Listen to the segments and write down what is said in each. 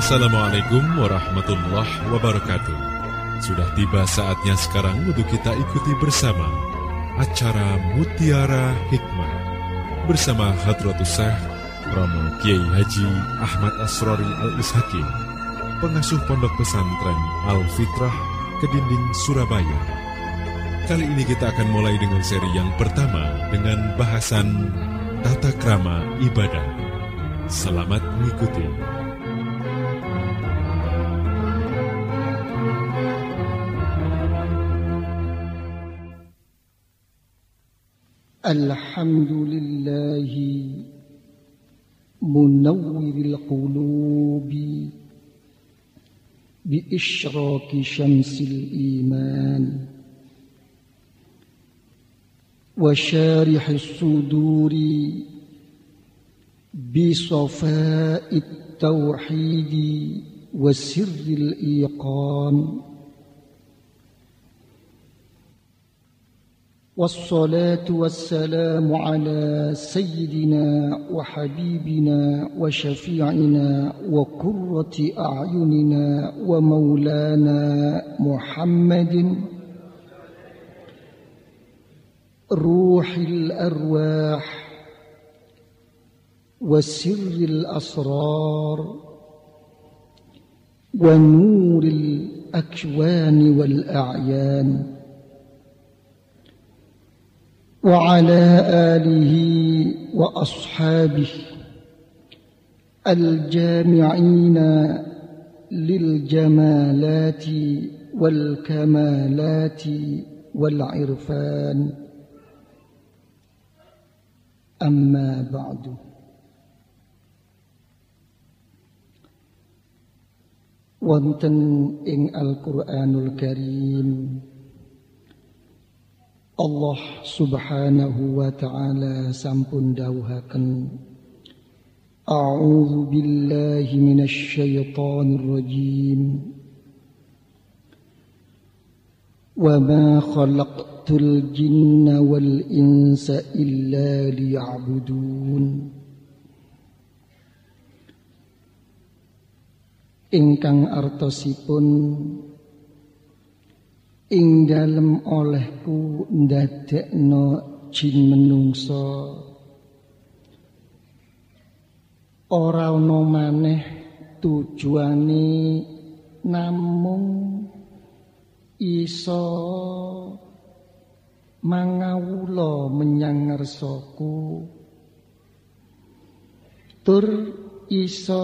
Assalamualaikum warahmatullahi wabarakatuh. Sudah tiba saatnya sekarang untuk kita ikuti bersama acara Mutiara Hikmah bersama Hadratus Syekh Romo Kiai Haji Ahmad Asrori Al-Ishaqi, pengasuh Pondok Pesantren Al-Fitrah Kedinding, Surabaya. Kali ini kita akan mulai dengan seri yang pertama dengan bahasan tata krama ibadah. Selamat mengikuti. Alhamdulillahi munawwiril qulubi bi isyraqi syamsil iman wa syarihis suduri bi safa'it tauhidi wa sirril iqan. والصلاة والسلام على سيدنا وحبيبنا وشفيعنا وقرة أعيننا ومولانا محمد روح الأرواح وسر الأسرار ونور الأكوان والأعيان وعلى آله وأصحابه الجامعين للجمالات والكمالات والعرفان. أما بعد، wonten ing Al-Qur'anul Karim Allah subhanahu wa ta'ala sampun dawuhaken, A'udzu billahi minasy syaithanir rajim. Wa ma khalaqtul jinna wal insa illa liya'budun. Ingkang artosipun ing dalem olehku ndadekno jin menungso ora ana maneh tujuane namung iso mangawula menyang ngarsaku tur iso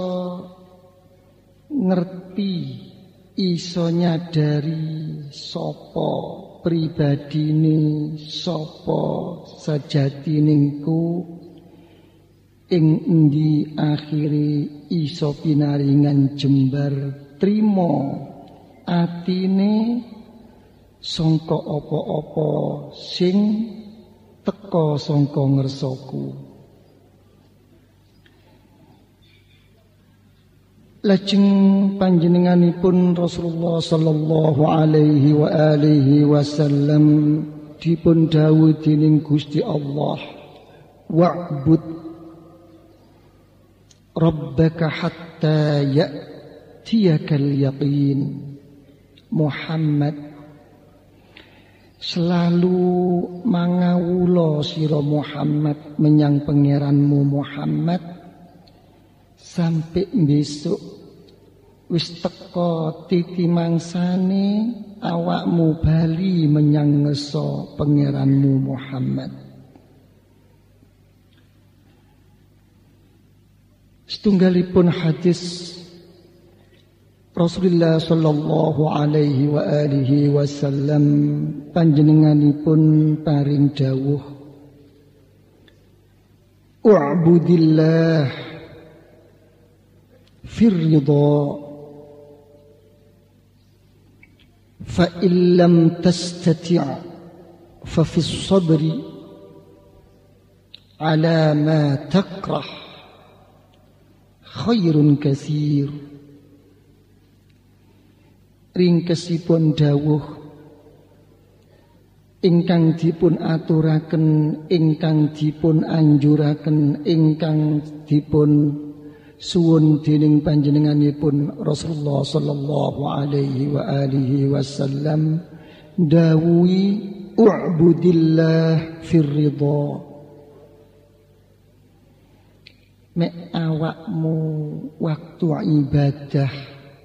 ngerti, iso nyadari sapa pribadine, sapa sajatiningku, ing endi akhire iso pinaringan jembar trima atine sangka apa-apa sing teka sangka ngersaku. Lajeng panjenenganipun Rasulullah sallallahu alaihi wa alihi wasallam dipun dawuh dening Gusti Allah, wa'bud rabbaka hatta ya'tiyakal yaqin. Muhammad, selalu mangawula sira Muhammad menyang pangeranmu Muhammad sampai besok wis teka titi mangsane awakmu bali menyang ngeso pangeranmu Muhammad. Setunggalipun hadis Rasulullah sallallahu alaihi wa alihi wasallam panjenenganipun paring dawuh, u'budillah firridha fa illam tastati' fa fis sabri ala ma takrah khairun katsir. Ringkesipun dawuh ingkang dipun aturaken, ingkang dipun anjuraken, ingkang dipun suwun dening panjenenganipun Rasulullah sallallahu alaihi wa alihi wasallam dawuhi u'budillah fir ridha. Mek awakmu waktu ibadah,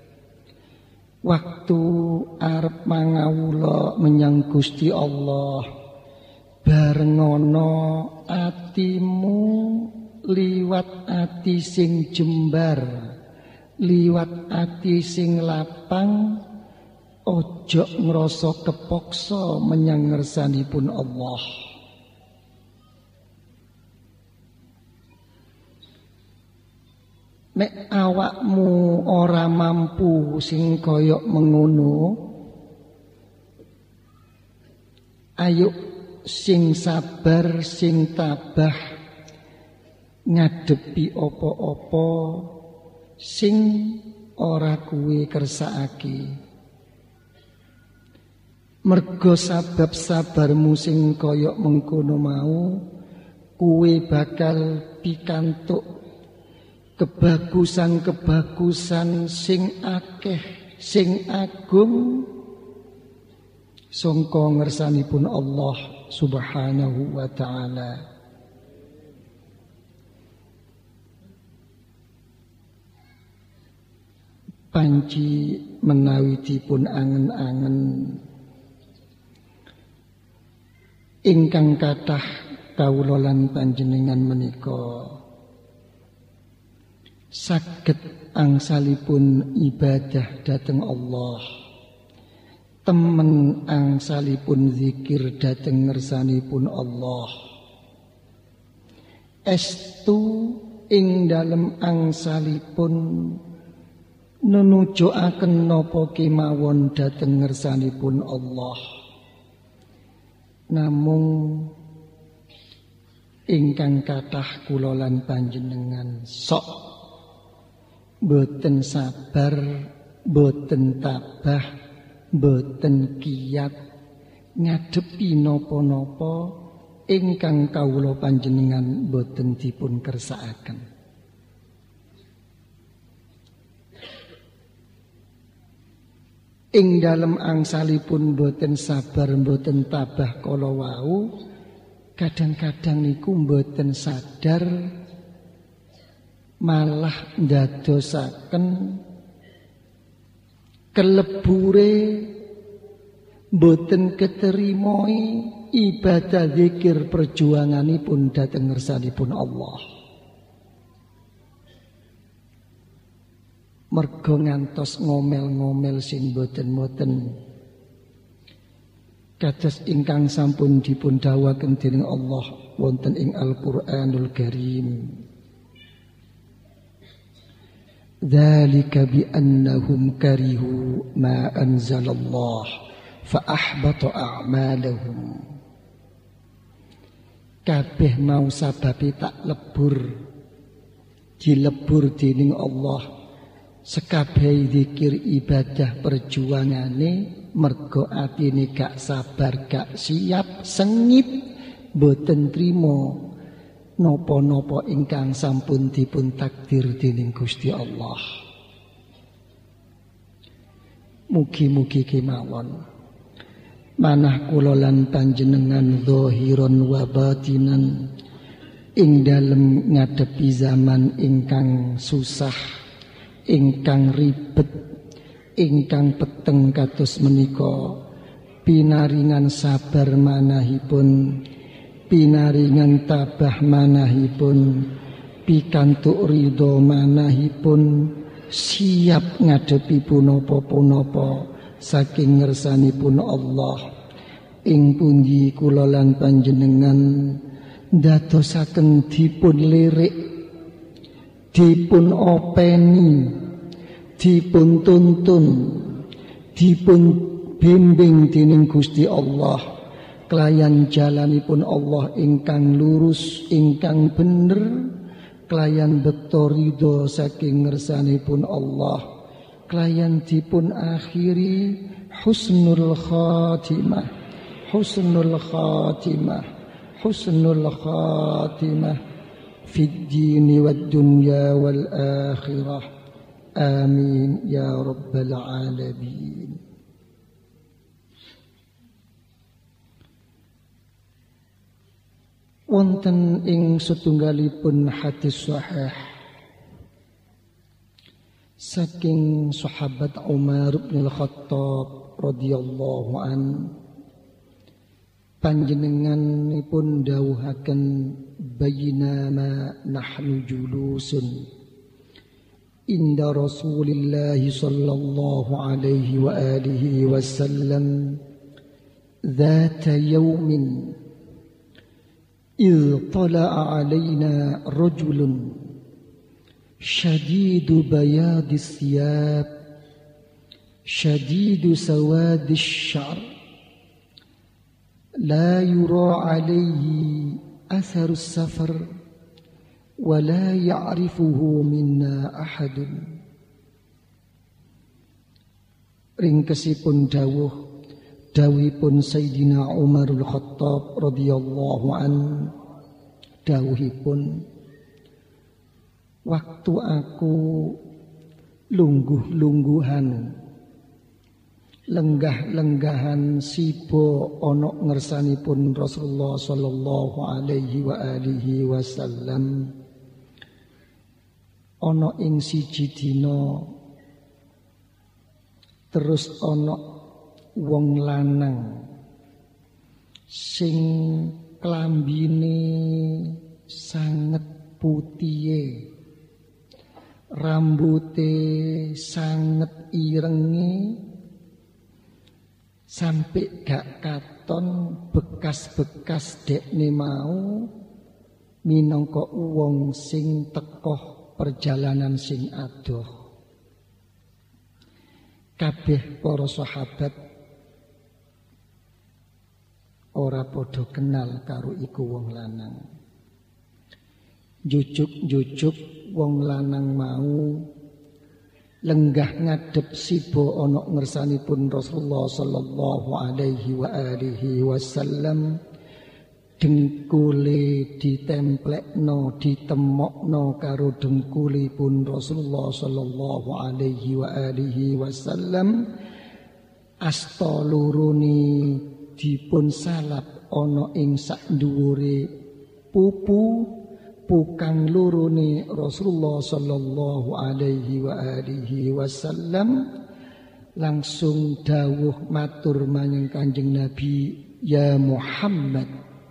waktu arep mangawula menyang Gusti Allah, bareng ana atimu liwat ati sing jembar, liwat ati sing lapang, ojo ngrasa kepaksa menyang ngersanipun Allah. Nek awakmu ora mampu sing kaya mengono, ayo sing sabar, sing tabah ngadepi apa-apa sing ora kuwe kersakake. Mergo sabab sabarmu sing kaya mengkono mau, kuwe bakal pikantuk kebagusan-kebagusan sing akeh, sing agung sangka ngersanipun Allah Subhanahu wa ta'ala. Panci menawi dipun angen-angen ingkang kathah kawula lan panjenengan menika saged angsalipun ibadah dhateng Allah, temen angsalipun zikir dhateng ngersanipun Allah, estu ing dalem angsalipun nunujoaken napa kemawon dhateng ngersanipun Allah. Namung ingkang kathah kula lan panjenengan sok boten sabar, boten tabah, boten kiyat ngadepi napa-napa ingkang kawula panjenengan boten dipun kersakaken. Ing dalem angsalipun boten sabar, boten tabah kala wau, kadang-kadang niku boten sadar malah ndadosaken kelebure boten keterimoi ibadah zikir perjuanganipun dhateng ngersanipun Allah. Mergo ngantos ngomel-ngomel sing boten-boten kados ingkang sampun dipun dawuhaken dening Allah wonten ing Al-Qur'anul Karim. Dzalika bi annahum karihu ma anzalallah fa ahbata a'malahum. Kabeh mau sababe tak lebur dilebur dening Allah sekabehi zikir ibadah perjuangane, mergo atine gak sabar, gak siap, sengit, boten trimo napa-napa ingkang sampun dipun takdir dening Gusti Allah. Mugi-mugi kemawon manah kula lan panjenengan zahiran wa batinan ing dalem ngadepi zaman ingkang susah, ingkang ribet, ingkang peteng kados menika, pinaringan sabar manahipun, pinaringan tabah manahipun, pikantuk ridho manahipun, siap ngadepi punapa-punapa saking ngersanipun Allah. Ing pundi kula lan panjenengan dadosaken dipun lirik, dipun openi, dipun tuntun, dipun bimbing dening Gusti Allah kelayan jalanipun Allah ingkang lurus, ingkang bener, kelayan bekto ridho saking ngersanipun Allah, kelayan dipun akhiri husnul khatimah, husnul khatimah, husnul khatimah fid dini wad dunya wal akhirah. Amin ya rabbal alamin. Wonten ing setunggalipun hadis sahih saking sahabat Umar bin Al-Khattab radhiyallahu an, panjenenganipun dawuhaken bainama nahnu julusun inda Rasulillah sallallahu alaihi wa alihi wasallam dzata yaumin إذ طلع علينا رجل شديد بياض الثياب شديد سواد الشعر لا يرى عليه أثر السفر ولا يعرفه منا أحد. Ringkesipun dawuhipun Sayyidina Umarul Khattab radhiyallahu an, dawuhipun, waktu aku lungguh-lungguhan lenggah-lenggahan sibo ana ngersanipun Rasulullah sallallahu alaihi wa alihi wasallam, ana ing siji dina terus ana wong lanang sing klambine sanget putihe, rambute sanget irenge, sampai gak katon bekas-bekas dekne mau minangka wong sing tekoh perjalanan sing adoh. Kabeh para sahabat ora padha kenal karo iku wong lanang. Jujuk-jujuk wong lanang mau lenggah ngadep sibo ana ngersanipun Rasulullah sallallahu alaihi wa alihi wasallam, dengkule ditemplekno ditemokno karo dengkulipun Rasulullah sallallahu alaihi wa alihi wasallam, asta lurune dipun salap ana ing sak dhuwure pupu kang lurune Rasulullah sallallahu alaihi wa alihi wasallam, langsung dawuh matur marang Kanjeng Nabi, ya Muhammad,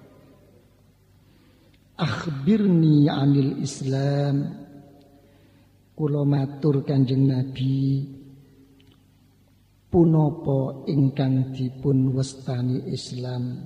akhbirni anil Islam. Kula matur Kanjeng Nabi, punapa ingkang dipun wastani Islam?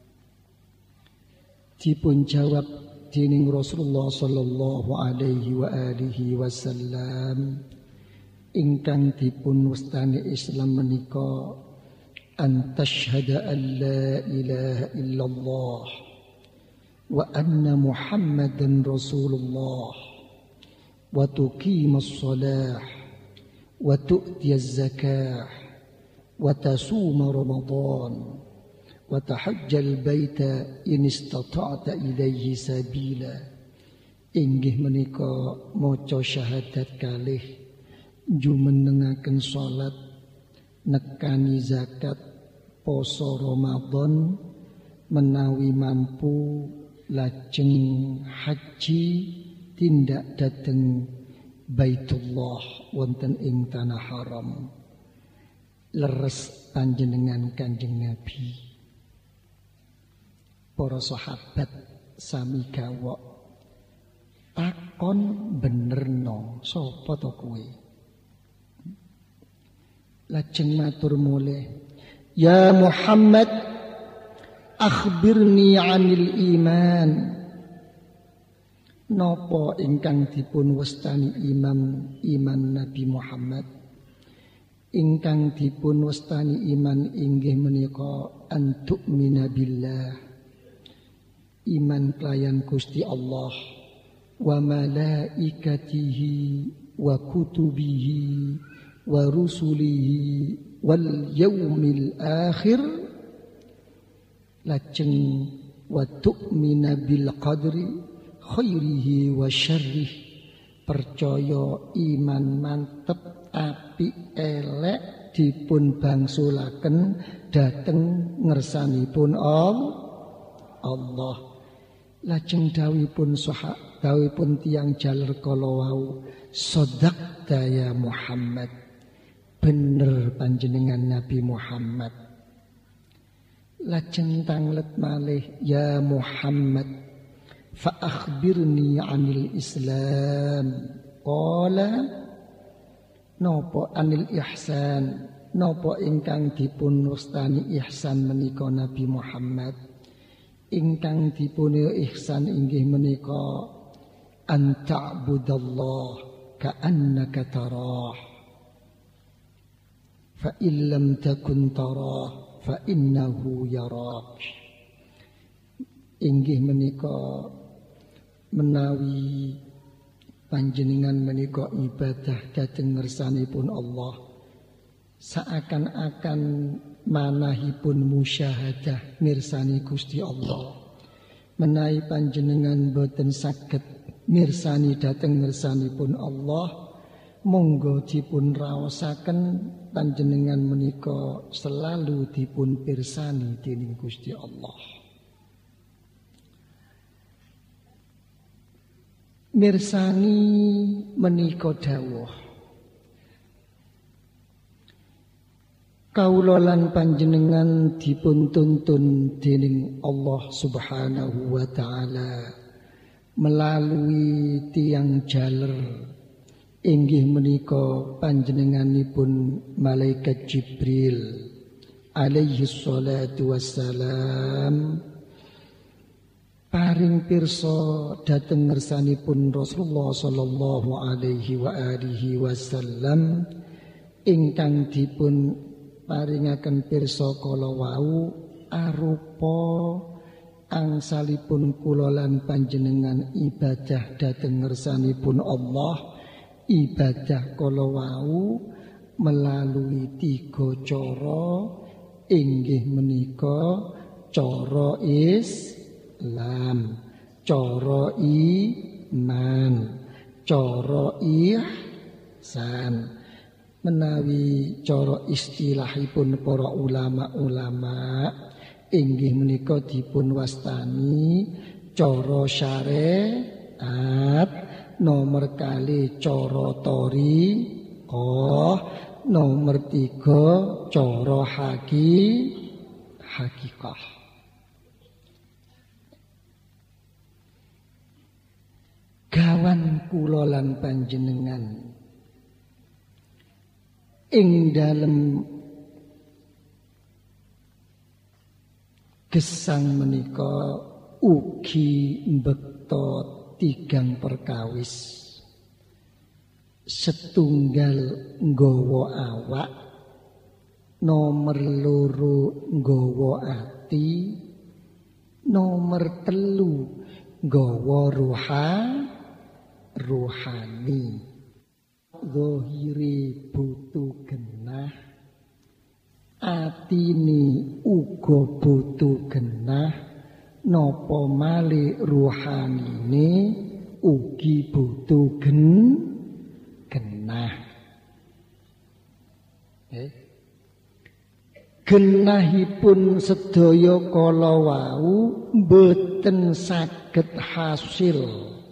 Dipun jawab dening Rasulullah sallallahu alaihi wa alihi wasallam, ingkang dipun wastani Islam menika an tashhada an la ilaha illallah wa anna Muhammadan Rasulullah wa tuqimas shalah wa tu'tiyaz zakah wa tasuma Ramadan wa tahajjal baita in istata'ta ilaihi sabila. Inggih menika maca syahadat kalih, jumenengaken salat, nekani zakat, poso Ramadan, menawi mampu lajeng haji tindak dhateng Baitullah wonten ing tanah haram. Leres panjenengan Kanjeng Nabi. Para sahabat sami gawok takon benerno, sapa to kowe? Lajeng matur mulih, ya Muhammad, akhbirni anil iman. Napa ingkang dipun wastani iman Nabi Muhammad? Ingkang dipun wastani iman inggih menika an tu'mina billah, iman kelayan Gusti Allah, wa malaikatihi wa kutubihi wa rusulihi wal yaumil akhir, lajeng wa tu'mina bil qadri khairihi wa syarrih, percaya iman mantep apik elek dipun bangsulaken dhateng ngersanipun Allah. Lajeng dawuhipun dawuhipun tiyang jaler kala wau, shadaqta ya Muhammad, bener panjenengan Nabi Muhammad. Lajeng tanglet malih, ya Muhammad, fa akhbirni 'anil Islam. Qala, napa anil ihsan, napa ingkang dipun wastani ihsan menika Nabi Muhammad. Ingkang dipun ihsan inggih menika an ta'budallah ka'annaka tarah, fa illam takun tarah fa innahu yarak. Inggih menika menawi panjenengan menika ibadah dhateng ngersanipun Allah, seakan-akan manahipun musyahadah mirsani Gusti Allah. Menawi panjenengan boten saged mirsani dhateng ngersanipun Allah, monggo dipun raosaken panjenengan menika selalu dipun pirsani dening Gusti Allah. Mirsani menika dawuh, kaula lan panjenengan dipun tuntun dening Allah Subhanahu wa taala melalui tiyang jaler inggih menika panjenenganipun malaikat Jibril alaihi salatu wassalam, paring pirsa dhateng ngersanipun Rasulullah sallallahu alaihi wa alihi wasallam ingkang dipun paringaken pirsa kala wau arupa angsalipun kula lan panjenengan ibadah dhateng ngersanipun Allah. Ibadah kala wau melalui 3 cara, inggih menika cara Islam, cara iman, cara ihsan. Menawi cara istilahipun para ulama-ulama inggih menika dipun wastani cara syariat, nomor kali cara thariqah, nomor 3 cara hakikah. Gawan kula lan panjenengan ing dalem gesang menika ugi mbekta 3 perkawis. Setunggal nggawa awak, nomor 2 nggawa ati, nomor 3 nggawa rohani. Zahire butuh genah, atine uga butuh genah, napa malih rohanine ugi butuh genah. Genahipun sedaya kala wau boten saged hasil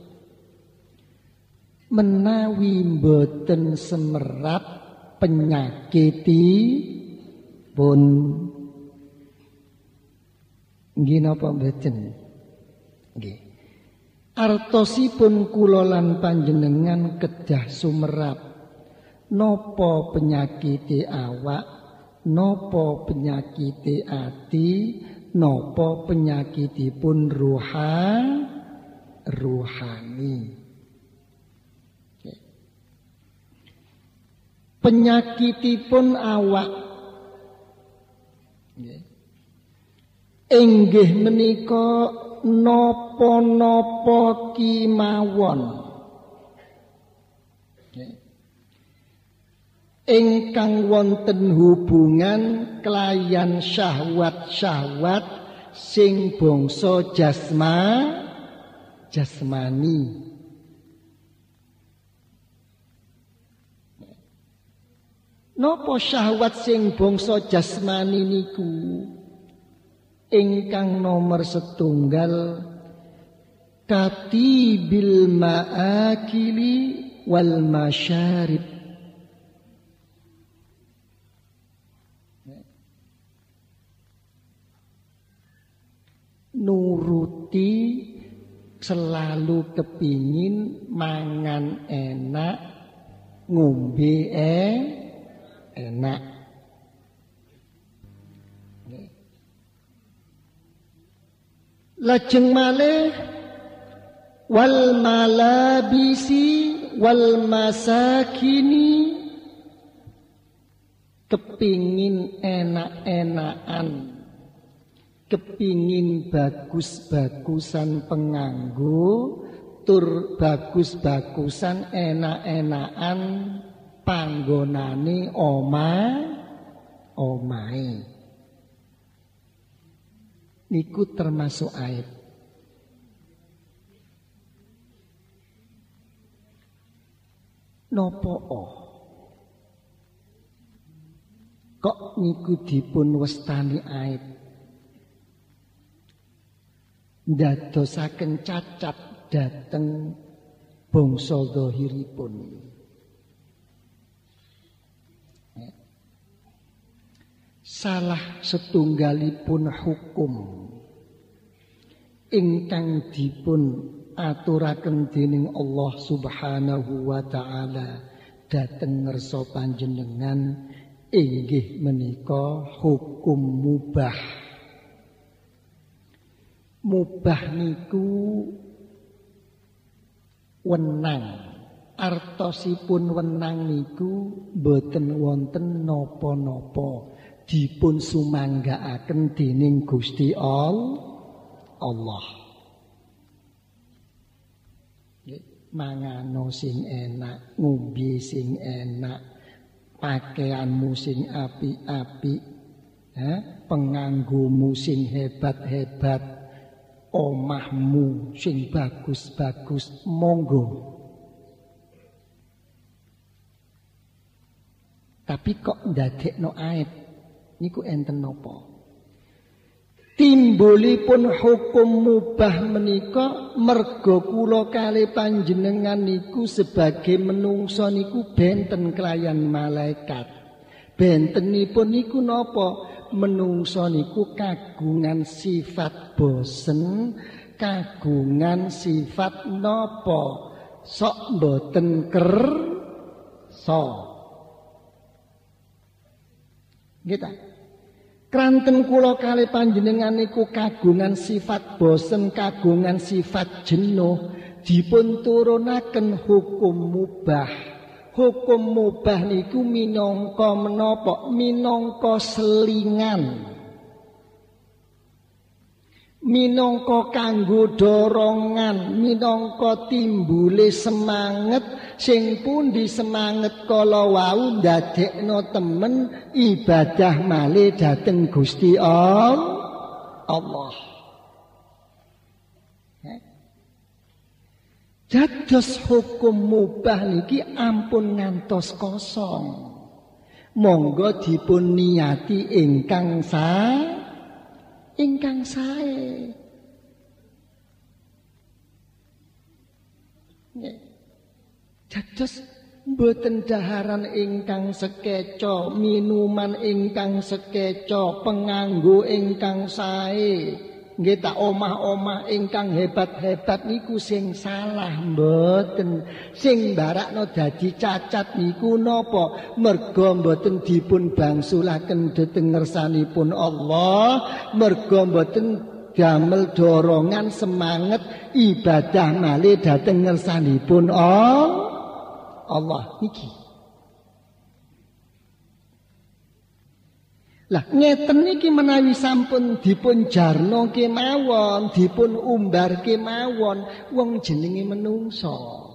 menawi boten semerat penyakitipun. Nggih napa mboten? Nggih. Artosipun kula lan panjenengan kedah sumerap napa penyakite awak, napa penyakite ati, napa penyakitipun rohani. Penyakitipun awak inggih menika napa-napa kimawon ingkang wonten hubungan kelayan syahwat-syahwat sing bangsa jasmani. Napa syahwat sing bangsa jasmani niku ingkang nomor setunggal katibil ma'akili wal masyarib. Nuruti selalu kepingin mangan enak, ngombe enak. Lajeng malih wal malabisi wal masakini, kepingin enak-enakan, kepingin bagus-bagusan penganggo, tur bagus-bagusan enak-enakan panggonane omahe. Niku termasuk aib. Nopo kok niku dipun wastani aib? Ndadosaken cacat dhateng bangsa zahiripun. Salah setunggalipun hukum ingkang dipun aturaken dening Allah Subhanahu wa taala dhateng ngersa panjenengan inggih menika hukum mubah. Mubah niku wenang, artosipun wenang niku boten wonten napa-napa, dipun sumanggaaken dening Gusti Allah. Mangano sing enak, ngombe sing enak, pakaianmu sing apik-apik, penganggomu sing hebat-hebat, omahmu sing bagus-bagus, monggo. Tapi kok ndadekno aib niku enten napa? Timbulipun hukum mubah menika merga kula kalih panjenengan niku sebagai menungsa niku benten kelayan malaikat. Bentenipun niku napa? Menungsa niku kagungan sifat bosen, kagungan sifat napa? Sok mboten kersa. Nggih. Kranten kula kalih panjenengan niku kagungan sifat bosen, kagungan sifat jenuh, dipun turunaken hukum mubah. Hukum mubah niku minangka menapa? Minangka selingan. Minangka kanggo dorongan, minangka timbule semangat sing pundi semangat kala wau ndadekno temen ibadah malih dhateng Gusti Allah. Dados hukum mubah niki ampun ngantos kosong. Monggo dipun niyati ingkang sae. Dados mboten daharan ingkang sekeca, minuman ingkang sekeca, penganggo ingkang sae. Nggih tak omah-omah ingkang hebat-hebat niku sing salah mboten. Sing mbarakno dadi cacat niku napa? Merga mboten dipun bangsulaken dhateng ngersanipun Allah, merga mboten damel dorongan semangat ibadah malih dhateng ngersanipun Allah niki. Lah ngeten niki menawi sampun dipun jarno kemawon, dipun umbar kemawon, wong jenenge menungsa.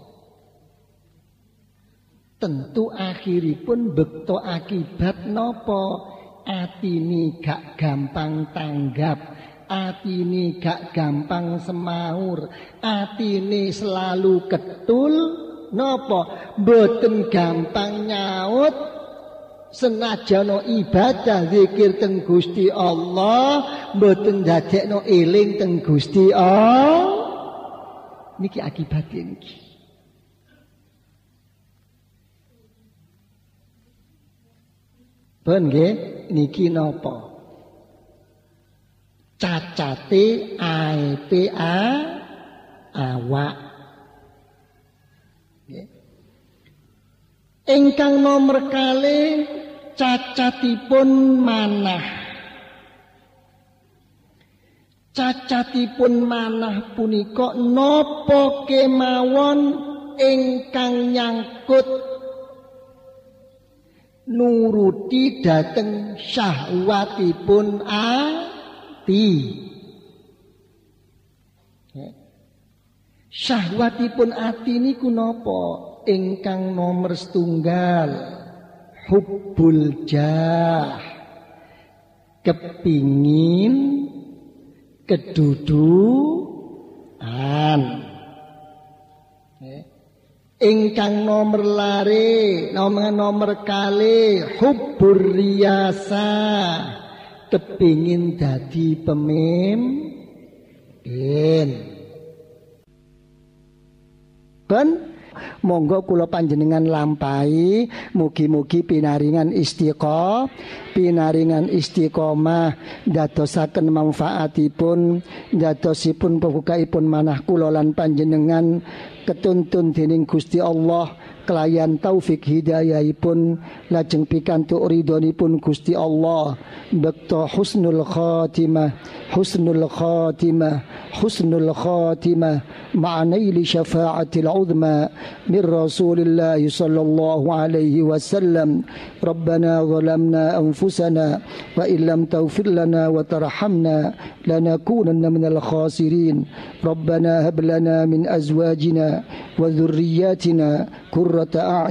Tentu akhiripun bekto akibat napa? Atine gak gampang tanggap, atine gak gampang semaur, atine selalu ketul, napa mboten gampang nyaut, senajan ibadah zikir teng Gusti Allah mboten dadekno eling teng Gusti Allah. Niki akibatnya niki. Ben nggih niki napa? Cacate aibe awak. Nggih. Ingkang nomor kalih cacatipun manah. Cacatipun manah punika napa kemawon ingkang nyangkut nuruti dhateng syahwatipun ati. Syahwatipun ati niku napa? Ingkang nomor setunggal hubbul jah, kepingin kedudukan. Ingkang nomor lare, nomor kali hubbur riyasa, kepingin dadi pemimpin. Ben monggo kula panjenengan lampahi, mugi-mugi pinaringan istiqomah dadosaken manfaatipun, dadosipun pembukaipun manah kula lan panjenengan ketuntun dening Gusti Allah kelayan taufik hidayahipun lajeng pikantuk ridhonipun Gusti Allah bekto husnul khatimah ma'anaili syafa'atil uzma min Rasulillah sallallahu alaihi wasallam. Rabbana zalamna anfusana wa illam taghfir lana wa tarhamna lanakunanna minal khasirin. Rabbana hab lana min azwajina wa dhurriyyatina qurrata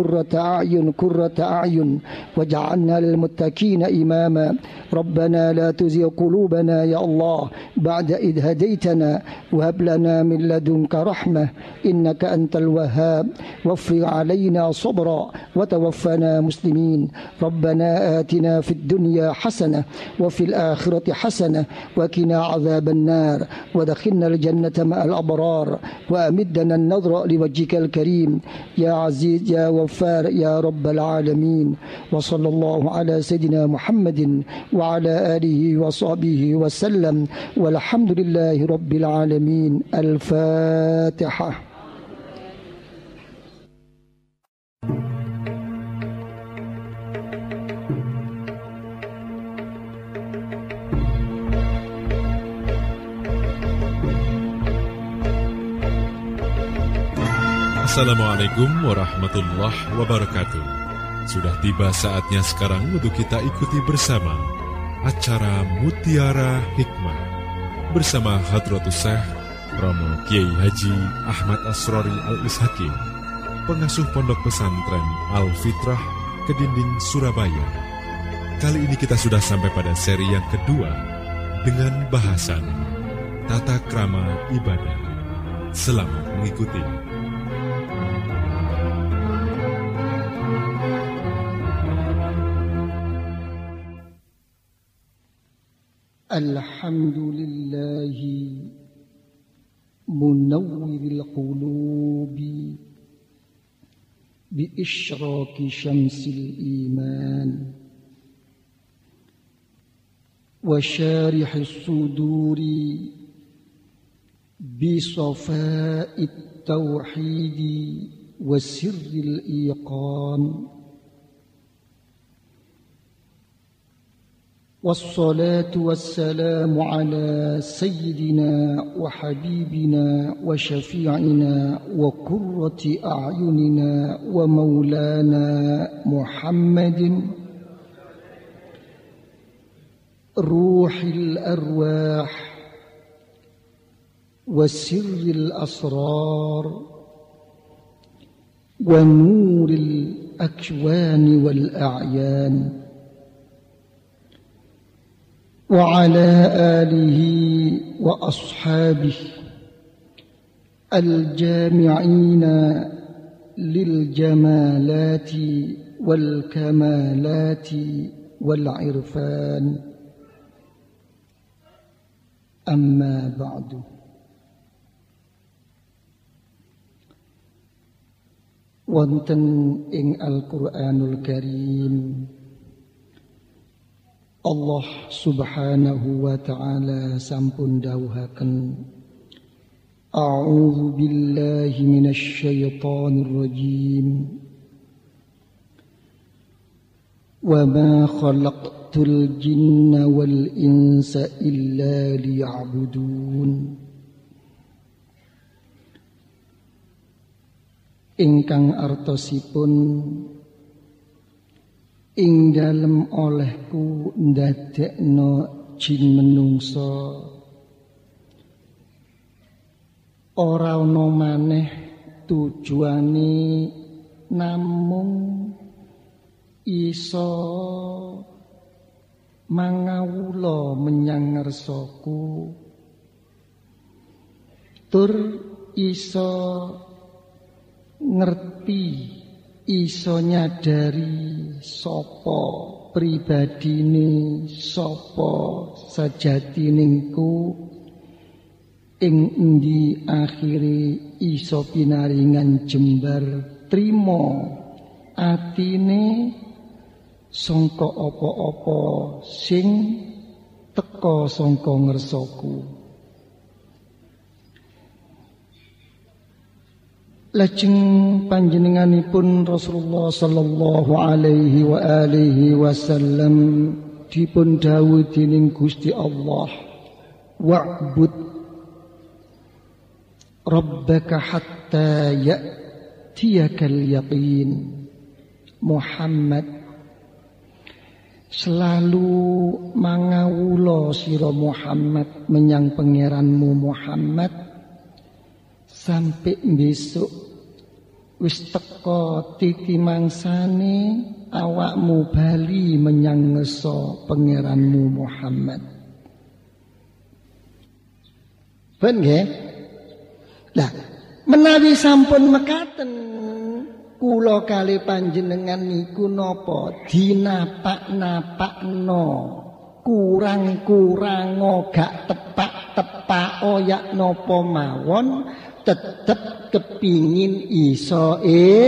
a'yun waj'alna lil muttaqina imama. Rabbana la tuzigh qulubana ya Allah ba'da idh hadaitana wa hab lana min ladunka rahmah innaka antal wahhab wafrig 'alaina sabra wa tawaffana muslimin. Rabbana atina fid dunya hasanah wa fil akhirati hasanah wa qina 'adzaban nar wa adkhilna al jannata ma'al abrar wa amiddana an-nadhra liwajhikal karim ya aziz ya waffar ya rabbal alamin. Wa sallallahu ala sayidina Muhammadin wa ala alihi wa sahbihi wa sallam walhamdulillahi rabbil alamin. Al-Fatihah. Assalamualaikum warahmatullahi wabarakatuh. Sudah tiba saatnya sekarang untuk kita ikuti bersama acara Mutiara Hikmah bersama Hadratus Syekh Romo Kiai Haji Ahmad Asrori Al-Ishaqi, pengasuh Pondok Pesantren Al-Fitrah Kedinding Surabaya. Kali ini kita sudah sampai pada seri yang kedua dengan bahasan Tata Krama Ibadah. Selamat mengikuti. Alhamdulillahi munawwiril qulubi bi isyraqi syamsil iman wa syarihis suduri bi safa'it tauhidi wa sirril iqan. والصلاة والسلام على سيدنا وحبيبنا وشفيعنا وقرة أعيننا ومولانا محمد روح الأرواح وسر الأسرار ونور الأكوان والأعيان. وعلى آله وأصحابه الجامعين للجمالات والكمالات والعرفان أما بعد wonten ing Al-Qur'anul Karim Allah Subhanahu wa ta'ala sampun dawuhaken A'udzu billahi minasy syaithanir rajim Wa ma khalaqtul jinna wal insa illa liya'budun Ingkang artosipun ing dalem olehku ndadekno jin menungso ora ana maneh tujuane namung iso mangawula menyang ngarsaku tur iso ngerti iso nyadari sapa pribadine sapa sajatiningku ing endi akhire iso pinaringan jembar trima atine sangka apa-apa sing teka sangka ngersaku Lajeng panjenenganipun Rasulullah sallallahu alaihi wa alihi wasallam dipun dawuh dening Gusti Allah wa'bud rabbaka hatta ya'tiyakal yaqin Muhammad selalu mangawula sira Muhammad menyang pangeranmu Muhammad sampai besok wis teka titi mangsane awakmu bali menyang ngeso pangeranmu Muhammad. Ben nggih? Lah, menawi sampun mekaten kula kali panjenengan niku napa dinapak-napakno kurang-kurang gak tepak-tepak oyak napa mawon tetep kepingin iso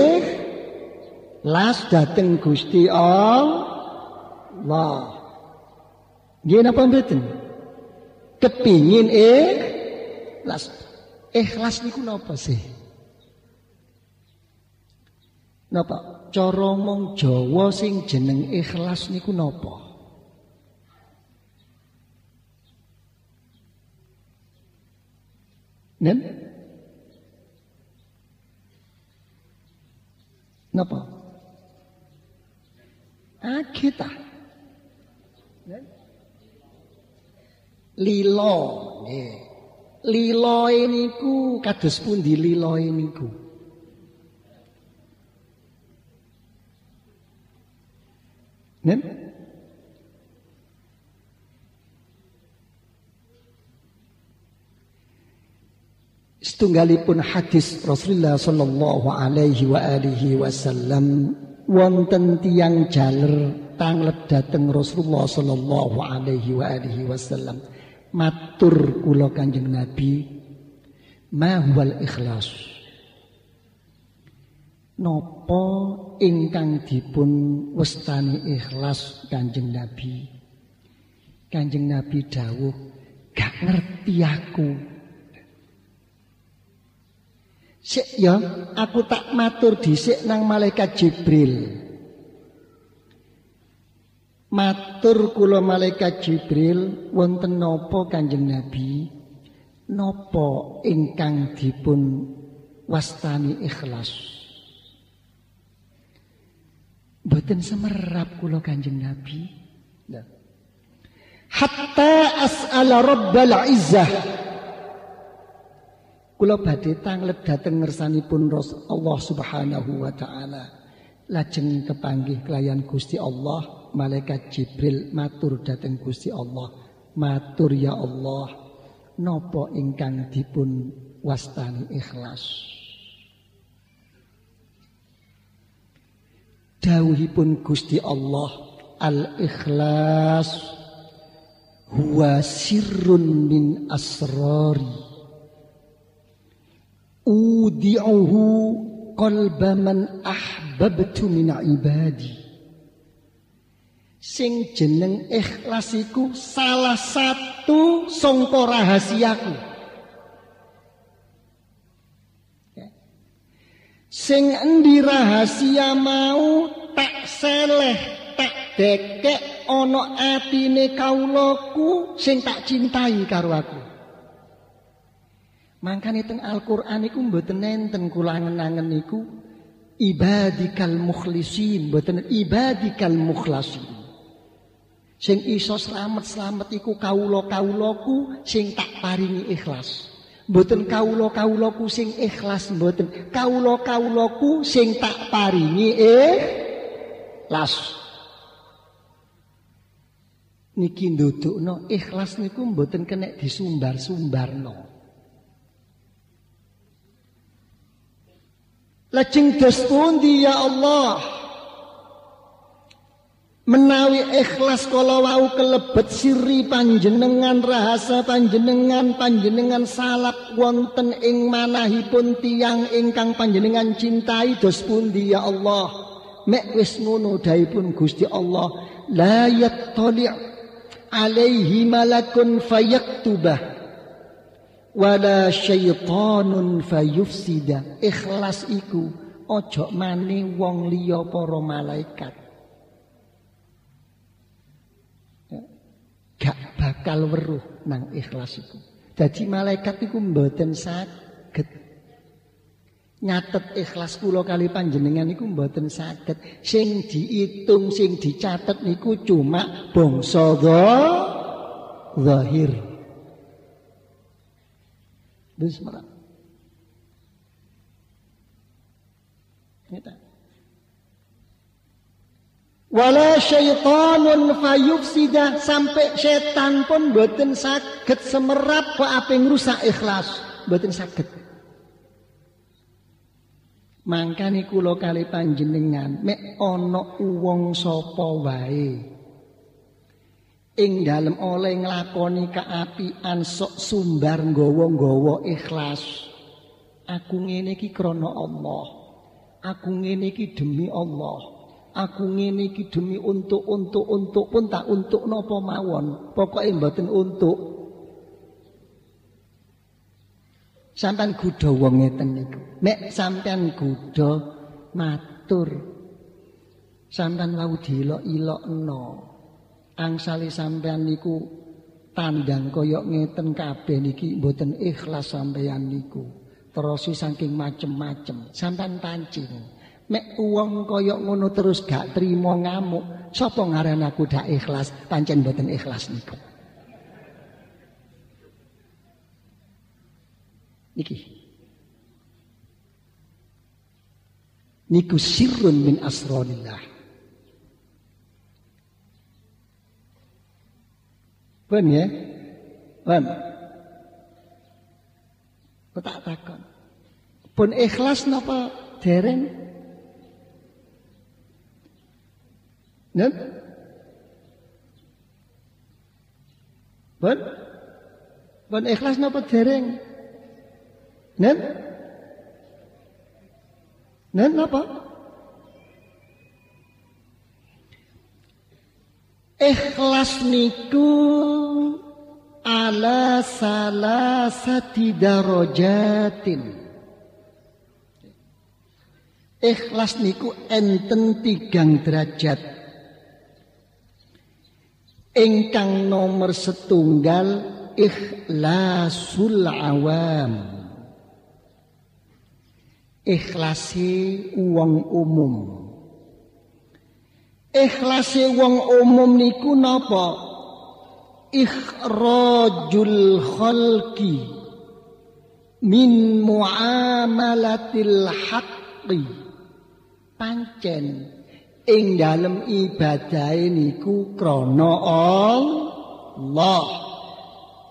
las dateng Gusti Allah. Nggih napa mboten? Kepingin las. Ikhlas niku napa sih? Napa? Cara mong Jawa sing jeneng ikhlas niku napa? Nen? Napa? Kita. Lilo, nggih. Liloe niku kados pundi liloe niku? Nen? Setunggalipun hadis Rasulullah sallallahu alaihi wa alihi wasallam wonten tiyang jaler tanglet dhateng Rasulullah sallallahu alaihi wa alihi wasallam matur kula Kanjeng Nabi ma huwal ikhlas napa ingkang dipun wastani ikhlas Kanjeng Nabi Kanjeng Nabi dawuh gak ngerti aku sik ya, aku tak matur dhisik nang malaikat Jibril. Matur kula malaikat Jibril, wonten napa Kanjeng Nabi? Napa ingkang dipun wastani ikhlas? Mboten semerap kula Kanjeng Nabi. Hatta as'ala Rabbal Izzah. Kula badhe tanglet dhateng ngersanipun Allah Subhanahu wa taala. Lajeng kepanggih kelayan Gusti Allah, malaikat Jibril matur dhateng Gusti Allah, Matur ya Allah, napa ingkang dipun wastani ikhlas? Dawuhipun Gusti Allah, al-ikhlas huwa sirrun min asrari udi'uhu qalba man ahbabtu min ibadi. Sing jeneng ikhlas iku salah satu sangka rahasiaku. Sing endi rahasia mau tak seleh, tak dekek ana atine kawulaku sing tak cintai karo aku. Mangkane teng Al-Qur'an iku mboten enten kula ngenangen niku ibadikal mukhlisin, mboten ibadikal mukhlasin. Sing iso slamet-slamet iku kawula-kawulaku sing tak paringi ikhlas. Mboten kawula-kawulaku sing ikhlas, mboten kawula-kawulaku sing tak paringi ikhlas. Niki ndudukno ikhlas niku mboten kena disumbar-sumbarno. Lajeng dos pundi ya Allah? Menawi ikhlas kala wau kelebet siri panjenengan, rahasa panjenengan salap wonten ing manahipun tiyang ingkang panjenengan cintai, dos pundi ya Allah? Mek wis ngono dawuhipun Gusti Allah, la yattali' alaihi malakun fayaktubah wala syaitanun fayufsida. Ikhlas iku ojo mane wong liya para malaikat. Gak bakal weruh nang ikhlas iku. Dadi malaikat iku mboten saged nyatet ikhlas kula kali panjenengan iku mboten saged. Sing diitung, sing dicatet niku cuma bangsa zahir. Bismillah. Wala syaitanun fayufsida, sampai setan pun mboten saged semerap kok ape ngrusak ikhlas, mboten saged. Mangkane kula kali panjenengan mek ana wong sapa wae ing dalem oleh nglakoni kaapian sok sumbar nggawa-nggawa ikhlas. Aku ngene iki krana Allah. Aku ngene iki demi Allah. Aku ngene iki demi untuk pun tak untuk napa mawon. Pokoke mboten untuk. Sampeyan gudha wong ngeten niku. Nek sampeyan gudha matur. Sampeyan wau diilok-ilokno. Angsale sampean niku tandang kaya ngeten kabeh niki mboten ikhlas sampean niku. Terus saking macem-macem sampean pancing. Mek wong kaya ngono terus gak trimo ngamuk, sapa ngaran aku dak ikhlas? Pancen mboten ikhlas niku. Niku sirrun min asrarillah. Pun ya, pun. Kok tak takon. Pun ikhlas napa dereng? Nen? Pun ikhlas napa dereng? Nen? Nen napa? Ikhlas niku ala salasati darajatin. Ikhlas niku enten 3 derajat. Ingkang nomor 1 ikhlasul awam. Ikhlasi wong umum. Ikhlase wong umum niku napa? Ikhrajul khalqi min muamalatil haqqi. Pancen ing dalem ibadahe niku krana Allah.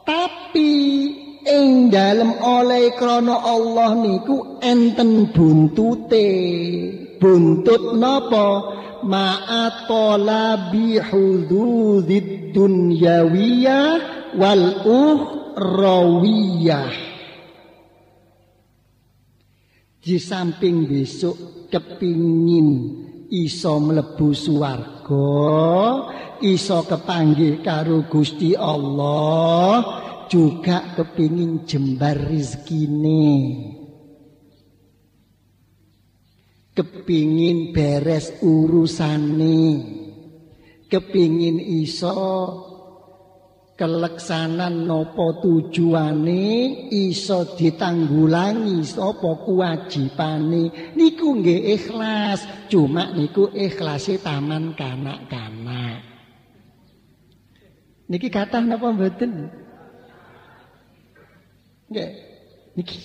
Tapi ing dalem oleh krana Allah niku enten buntute. Buntut napa? Ma'atolabi hududid dunyawiyah wal ukhrawiyah. Di samping besok kepingin iso mlebu swarga, iso kepanggih karo Gusti Allah, juga kepingin jembar rezekine. Kepingin beres urusane, kepingin iso keleksanan nopo tujuane, iso ditanggulangi sapa kewajibane. Niku nggih ikhlas, cuma niku ikhlase taman kanak-kanak. Niki kathah napa mboten? Nggih. Niki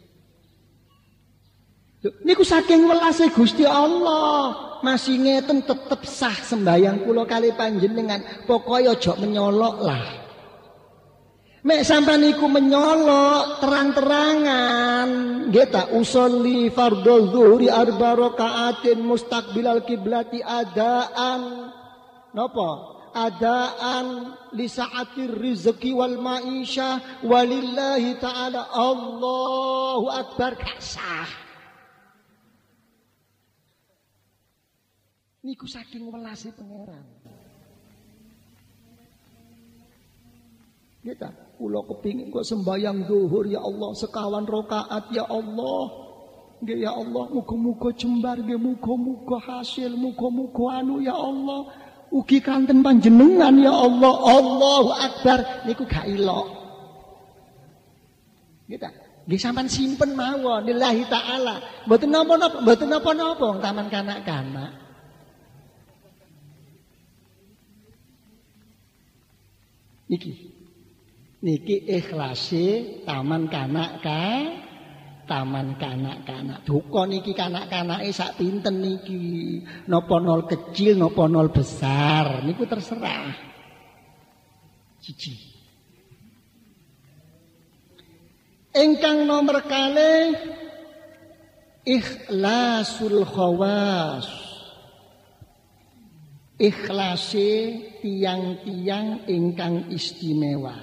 niku saking welase Gusti Allah, masih ngeten tetep sah sembayang kula kali panjenengan. Pokoke aja menyolok lah. Mek sampean niku menyolok terang-terangan, nggih ta usolli fardhu dzuhri arba rakaatin mustaqbilal kiblati adaan. Napa? Adaan li sa'atir rizqi wal ma'isyah walillahi ta'ala Allahu akbar kasah. Niku saking welase pangeran. Kita kula kepingin kok sembayang zuhur ya Allah sekawan rakaat ya Allah. Nggih ya Allah, muga-muga jembar nggih, muga-muga hasil, muga-muga anu ya Allah. Ugi kanten panjenengan ya Allah. Allahu akbar niku gak ilok. Kita nggih sampean simpen mawon lillahi taala. Mboten napa-napa, mboten napa-napa taman kanak-kanak. Niki ikhlase taman kanak-kanak. Duka niki kanak-kanake sak pinten niki. Napa nol kecil, napa nol besar, niku terserah. Siji. Ingkang nomor kalih ikhlasul khawas. Ikhlase tiang-tiang ingkang istimewa.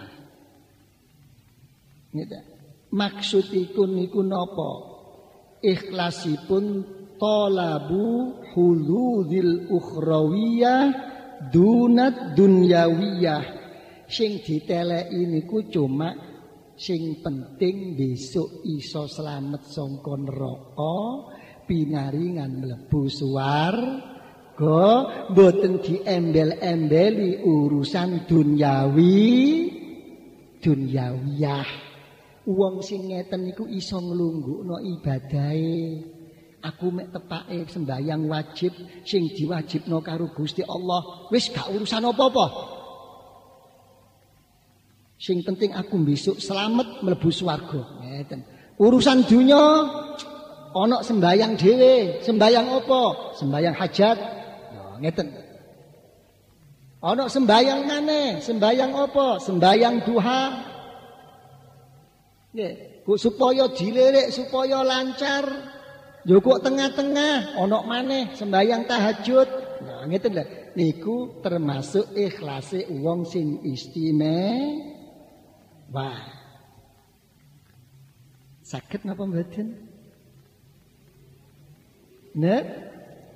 Maksudipun niku napa? Ikhlasipun talabu huludil ukhrawiyah dunat dunyawiyah. Sing diteleki niku cuma sing penting besok iso slamet saka neraka, pinaringan mlebu swarga. Mboten diembel-embeli urusan dunyawiyah. Wong sing ngeten niku iso nglunggukno ibadahe. Aku mek tepake sembayang wajib sing diwajibno karo Gusti Allah, wis gak urusan apa-apa. Sing penting aku besok selamat mlebu swarga. Ngeten. Urusan dunya ana sembayang dhewe. Sembayang apa? Sembayang hajat. Ngeten. Ana sembayang maneh, sembayang apa? Sembayang duha. Nggih, supaya dilirik, supaya lancar. Yo kok tengah-tengah ana maneh sembayang tahajud. Nah, ngeten lho. Niku termasuk ikhlase wong sing istimewa. Saged napa mboten? Nek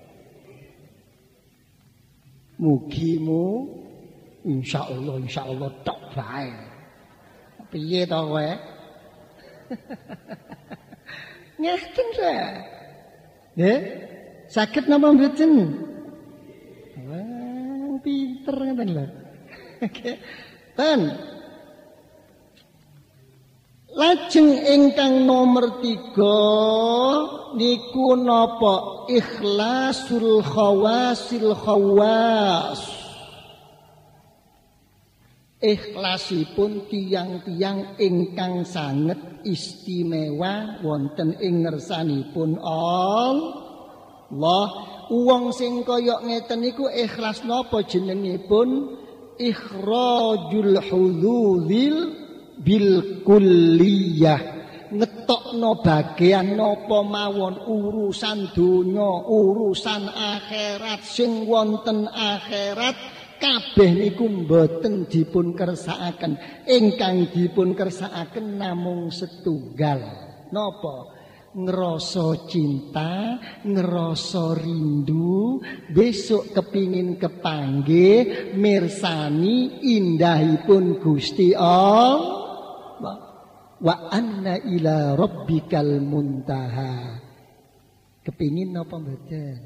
mugimu insyaallah tok bae. Piye to kowe? Ngeten ta? Nggih, saged napa mboten? Wah, pinter ngeten lho. Ten. Lajeng ingkang nomor 3 niku napa? Ikhlasul khawasil khawas. Ikhlasipun tiang-tiang ingkang sanget istimewa wonten ing ngersanipun Allah. Wong sing kaya ngeten niku ikhlas napa jenengipun? Ikhrajul hudzul bil kulliyah, ngetokno bagian napa mawon urusan donya, urusan akhirat sing wonten akhirat kabeh niku mboten dipun kersakaken. Ingkang dipun kersakaken namung setunggal. Napa? Ngerasa cinta, ngerasa rindu, besok kepingin kepanggih mirsani indahipun Gusti Allah. Wa anna ila rabbikal muntaha. Kepingin napa mboten?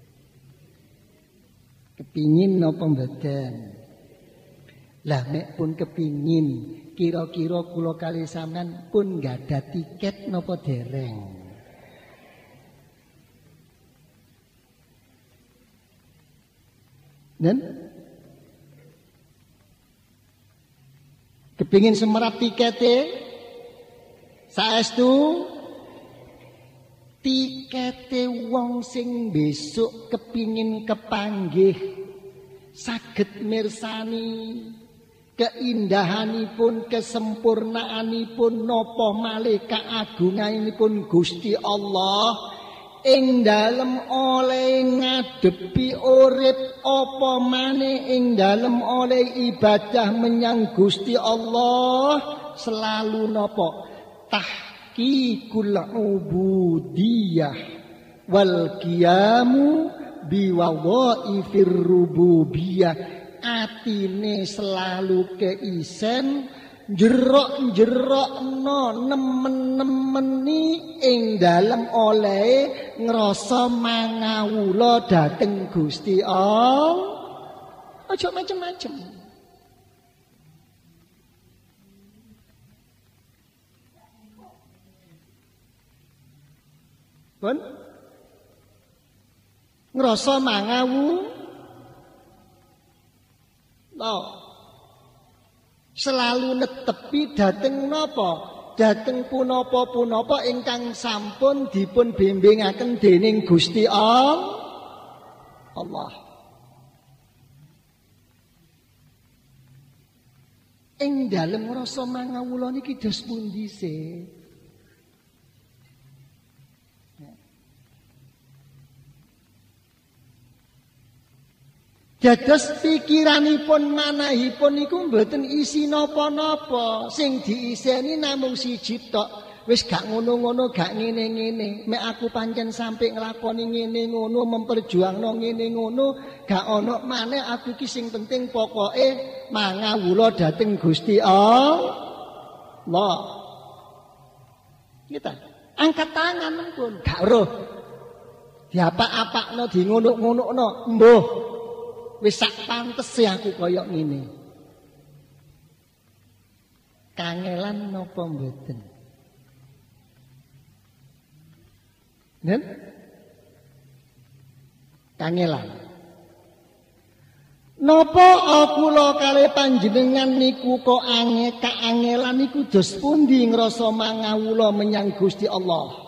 Kepingin napa mboten? Lah nek pun kepingin, kira-kira kula kalih sampean pun gadah tiket napa dereng? Dan kepingin semerap tikete saestu tikete wong sing besok kepingin kepanggih saged mirsani keindahanipun, kesempurnaanipun napa malih kaagunganipun Gusti Allah ing dalem oleh ngadepi urip apa maneh ing dalem oleh ibadah menyang Gusti Allah selalu napa tahqiqul ubudiyah wal qiyamu biwadhaifir rububiyah. Atine selalu keisen jerok-jerokno nemen-nemeni ing dalem oleh ngrasa mangawula dhateng Gusti Allah. Aja macem-macem. Pun ngrasa mangawu selalu netepi dhateng napa? Dhateng punapa-punapa ingkang sampun dipun bimbingaken dening Gusti Allah. Ing dalem rasa mangawula niki dos pundi sih? Dados pikiranipun manahipun niku mboten isi napa-napa, sing diiseni namung siji tok. Wis gak ngono-ngono, gak ngene-ngene. Mek aku pancen sampe nglakoni ngene ngono, memperjuangno ngene ngono, gak ono maneh aku iki sing penting pokoke mangawula dhateng Gusti Allah. Kita angkat tangan pun gak roh. Diapak-apakno, di ngunuk-ngunukno, mbuh. Wis sak pantese aku kaya ngene. Kangelan napa mboten? Nen? Kangelan. Napa kula kalih panjenengan niku kok kaangelan niku dos pundi ngrasa mangawula menyang Gusti Allah?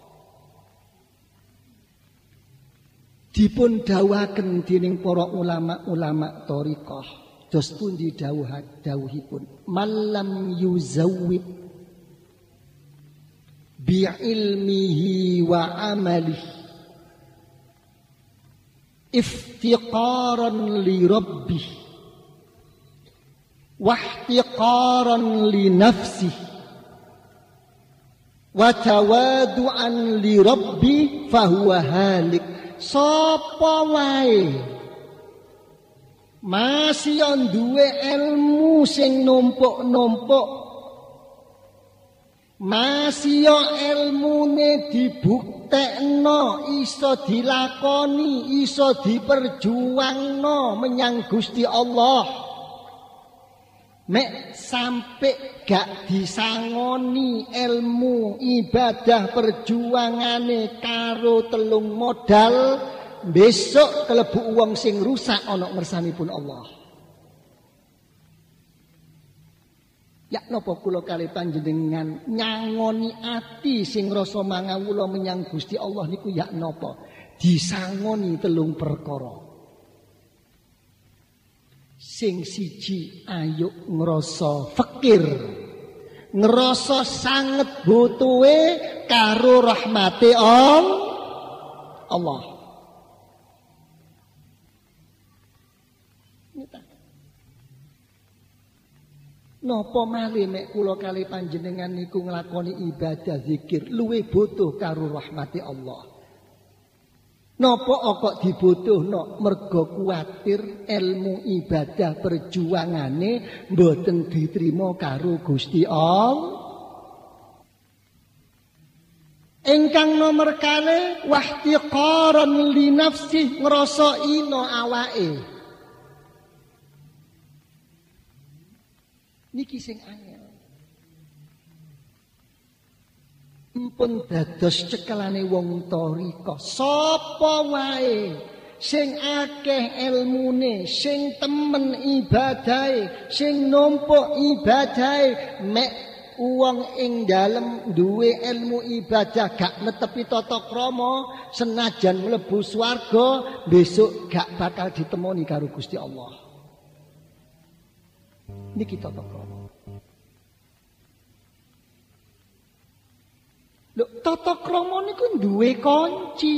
Dipun dawuhaken dening para ulama-ulama thariqah dos pundi dawuhipun malam yuzawwid bi ilmihi wa amalihi iftiqaran li rabbih wa ihtiqaran li nafsihi wa tawadu'an li rabbih fahuwa halik. Sapa wae masih duwe ilmu sing numpuk-numpuk, masih ilmune dibuktekno, iso dilakoni, iso diperjuangno menyang Gusti Allah. Mek sampai gak disangoni ilmu ibadah perjuangane karo telung modal, besok kelebu wong sing rusak ana ngersanipun Allah. Ya napa kula kalih panjenengan nyangoni ati sing rasa mangawula menyang Gusti Allah niku ya napa? Disangoni telung perkara. Sing siji ayo ngrasa fakir ngerasa sanget butuhe karo rahmate Allah. Napa malih nek kula kali panjenengan niku nglakoni ibadah zikir luwih butuh karo rahmati Allah. Napa kok dibutuhno? Mergo kuwatir ilmu ibadah perjuangane mboten diterima karo Gusti Allah. Ingkang nomor kalih wahtiqaran li nafsi, ngrasa ino awake. Niki sing angel. Empun dados cekelane wong thariqah. Sapa wae sing akeh ilmune, sing temen ibadahe, sing numpuk ibadahe, mek wong ing dalem duwe ilmu ibadah gak netepi tata krama, senajan mlebu swarga, besok gak bakal ditemoni karo Gusti Allah. Niki tata krama. Lho, tata krama niku duwe kunci.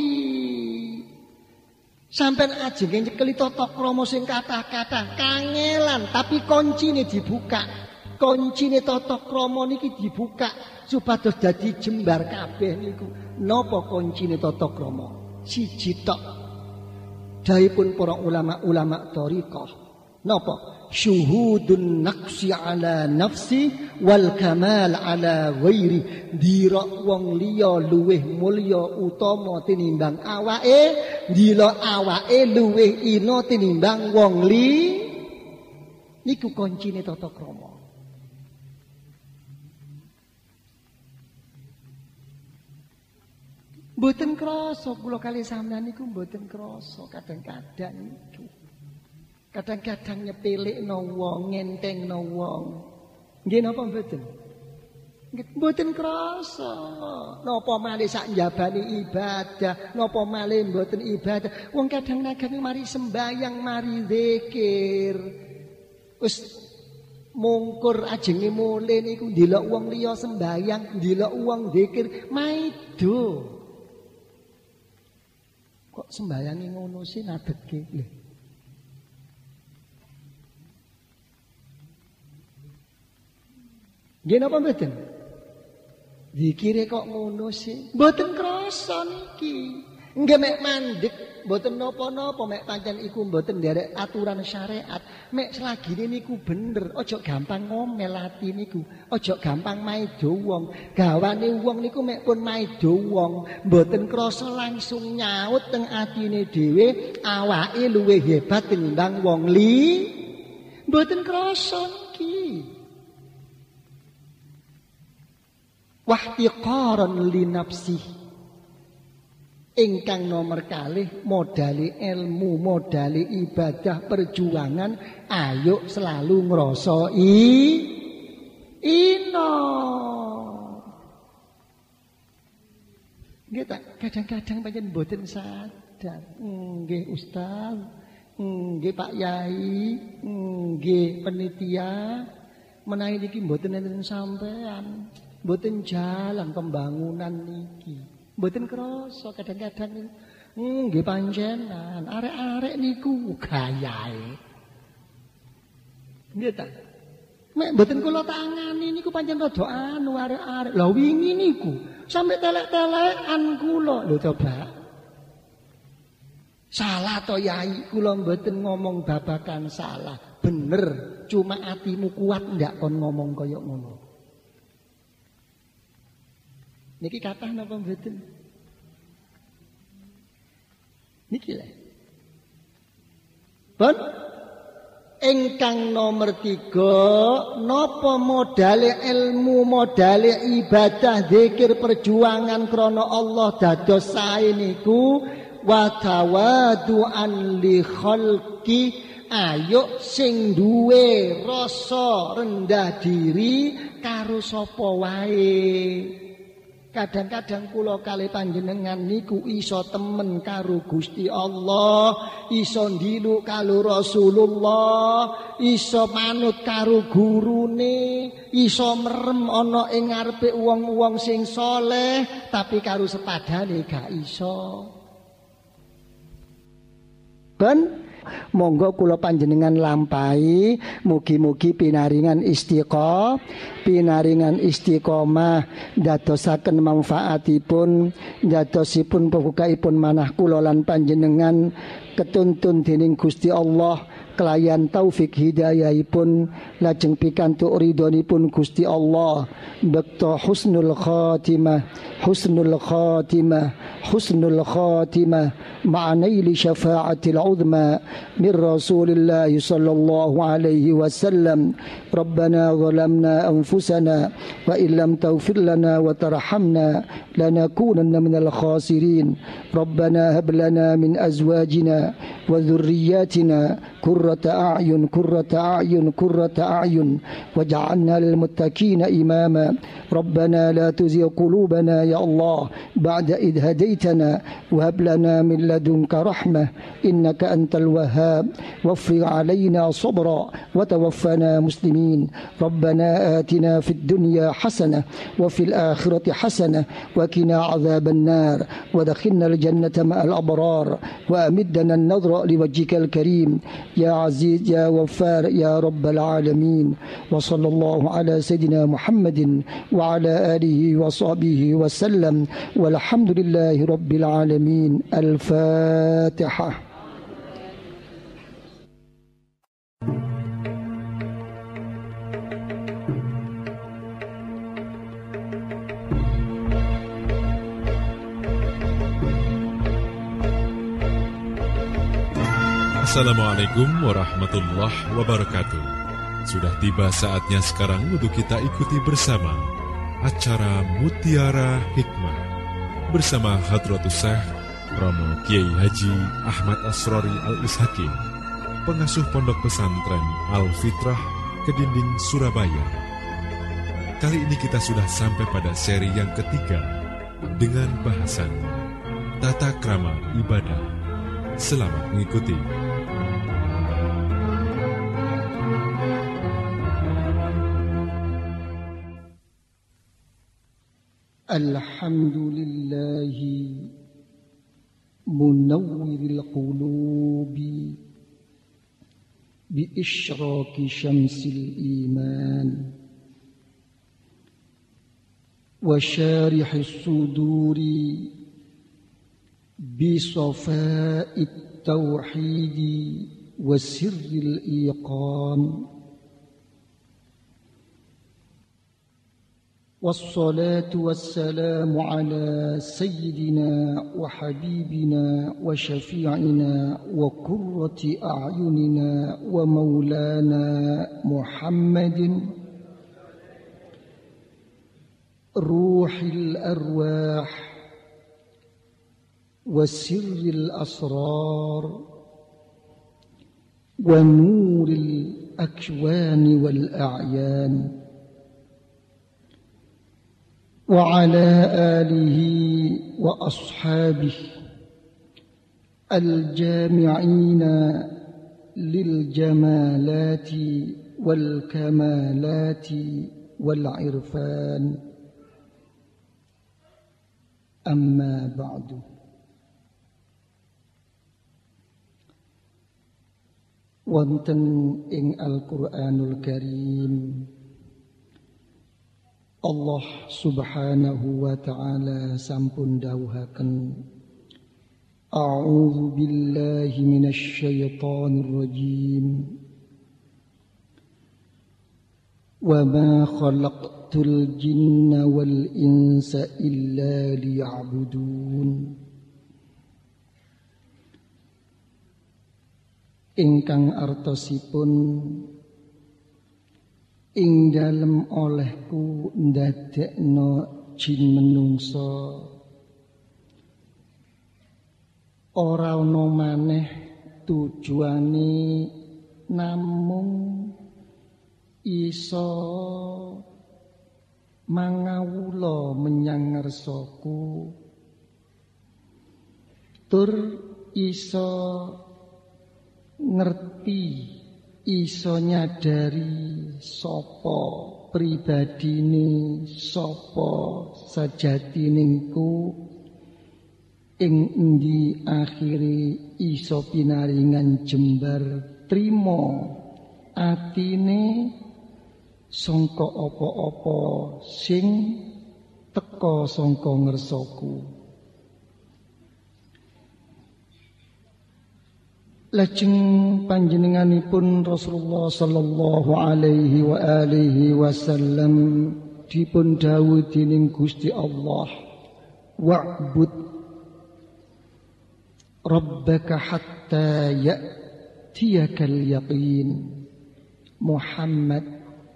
Sampeyan ajenge nyekeli tata krama sing kathah-kathah kangelan, tapi kuncine dibuka. Kuncine tata krama niki dibuka supados dadi jembar kabeh niku. Napa kuncine tata krama? Siji tok. Dawuhipun para ulama-ulama thariqah. Napa? Syuhudun naqsi ala nafsi wal kamal ala ghairi. Dira wong liya luwih mulya utama tinimbang awake, dira awake luwih ina tinimbang wong li. Niku kuncine tata krama. Mboten krasa kula kali sampeyan niku mboten krasa kadang-kadang niku. Kadang-kadang nyepelekno wong, ngentengno wong. Nggih napa mboten? Nggih mboten krasa. Napa malih sak njabani ibadah, napa malih mboten ibadah. Wong kadang-kadang mari sembayang, mari zikir. Wis mungkur ajenge mulih niku ndelok wong liya sembayang, ndelok wong zikir, maido. Kok sembayange ngono sih nadeke lho. Nggih napa mboten? Dikire kok ngono sih? Mboten krasa niki. Nggih mek mandeg mboten napa-napa, mek pancen iku mboten nderek aturan syariat. Mek selagine niku bener, aja gampang ngomel ati niku. Aja gampang maido wong. Gawane wong niku mek pun maido wong, mboten krasa langsung nyaut teng atine dhewe, awake luwih hebat tinimbang wong li. Mboten krasa niki. Wahtiqaran li nafsi. Ingkang nomor kalih modali ilmu, modali ibadah perjuangan, ayo selalu ngrasa ino. Nggih tak kadang-kadang pancen mboten sadar. Nggih Ustaz, nggih Pak Yai, nggih panitia, menawi niki mboten enten sampean. Mboten jalan pembangunan niki. Mboten krasa kadang-kadang nggih panjenengan arek-arek niku gayahe. Nggih ta? Nek mboten kula tangani niku pancen rada anu arek-arek. Lah wingi niku sampe telek-telekan kula. Lho coba. Salah to Yai, kula mboten ngomong babakan salah. Bener, cuma atimu kuat ndak kon ngomong kaya ngono. Niki kathah napa mboten? Niki lho. Pun ingkang nomor 3, napa modale ilmu, modale ibadah, zikir, perjuangan krana Allah dados sae niku wa tawadu'an li khalqi. Ayo sing duwe rasa rendah diri karo sapa wae. Kadang-kadang kula kali panjenengan niku iso temen karo Gusti Allah, iso ndiluk karo Rasulullah, iso manut karo gurune, iso merem ana ing ngarepe wong-wong sing saleh, tapi karo sepadane gak iso. Ben monggo kula panjenengan lampahi, mugi-mugi pinaringan istiqomah dadosaken manfaatipun, dadosipun pembukaipun manah kula lan panjenengan ketuntun dening Gusti Allah kelayan taufik hidayahipun lajeng pikantuk ridhonipun Gusti Allah bekto husnul khatimah ma'anaili syafa'atil uzma min Rasulillah sallallahu alaihi wasallam. Rabbana zalamna anfusana wa illam taghfir lana wa tarhamna lanakunanna minal khasirin. Rabbana hab lana min azwajina wa dhurriyyatina qurrata a'yun waj'alna lil muttaqina imama. Rabbana la tuzigh qulubana ya Allah ba'da idh hadaitana wa hab lana min ladunka rahmah innaka antal wahhab waffir 'alaina sabra wa tawaffana muslimin. Rabbana atina fid dunya hasanah wa fil akhirati hasanah wa qina 'adzaban nar wa adkhilna al jannata ma'al abrar wa amiddana an-nadhra liwajhikal karim ya aziz ya ghaffar ya rabbal alamin. Wa sallallahu ala sayidina Muhammadin wa ala alihi wa sahbihi wa sallam walhamdulillahi rabbil alamin. Al-Fatihah. Assalamualaikum warahmatullahi wabarakatuh. Sudah tiba saatnya sekarang untuk kita ikuti bersama acara Mutiara Hikmah bersama Hadratus Syekh Romo Kiai Haji Ahmad Asrori Al-Ishaqi, pengasuh Pondok Pesantren Al-Fitrah Kedinding Surabaya. Kali ini kita sudah sampai pada seri yang ketiga dengan bahasan Tata Krama Ibadah. Selamat mengikuti. Alhamdulillahi munawwiril qulubi bi isyraqi syamsil iman wa syarihis suduri bi safa'it tauhidi wa sirril iqan. والصلاة والسلام على سيدنا وحبيبنا وشفيعنا وقرة أعيننا ومولانا محمد روح الأرواح وسر الأسرار ونور الأكوان والأعيان وعلى آله وأصحابه الجامعين للجمالات والكمالات والعرفان. أما بعد. Wonten ing Al-Qur'anul Karim Allah subhanahu wa ta'ala sampun dawuhaken A'udzu billahi minasy syaithanir rajim Wa ma khalaqtul jinna wal insa illa liya'budun. Ingkang artosipun ing dalem olehku ndadekno jin menungso ora ana maneh tujuane namung iso mangawula menyang ngarsaku tur iso ngerti iso nyadari sapa pribadine sapa sajatiningku ing endi akhire iso pinaringan jembar trima atine sangka apa-apa sing teka sangka ngersaku. Lajeng panjenenganipun Rasulullah sallallahu alaihi wa alihi wasallam dipun dawuh dening Gusti Allah, wa'bud rabbaka hatta ya'tiyakal yaqin. Muhammad,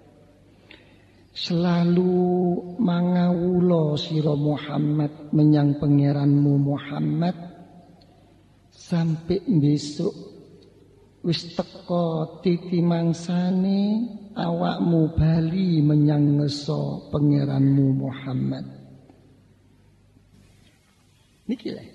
selalu mangawula sira Muhammad menyang pangeranmu Muhammad sampai besok wis teka titi mangsane awakmu bali menyang ngeso pangeranmu Muhammad. Niki lho.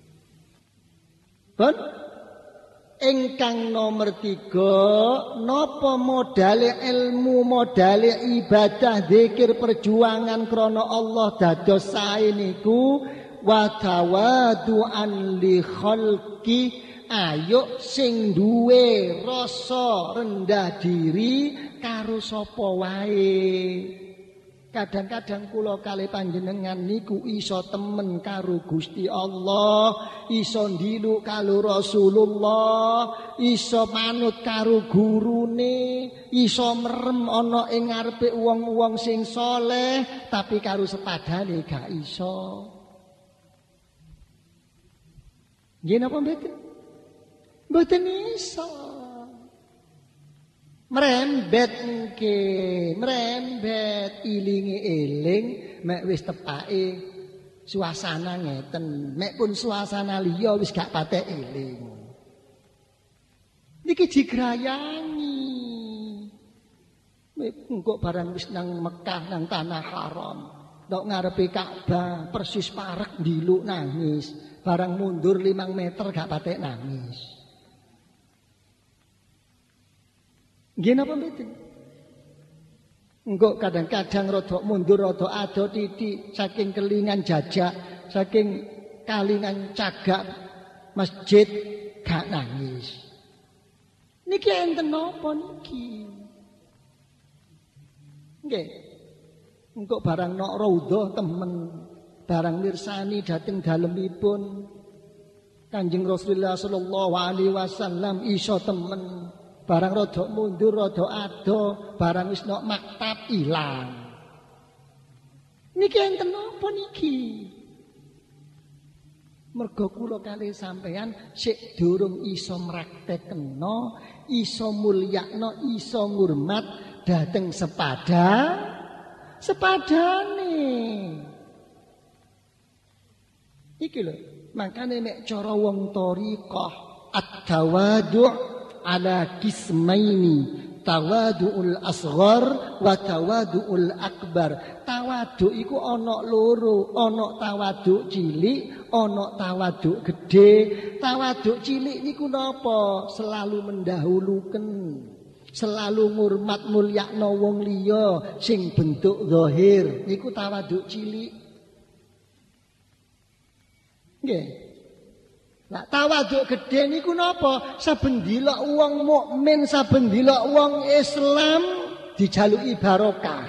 Pun ingkang nomor 3, napa modale ilmu, modale ibadah, zikir, perjuangan krana Allah dados sae niku wa tawadu'an li khalqi, ayo sing duwe rasa rendah diri karo sapa wae. Kadang-kadang kula kali panjenengan niku iso temen karo Gusti Allah, iso ndiluk karo Rasulullah, iso manut karo gurune, iso merem ana ing ngarepe wong-wong sing saleh, tapi karo sepadane gak iso. Nggih napa mboten? Mboten iso. Merembet nggih, merembet ilingi eling mek wis tepake suasana ngeten, mek pun suasana liya wis gak patek eling. Niki digrayangi. Mek engko barang wis nang Mekah nang tanah haram, tok ngarepe Ka'bah persis parek ndiluk nangis, barang mundur 5 meter gak patek nangis. Nggih napa mboten? Engko kadang-kadang rada mundur rada ado titik saking kelingan jajak, saking kalingan cagak masjid gak nangis. Niki enten napa niki? Nggih. Engko barang nok raudhah temen, barang mirsani dhateng dalemipun Kanjeng Rasulullah sallallahu alaihi wasallam iso temen. Barang rada mundur rada ado, barang wis nok maktab ilang. Niki enten napa niki? Mergo kula kalih sampeyan sik durung iso mraktekno, iso mulyakno, iso ngurmat dhateng sepadane. Iki lho, makane nek cara wong thariqah at-tawadu' ala kismaini, tawadu'ul asghar wa tawadu'ul akbar. Tawaduk iku ana loro, ana tawaduk cilik, ana tawaduk gedhe. Tawaduk cilik niku napa? Selalu mendahuluken, selalu ngurmat mulyakno wong liya sing bentuk zahir, niku tawaduk cilik. Nggih. Nah, tawaduk gedhe niku napa? Saben dilok wong mukmin, saben dilok wong Islam dijaluki barokah.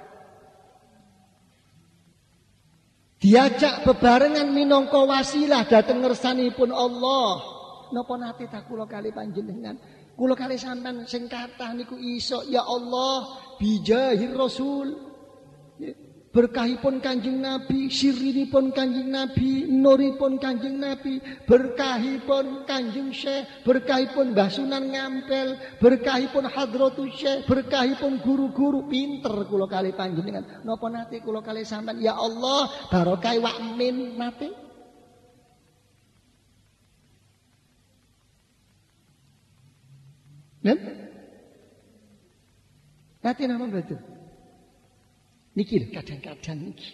Diajak bebarengan minangka wasilah dhateng ngersanipun Allah. Napa nate tak kula kali panjenengan? Kula kali sampean sing kathah niku iso ya Allah bijahir Rasul. Berkahipun Kanjeng Nabi, sirrinipun Kanjeng Nabi, nuripun Kanjeng Nabi, berkahipun Kanjeng Syekh, berkahipun Mbah Sunan Ngampel, berkahipun Hadratus Syekh, berkahipun guru-guru pinter kula kali panjenengan. Napa nate kula kali sampean ya Allah barokah wakmin nate? Nate napa betul? Niki lho kadang-kadang niki.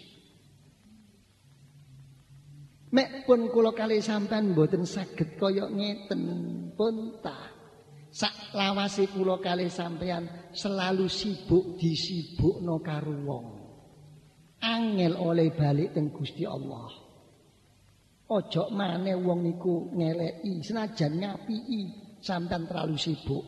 Mek pun kula kalih sampean mboten saged kaya ngeten pun ta. Sak lawase kula kalih sampean selalu sibuk disibukno karo wong. Angel oleh balik teng Gusti Allah. Ojo maneh wong niku ngeleki senajan ngapiki sampean terlalu sibuk.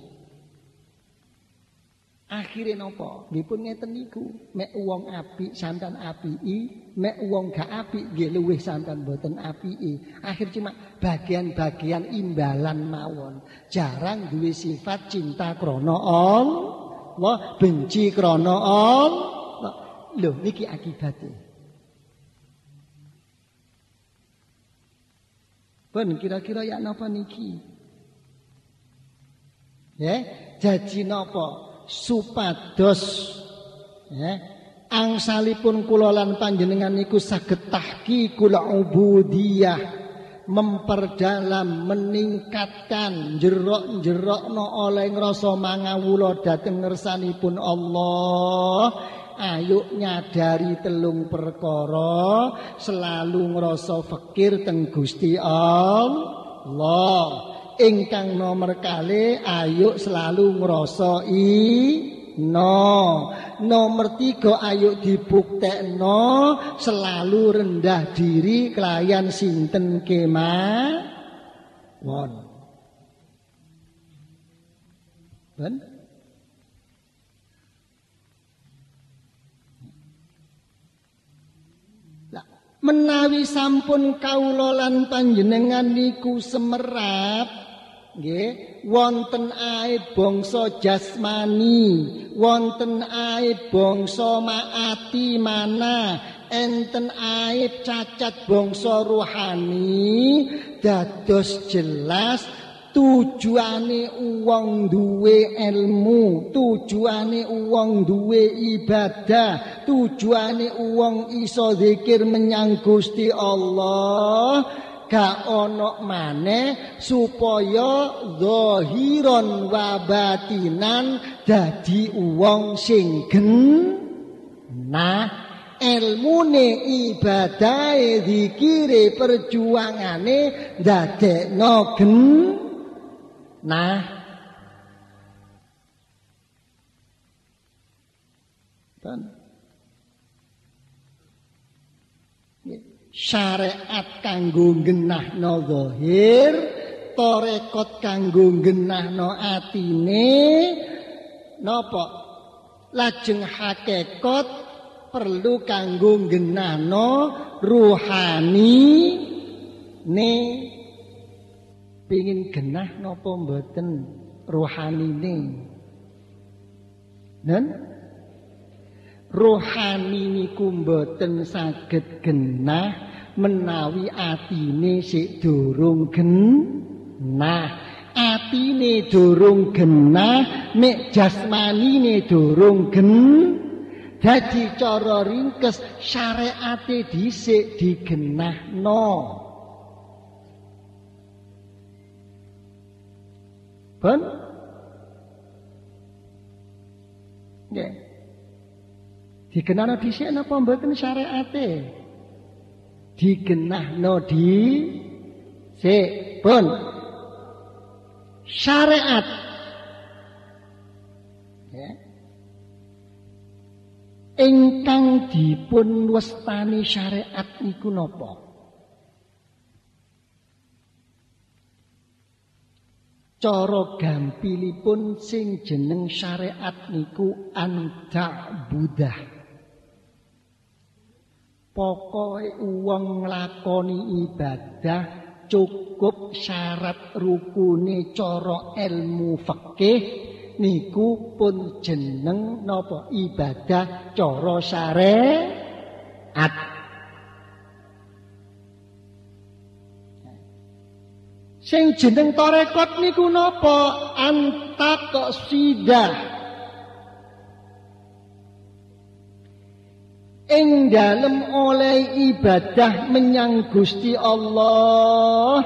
Akhirnya napa? Nggih pun ngeten niku, mek wong apik sampean apiki, mek wong gak apik nggih luwih sampean mboten apiki. Akhir cuma bagian-bagian imbalan mawon. Jarang duwe sifat cinta krana Allah, benci krana Allah. Lho niki akibate. Pun kira-kira ya napa niki? Ya, jadi napa? Supados angsalipun kula lan panjenengan niku saged tahqiqul ubudiyah, memperdalam, meningkatkan, jerok-jerokno oleh ngrasa mangawula dhateng ngersanipun Allah. Ayo nyadari telung perkara, selalu ngrasa fakir teng Gusti Allah. Ingkang nomor kali, ayo selalu ngrasa nomor 3, ayo dibuktekno selalu rendah diri kelayan sinten kemawon. Ben? Menawi sampun kawula lan panjenengan niku semerap nggih wonten aib bangsa jasmani, wonten aib bangsa maati mana, enten aib cacat bangsa rohani, dados jelas tujuane wong duwe ilmu, tujuane wong duwe ibadah, tujuane wong iso zikir menyang Gusti Allah gak ono maneh supaya zahiron wa batinan dadi wong sing genah, ilmune ibadahe zikire perjuangane ndadekno genah. Syariat kanggo genahno zahir, tarekat kanggo genahno atine, napa? Lajeng hakikat perlu kanggo genahno ruhani ne. Pengin genah napa mboten ruhanine? Nen rohani niku mboten saged genah menawi atine sik durung genah. Atine durung genah, mek jasmanine durung dadi cara ringkes syariate dhisik digenahno. Pun nggih. Digenahno dhisik napa mboten syariate? Digenahno dhisik. Pun syariat ya. Ingkang dipun wastani syariat niku napa? Cara gampilipun sing jeneng syariat niku anta'budah. Pokoke wong nglakoni ibadah cukup syarat rukune cara ilmu fikih niku pun jeneng napa ibadah cara syariat. Sing jeneng tarekat niku napa? Antaqsidah. Ing dalem oleh ibadah menyang Gusti Allah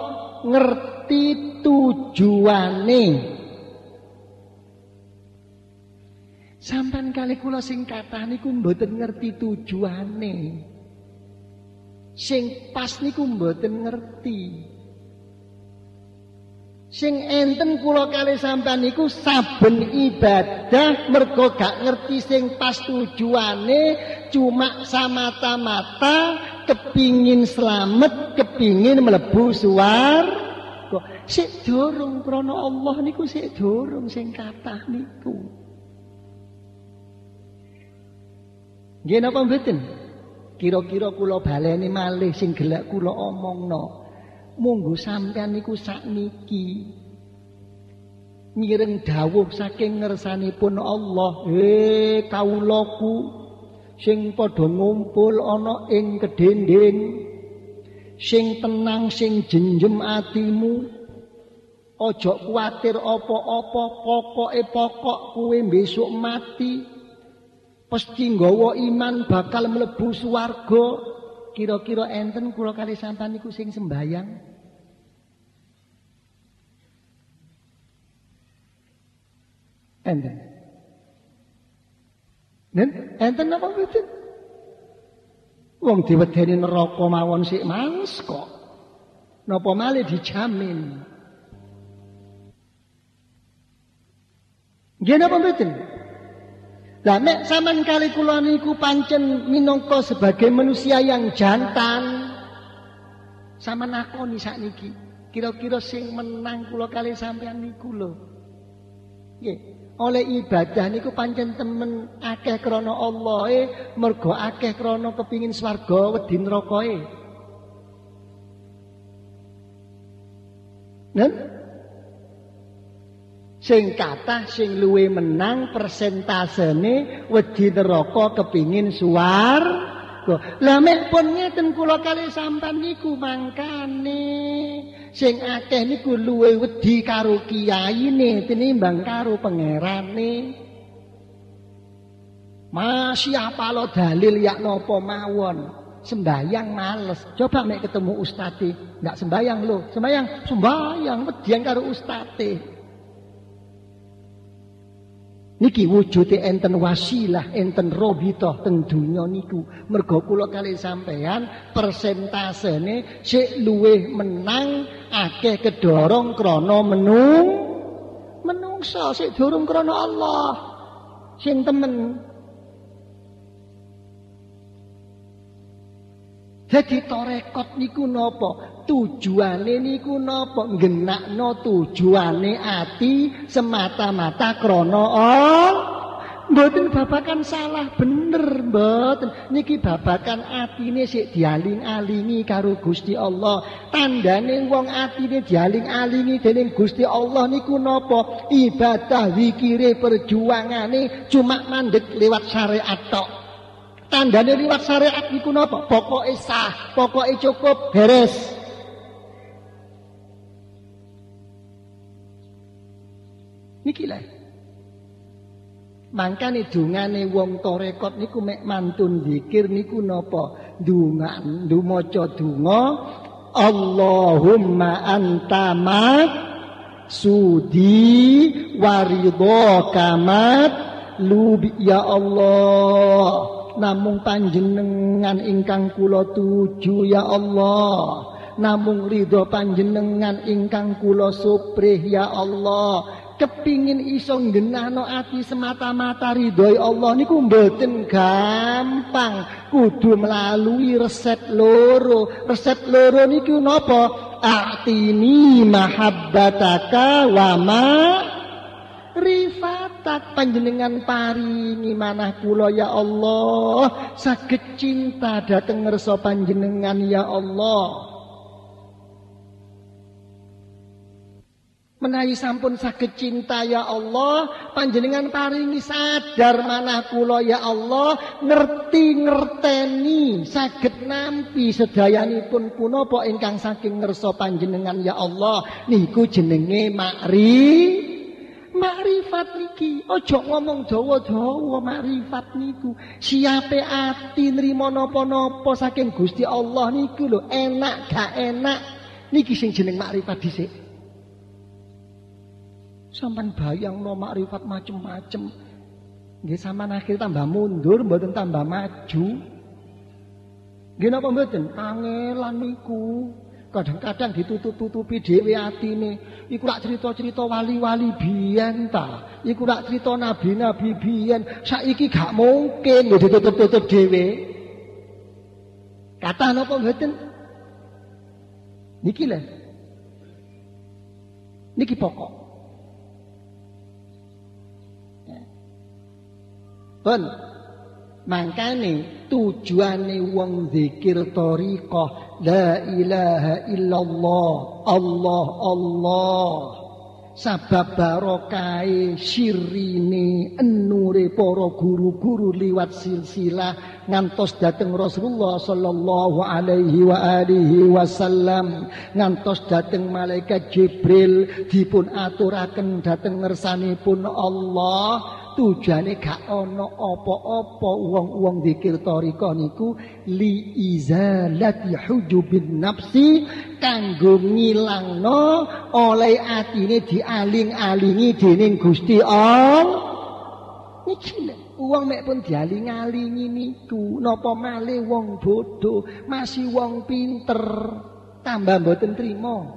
ngerti tujuane. Sampeyan kali kula sing kathah niku mboten ngerti tujuane. Sing pas niku mboten ngerti. Sing enten kula kali sampeyan niku saben ibadah mergo gak ngerti sing pas tujuane, cuma samata-mata kepingin slamet, kepingin mlebu swarga. Sik durung krana Allah niku sik durung sing kathah niku. Nggih napa mboten? Kira-kira kula baleni malih sing gelek kula omongno. Monggo sampeyan niku sakniki mireng dawuh saking ngersanipun Allah, kawulaku sing padha ngumpul ana ing kedending, sing tenang sing jenjem atimu, aja kuwatir apa-apa, pokok kowe besok mati pasti nggawa iman bakal mlebu swarga. Kira-kira enten kula kali sampeyan niku sing sembayang? Enten. Enten apa mboten? Wong diwedeni neraka mawon sik males kok. Napa malih dijamin? Nggih napa mboten? Lah nek sampean kali kula niku pancen minangka sebagai manusia yang jantan, sampean nakoni sakniki, kira-kira sing menang kula kali sampean niku lho. Nggih, oleh ibadah niku pancen temen akeh krana Allah, mergo akeh krana kepingin swarga wedi nerakae. Nen? Sing kathah sing luwe menang persentasene wedi neraka kepingin swarga. Lah mek pun ngeten kula kali sampean niku mangkane sing akeh niku luwe wedi karo kiyaine tinimbang karo pangerane. Masih apalo dalil yak napa mawon. Sembayang males. Coba mek ketemu ustate, ndak sembayang lho. Sembayang wedian karo ustate. Niki wujude enten wasilah, enten robitoh teng donya niku. Mergo kula kali sampean persentasene sik luwih menang akeh kedorong krana menungsa sik durung krana Allah. Sing temen. Jadi tarekat niku napa? Tujuane niku napa? Nggenakno tujuane ati semata-mata krana Allah. Mboten babakan salah bener mboten. Niki babakan atine sik dialing-alingi karo Gusti Allah. Tandane wong atine dialing-alingi dening Gusti Allah niku napa? Ibadah, zikire, perjuangane cuma mandeg lewat syariat tok. Tandane liwat syariat niku napa? Pokoke sah, pokoke cukup, beres. Niki lho. Mangkane dungane wong tarekat niku mek mantun zikir niku napa? Dungan, maca donga Allahumma anta mat sudi waridho kamat lubi ya Allah. Namung panjenengan ingkang kula tuju ya Allah. Namung ridho panjenengan ingkang kula suprih ya Allah. Kepingin iso nggenahno ati semata-mata ridhoi Allah niku mboten gampang. Kudu melalui resep loro. Resep loro niku napa? A'tini mahabbataka wa ma rifatak, panjenengan paringi manah kula ya Allah saged cinta dhateng ngersa panjenengan ya Allah. Menawi sampun saged cinta ya Allah, panjenengan paringi sadar manah kula ya Allah, ngerteni saged nampi sedayanipun punapa ingkang saking ngersa panjenengan ya Allah. Niku jenenge makrifat niki. Ojo ngomong dawa-dawa makrifat niku. Siape ati nrimo napa-napa saking Gusti Allah niku lho, enak gak enak. Niki sing jeneng makrifat dhisik. Sampeyan bayangno makrifat macem-macem. Nggih sampean akhir tambah mundur mboten tambah maju. Nggih napa mboten? Kangelan niku. Kadang-kadang ditutup-tutupi dhewe atine. Iku lak cerita-cerita wali-wali biyen ta. Iku lak cerita nabi-nabi biyen. Saiki gak mungkin lho ditutup-tutup dhewe. Kata napa mboten? Niki lho. Niki pokok. Pun mangkane tujuane wong zikir thariqah la ilaha illallah Allah Allah sabab barokai sirine enure para guru-guru liwat silsilah ngantos dateng Rasulullah sallallahu alaihi wa alihi wasallam ngantos dateng malaikat Jibril dipun aturaken dateng ngersanipun Allah. Tujuane gak ana apa-apa wong-wong zikir thariqah niku li izalati hujubin nafsi kanggo ngilangno oleh atine dialing-alingi dening Gusti Allah. Iki lho wong mek pun dialing-alingi niku napa malih wong bodoh masih wong pinter tambah mboten trima.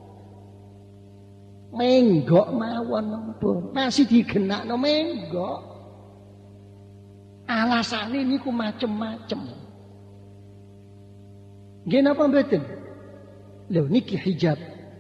Menggok mawon pun masih digenakno menggok. Alasane niku macem-macem. Nggih napa mboten? Lho niki hijab.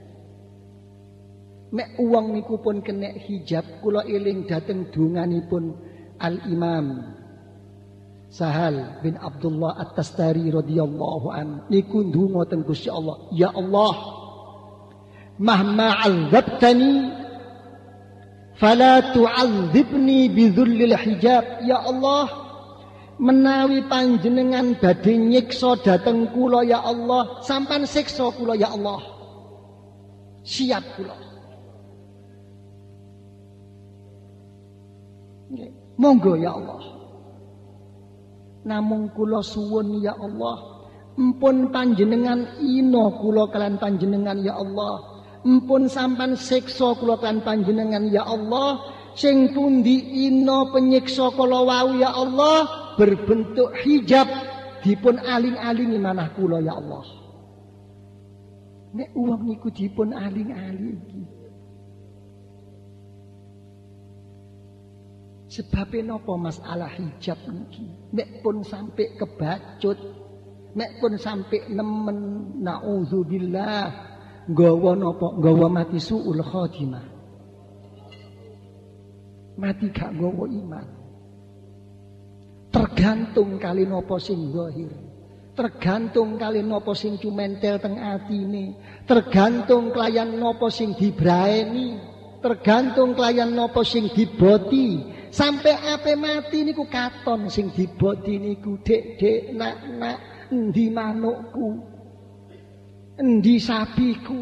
Mek wong niku pun kena hijab kula eling dhateng donganipun Al-Imam Sahal bin Abdullah At-Tastari radhiyallahu an niku ndonga teng Gusti Allah, ya Allah mahma 'adzabtani fala tu'adzibni bidzullil hijab. Ya Allah, menawi panjenengan badhe nyiksa dhateng kula ya Allah, sampean siksa kula ya Allah. Siap kula. Nggih, monggo ya Allah. Namung kula suwun ya Allah, empun panjenengan ina kula kalian panjenengan ya Allah. Empun sampan siksa kula kan panjenengan ya Allah, sing pundi ina penyiksa kula wau ya Allah berbentuk hijab dipun aling-alingi manah kula ya Allah. Nek wong niku dipun aling-alingi. Sebabe napa masalah hijab niki? Nek pun sampai kebacut, nek pun sampai nemen naudzubillah. Nggawa napa? Nggawa mati suul khotimah. Mati gak nggawa iman. Tergantung kali napa sing zahir. Tergantung kali napa sing cumentel teng atine. Tergantung kelayan napa sing dibraeni. Tergantung kelayan napa sing diboti. Sampai ape mati niku katon sing diboti niku dek-dek nak-nak endi manukku. Endi sapiku,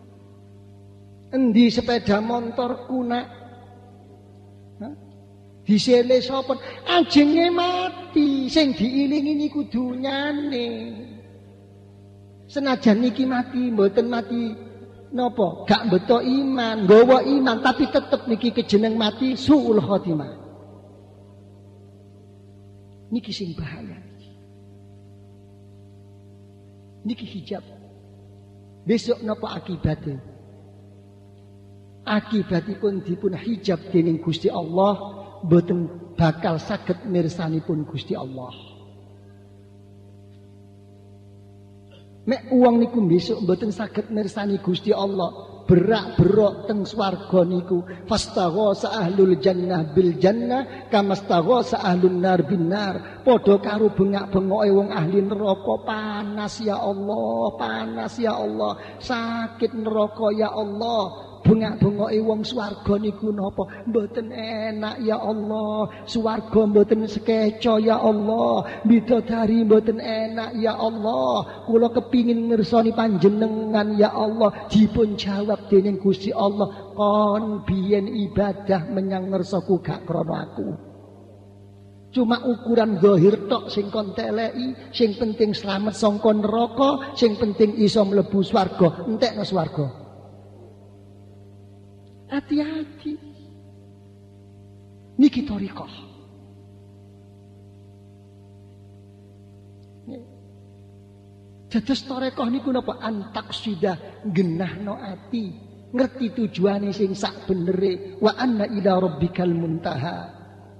endi sepeda motorku nak, disele sapa? Ajenge mati, sing diilingi niku dunyane. Senajan niki mati, mboten mati, napa? Gak beto iman, nggawa iman, tapi tetep niki kejeneng mati suul khotimah. Niki sing bahaya. Niki hijab. Besok napa akibatnya? Akibatipun dipun hijab dening Gusti Allah, mboten bakal saged mirsanipun Gusti Allah. Mek uang niku besok mboten saged mirsani Gusti Allah, berak-berok teng swarga niku. Fastaghasa ahlul jannah bil jannah kamastaghasa ahlun nar bin nar. Padha karo bengak-bengoke wong ahli neraka. Panas ya Allah, panas ya Allah, sakit neraka ya Allah. Bengak-bengoke wong swarga niku napa? Mboten enak ya Allah. Swarga mboten sekeca ya Allah. Bidadari mboten enak ya Allah. Kula kepingin ngersani panjenengan ya Allah. Dipun jawab dening Gusti Allah, kon biyen ibadah menyang ngersaku gak krana aku. Cuma ukuran zahir tok sing kon teleki, sing penting slamet saka neraka, sing penting iso mlebu swarga, entekno swarga. Hati-hati. Niki thariqah. Dados tarekah niku napa antak sudah genahno ati, ngerti tujuane sing sak benere, wa anna ila rabbikal muntaha.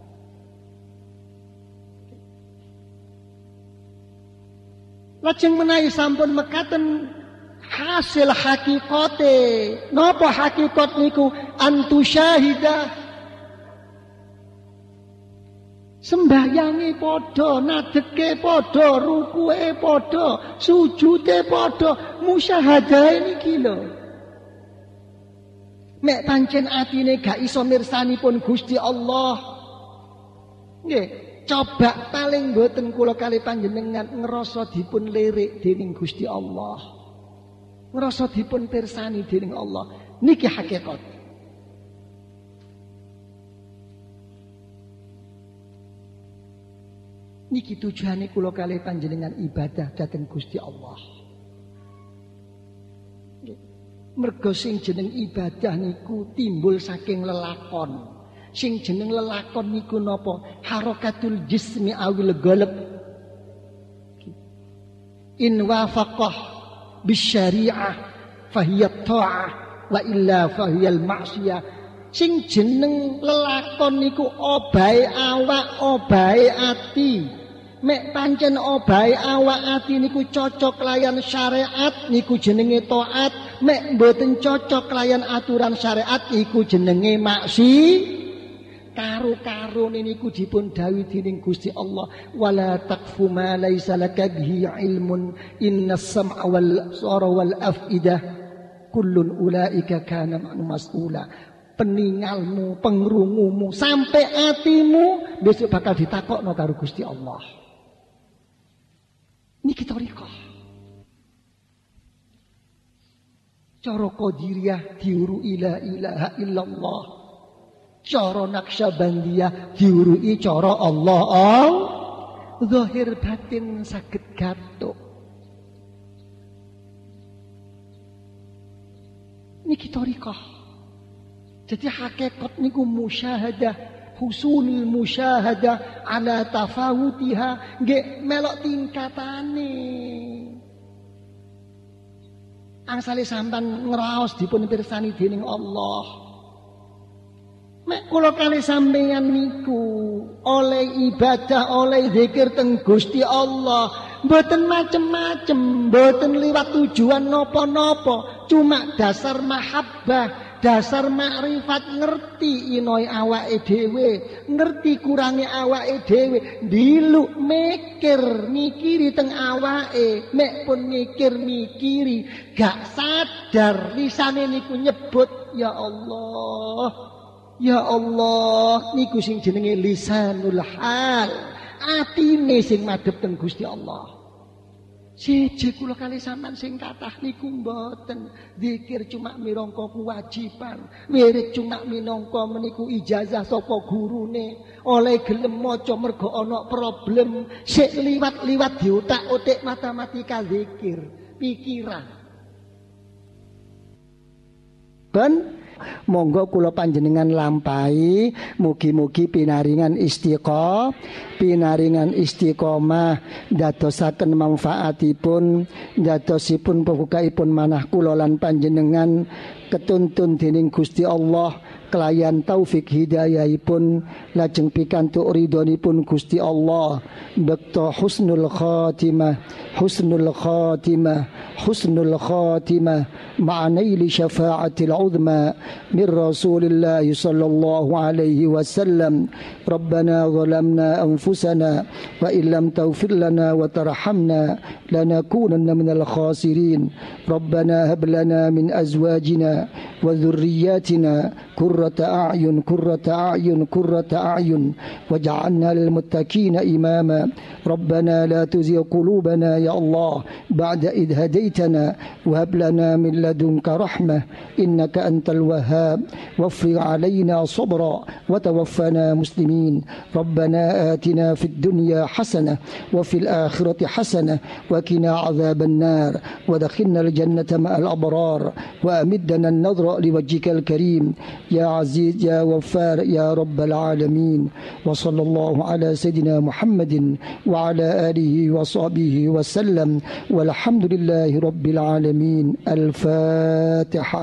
Lajeng menawi sampun mekaten hasil hakikate, napa hakikat niku antu syahidah. Sembahyange padha, nadeke padha, rukuke padha, sujude padha, musyahadahe niki lho. Mek pancen atine gak iso mirsanipun Gusti Allah. Nggih, coba paling mboten kula kali panjenengan ngrasa dipun lirik dening Gusti Allah. Ngrasa dipun pirsani dening Allah. Niki hakikat. Niki tujuane kula kalih panjenengan ibadah dhateng Gusti Allah. Mergo sing jeneng ibadah niku timbul saking lelakon. Sing jeneng lelakon niku napa? Harakatul jismi awil qalb. In wafaqah bisyari'ah fahiyat ta'ah wa illa fahiyal ma'siyah. Sing jeneng lelakon niku obahe awak, obahe ati. Mek pancen obahe awak ati niku cocok layan syariat niku jenenge taat, mek mboten cocok layan aturan syariat niku jenenge maksi. Karo-karone niku dipun dawuhi dening Gusti Allah, wala taqfu ma laisa laka bihi ilmun innas sam'a wal absara wal afidah kullun ulaika kana mas'ula. Peningalmu, pengrungumu, sampai atimu besok bakal ditakokno karo Gusti Allah. Niki thariqah. Cara Qadiriyah diuruki la ilaha illallah. Cara Naqsyabandiyah diuruki cara Allah. Zahir batin saged gathuk. Niki thariqah. Jadi hakikat niku musyahadah, husulul musyahadah ala tafawutiha, nggih melok tingkatane. Angsale sampean ngraos dipun pirsani dening Allah. Mek kula kali sampeyan niku oleh ibadah, oleh zikir teng Gusti Allah, mboten macem-macem, mboten liwat tujuan napa-napa, cuma dasar mahabbah. Dasar makrifat, ngerti inoi awake dhewe, ngerti kurangi awake dhewe, diluk mikiri teng awake, mek pun mikiri, gak sadar lisane niku nyebut ya Allah. Ya Allah, niku sing jenenge lisanul hal. Atine sing madhep teng Gusti Allah. Siji kula kali sampean sing kathah niku mboten zikir cuma minangka kewajiban, wirid cuma minangka meniku ijazah saka gurune, oleh gelem maca mergo ana problem, sik liwat-liwat diutak-utik matematika zikir, pikiran. Ben monggo kula panjenengan lampahi, mugi-mugi pinaringan istiqomah dadosaken manfaatipun, dadosipun pembukaipun manah kula lan panjenengan ketuntun dening Gusti Allah kelayan taufik hidayahipun, lajeng pikantuk ridhonipun Gusti Allah, bekto husnul khatimah ma'anaili syafa'atil uzma min Rasulillah sallallahu alaihi wasallam. Rabbana zalamna anfusana wa illam taghfir lana wa tarhamna lanakunanna minal khasirin. Rabbana hab lana min azwajina wa dhurriyyatina qurrata a'yun waj'alna lil muttaqina imama. Rabbana la tuzigh qulubana ya Allah ba'da idh hadaitana wa hab lana min ladunka rahmah innaka antal wahhab wafrig 'alaina sabra wa tawaffana muslimin. Rabbana atina fid dunya hasanah wa fil akhirati hasanah wa qina 'adzaban nar wa adkhilna al jannata ma'al abrar wa amiddana an-nadhra liwajhikal karim ya aziz ya ghaffar ya rabbal alamin. Wa sallallahu ala sayidina Muhammadin وعلى آله وصحبه وسلم والحمد لله رب العالمين. الفاتحة.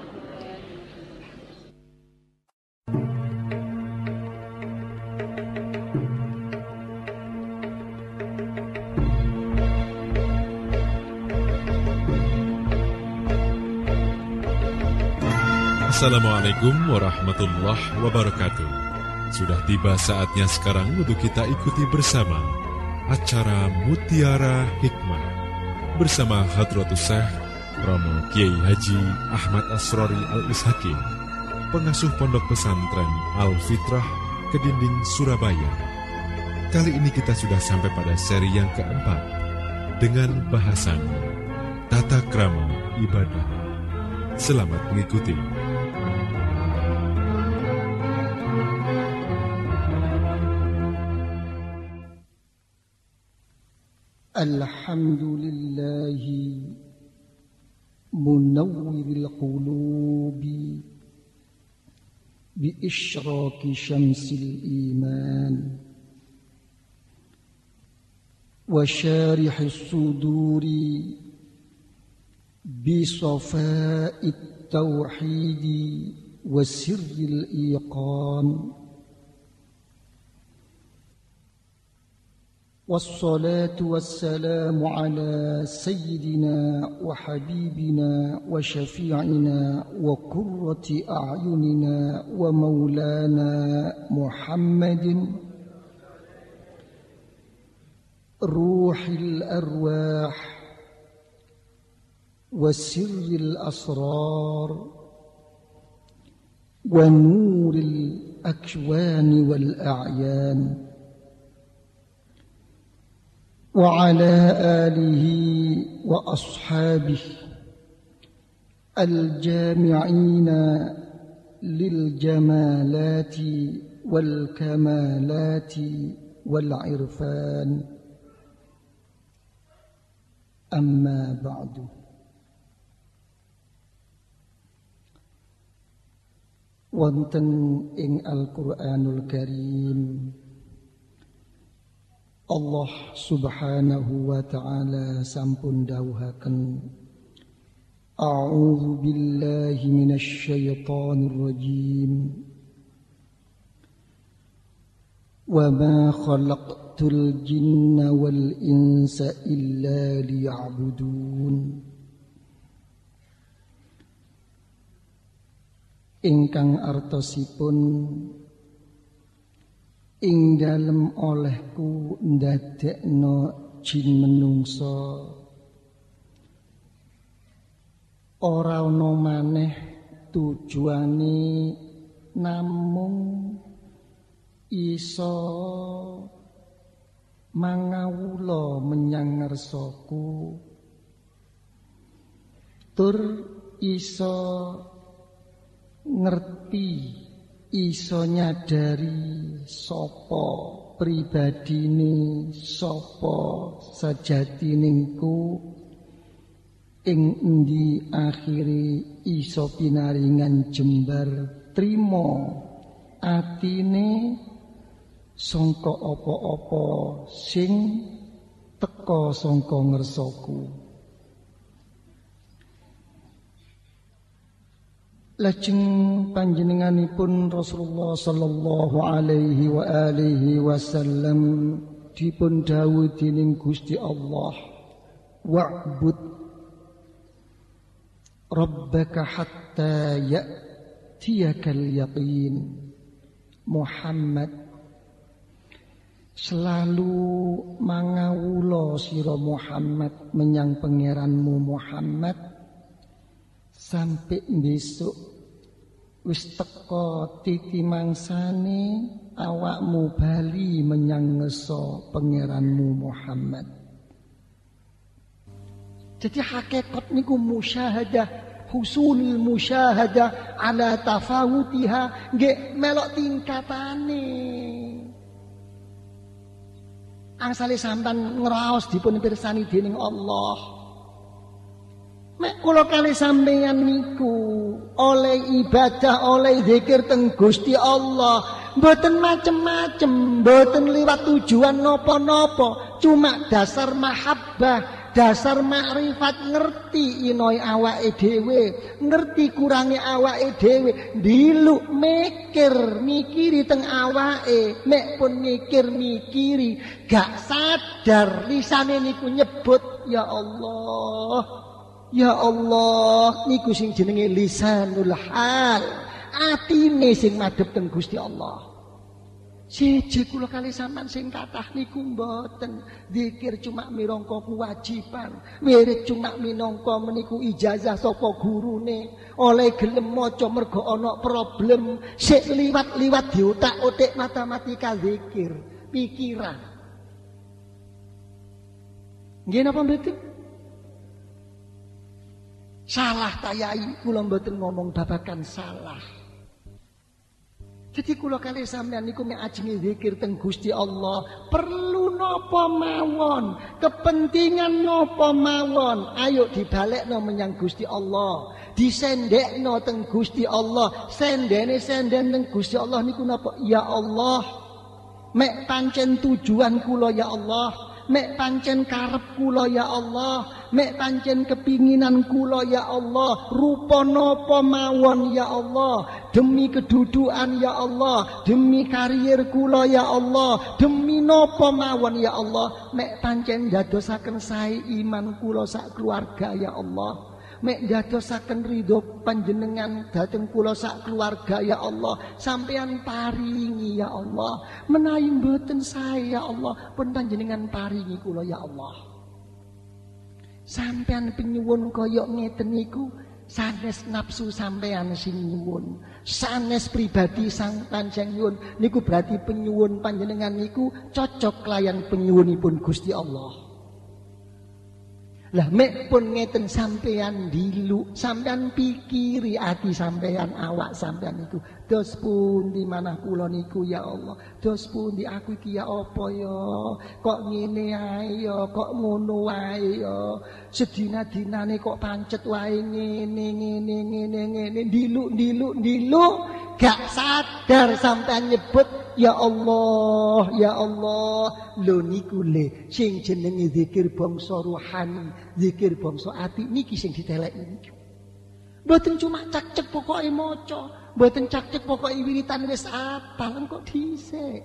Assalamualaikum warahmatullahi wabarakatuh. Sudah tiba saatnya sekarang untuk kita ikuti bersama acara Mutiara Hikmah bersama Hadratus Syekh Romo Kiai Haji Ahmad Asrori Al-Ishaqi, pengasuh Pondok Pesantren Al-Fitrah Kedinding Surabaya. Kali ini kita sudah sampai pada seri yang keempat dengan bahasan Tata Krama Ibadah. Selamat mengikuti. Alhamdulillahi munawwiril qulubi bi isyraqi syamsil iman wa syarihis suduri bi safa'it tauhidi wa sirril iqan. والصلاة والسلام على سيدنا وحبيبنا وشفيعنا وقرة أعيننا ومولانا محمد روح الأرواح وسر الأسرار ونور الأكوان والأعيان وعلى آله وأصحابه الجامعين للجمالات والكمالات والعرفان. أما بعد. Wonten ing Al-Qur'anul Karim Allah subhanahu wa ta'ala sampun dawuhaken, A'udzu billahi minasy syaithanir rajim. Wa ma khalaqtul jinna wal insa illa liya'budun. Ingkang artosipun ing dalem olehku ndadekno jin menungso ora ana maneh tujuane namung iso mangawula menyang ngarsaku tur iso ngerti, iso nyadari sapa pribadine, sapa sajatiningku, ing endi akhire iso pinaringan jembar trima atine sangka apa-apa sing teka sangka ngersaku. Lajeng panjenenganipun Rasulullah sallallahu alaihi wa alihi wasallam dipun dawuh dening Gusti Allah, wa'bud rabbaka hatta ya'tiyakal yaqin. Muhammad, selalu mangawula sira Muhammad menyang pangeranmu Muhammad sampai besok wis teka titi mangsane awakmu bali menyang ngeso pangeranmu Muhammad. Jadi hakikat niku musyahadah, husulul musyahadah ala tafawutiha, nggih melok tingkatane. Angsale sampean ngraos dipun pirsani dening Allah. Mek kula kali sampeyan niku oleh ibadah, oleh zikir teng Gusti Allah, Mboten macem-macem, mboten liwat tujuan napa-napa, cuma dasar mahabbah, dasar makrifat, ngerti inoi awake dhewe, ngerti kurangi awake dhewe, diluk mikiri teng awake, mek pun mikiri, gak sadar lisane niku nyebut ya Allah. Ya Allah, niku sing jenenge lisanul hal. Atine sing madhep teng Gusti Allah. Siji kula kali sampean sing kathah niku mboten zikir cuma minangka kewajiban, wirid cuma minangka meniku ijazah saka gurune, oleh gelem maca mergo ana problem, sik liwat-liwat diutak-utik matematika zikir, pikiran. Nggih napa mboten? Salah tayai, kula mboten ngomong babakan salah. Jadi kula kali sampean niku mek ajenge zikir teng Gusti Allah, perlu napa mawon, kepentingan napa mawon, ayo dibalekno menyang Gusti Allah, disendekno teng Gusti Allah, senden teng Gusti Allah niku napa? Ya Allah, mek pancen tujuan kula ya Allah. Mek pancen karep kula ya Allah, mek pancen kepinginan kula ya Allah, rupa napa mawon ya Allah, demi kedudukan ya Allah, demi karier kula ya Allah, demi napa mawon ya Allah, mek pancen dadosaken sae iman kula sak keluarga ya Allah, mek dadosaken ridho panjenengan dhateng kula sak keluarga ya Allah, sampeyan paringi ya Allah, menawi mboten sae ya Allah, pun panjenengan paringi kula ya Allah. Sampeyan penyuwun kaya ngeten niku sanes nafsu sampeyan sing nyuwun, sanes pribadi sang panjang nyuwun niku berarti penyuwun panjenengan niku cocok layan penyuwunipun Gusti Allah. Lah mek pun ngeten sampeyan diluk, sampeyan pikiri ati sampeyan, awak sampeyan itu dos pundi manah kula niku ya Allah, dos pundi aku iki ya apa ya, kok ngene ae ya, kok ngono wae ya, sedina-dinane kok pancet wae ngene diluk gak sadar sampeyan nyebut ya Allah, ya Allah. Lho niku le sing jenenge zikir bangsa rohani, zikir bangsa ati niki sing diteleki niku. Mboten cuma cak-cek pokoke maca, mboten cak-cek pokoke wiritan wis apal kok dhisik.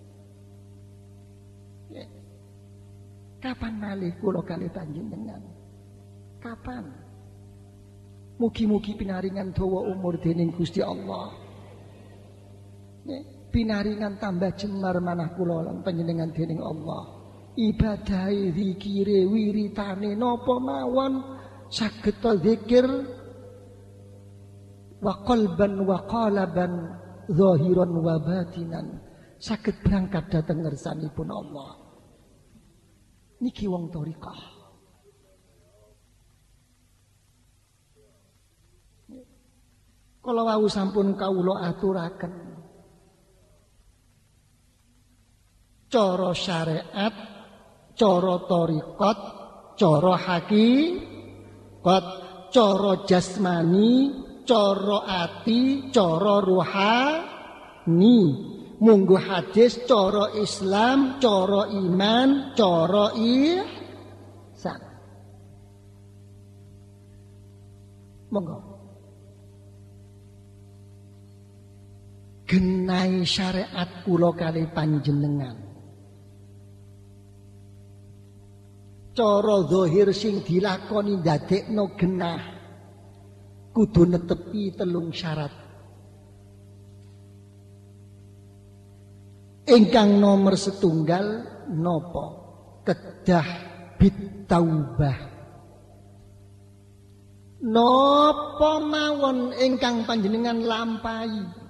Kapan malih kula kalih panjenengan? Kapan? Mugi-mugi pinaringan dawa umur dening Gusti Allah. Pinaringan tambah jembar manah kula lan panjenengan dening Allah. Ibadahe, zikire, wiritane napa mawon saged zikir wa qalban wa qalaban zahiran wa batinan, saged berangkat dhateng ngersanipun Allah. Niki wong thariqah. Kala wau sampun kawula aturaken cara syariat, cara thariqat, cara hakikat, cara jasmani, cara ati, cara ruhani, munggo hadis, cara Islam, cara iman, cara ihsan. Monggo. Genai syariat kula kalih panjenengan. Cara zahir sing dilakoni ndadekno genah kudu netepi 3 syarat. Ingkang nomor 1 napa? Kedah bitaubah. Napa mawon ingkang panjenengan lampahi,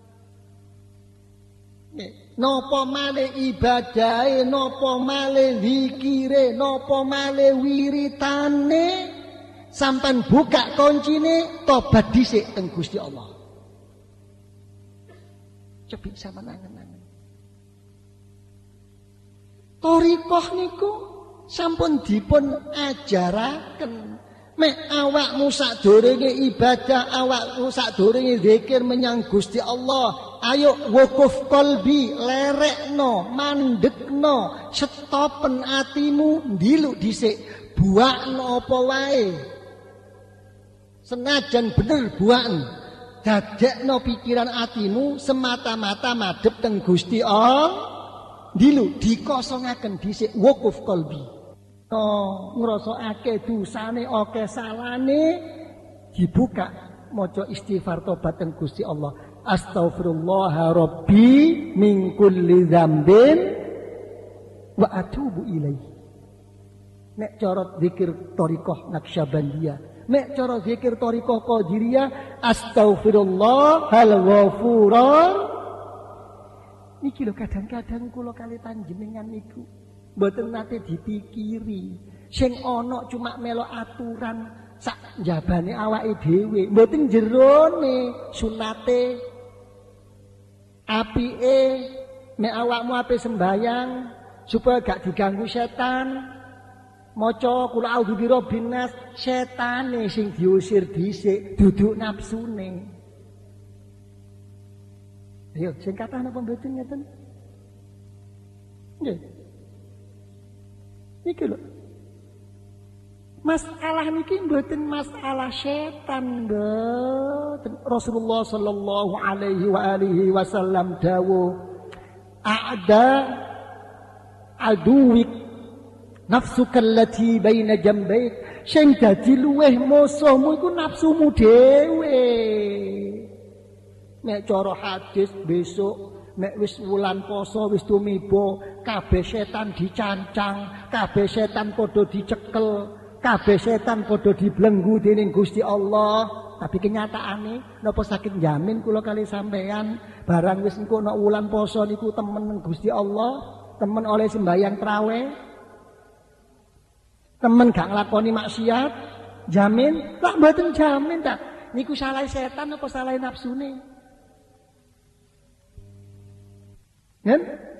napa malih ibadahe, napa malih zikire, napa malih wiritane, sampean buka kuncine tobat dhisik teng Gusti Allah. Cobi sampean angen-angen. Thariqah niku sampun dipun ajaraken. Mek awakmu sadurunge ibadah, awakmu sadurunge zikir menyang Gusti Allah, ayo wukuf qalbi, lerekno, mandekno, stopen atimu, ndiluk dhisik, buakno apa wae. Senajan bener buakno, dadekno pikiran atimu semata-mata madhep teng Gusti Allah. Ndiluk dikosongaken dhisik wukuf qalbi. Ngrasakake dosane akeh salane dibuka maca istighfar tobat teng Gusti Allah. Astaghfirullah rabbi min kulli dzambin wa atubu ilaihi. Nek cara zikir thariqah Naqsyabandiyah, nek cara zikir thariqah Qadiriyah, astaghfirullahal ghafurur. Niki lho kadang-kadang kula kali panjenengan niku mboten nate dipikiri. Sing ana cuma melok aturan sak njabane awake dhewe, mboten jerone sunate. Apike nek awakmu ape sembayang supaya gak diganggu setan. Maca kul a'udzu birabbin nas, setane sing diusir dhisik, duduk nafsune. Ayo, sing kathah napa mboten ngeten? Nggih. Iki lho. Masalah niki mboten masalah setan, mboten. Rasulullah sallallahu alaihi wa alihi wasallam dawuh, "A'da aduwik nafsuka allati baina jambaik." Sing dadi luweh musuhmu iku nafsumu dhewe. Nek cara hadis besok nek wis wulan poso wis tumiba, kabeh setan dicancang, kabeh setan padha dicekel, kabeh setan padha dibelenggu dening Gusti Allah. Tapi kenyataane napa saking jamin kula kali sampean barang wis engko nek wulan poso niku temen Gusti Allah, temen oleh sembahyang traweh, temen gak nglakoni maksiat, jamin? Lah mboten jamin ta. Niku salah setan apa salah nafsune? Kan?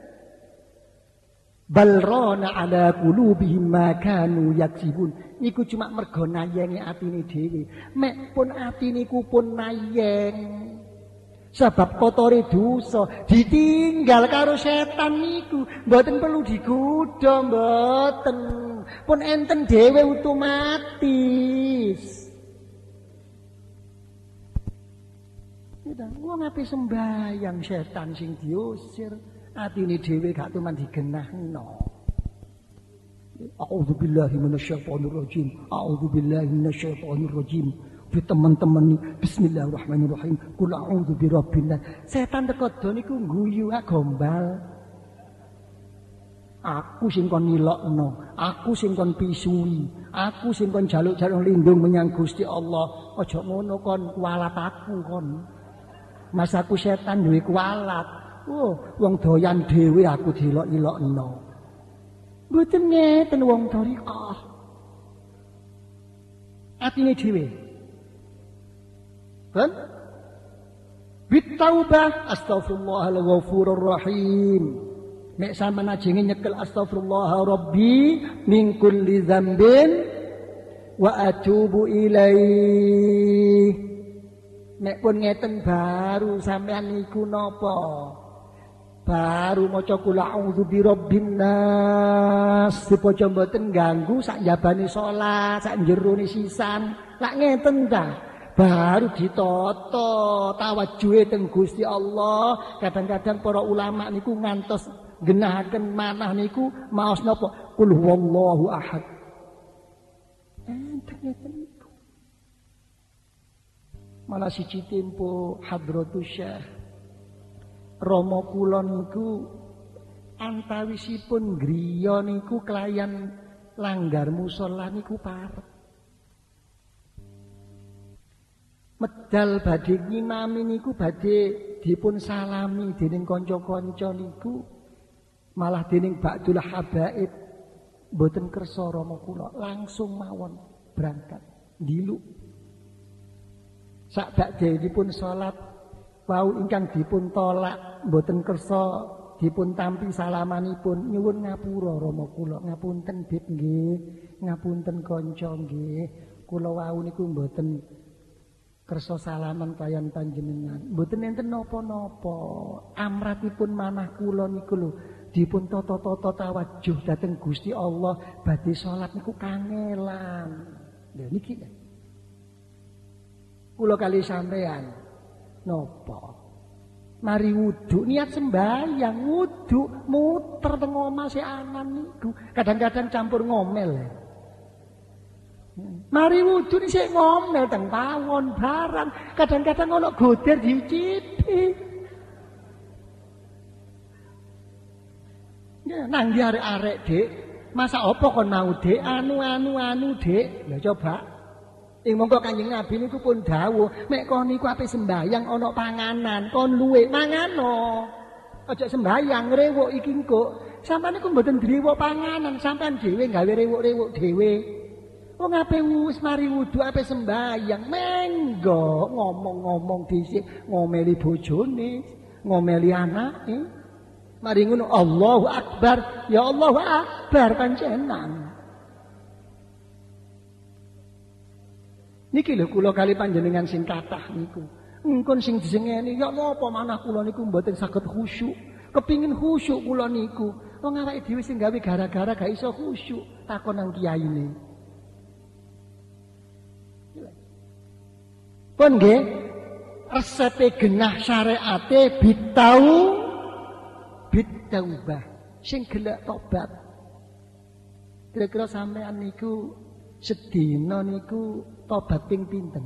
Balrona ala qulubihim ma kanu yaksibun. Iku cuma mergo nayengi atine dhewe. Mek pun atine ku pun nayeng. Sebab kotore dosa ditinggal karo setan niku mboten perlu digodha, mboten. Pun enten dhewe otomatis. Wong ape sembayang setan sing diusir, atine dhewe gak tuman digenahno. A'udzubillahi minasyaitonir rajim. A'udzubillahi minasyaitonir rajim. Teman-teman nih, bismillahirrahmanirrahim. Qul a'udzu birabbin nas. Setan teko do niku guyu gombal. Aku sing kon nilokno, aku sing kon pisui, aku sing kon jaluk-jaluk lindung menyang Gusti Allah. Aja ngono kon kualat aku kon. Mas aku setan duwe kualat. Oh, wong doyan dhewe aku dilok-ilokno. Mboten ngeten wong thariqah. Atine dhewe. Kan? Bitaubah astaghfirullahal ghafurur rahim. Mek sampean ajenge nyekel astaghfirullah rabbi min kulli dzambin wa atubu ilaihi. Nek pun ngeten baru sampean niku napa? Baru maca qul a'udzu birabbin nas. Dipaca mboten ganggu sak njabane salat, sak jerone sisan. Lak ngeten ta? Baru ditata tawajuhe teng Gusti Allah. Kadang-kadang para ulama niku ngantos genahaken manah niku maos napa? Qul huwallahu ahad. Ngeten. Malah siji tempo Hadratus Syekh Rama kula niku antawisipun griya niku kelayan langgar musala niku parek. Medal badhe ngimami niku badhe dipun salami dening kanca-kanca niku malah dening Ba'dul Habaib mboten kersa Rama kula langsung mawon berangkat ndiluk. Sak badhenipun salat wau ingkang dipun tolak mboten kersa dipun tampi salamanipun nyuwun ngapura Rama kula ngapunten Bib nggih ngapunten kanca nggih kula wau niku mboten kersa salaman kaliyan panjenengan. Mboten enten napa-napa. Amratipun manah kula niku lho dipun tata-tata tawajuh dhateng Gusti Allah badhe salat niku kangelan. Lha niki kula kali sampean napa? Mari wudu niat sembahyang, wudu muter teng omah si anan niku. Kadang-kadang campur ngomel. Mari wudu ni sik ngomel teng pawon barang. Kadang-kadang ono goder dicipi. Ya nang di arek-arek, Dik. Masa apa kon mau, Dik? Anu, Dik. Lah coba. Monggo Kanjeng Nabi niku pun dawuh, mek kon niku ape sembahyang ana panganan, kon luwe mangano. Aja sembahyang rewuk iki engko. Sampeyan niku mboten drewuk panganan, sampeyan dhewe gawe rewuk-rewuk dhewe. Wong ape wis mari wudu ape sembahyang, menggo ngomong-ngomong dhisik, ngomeli bojone, ngomeli anake. Mari ngono Allahu Akbar, ya Allahu Akbar panjenengan. Niki lho kula kali panjenengan sing kathah niku. Engkon sing disengeni ya napa manah kula niku mboten saged khusyuk. Kepingin khusyuk kula niku. Wong awake dhewe sing gawe gara-gara gak iso khusyuk, takon nang kiyaine. Pun nggih, resepe genah syariate bitaubah. Sing gelek tobat. Kira-kira sampean niku sedina niku tobat ping pinten?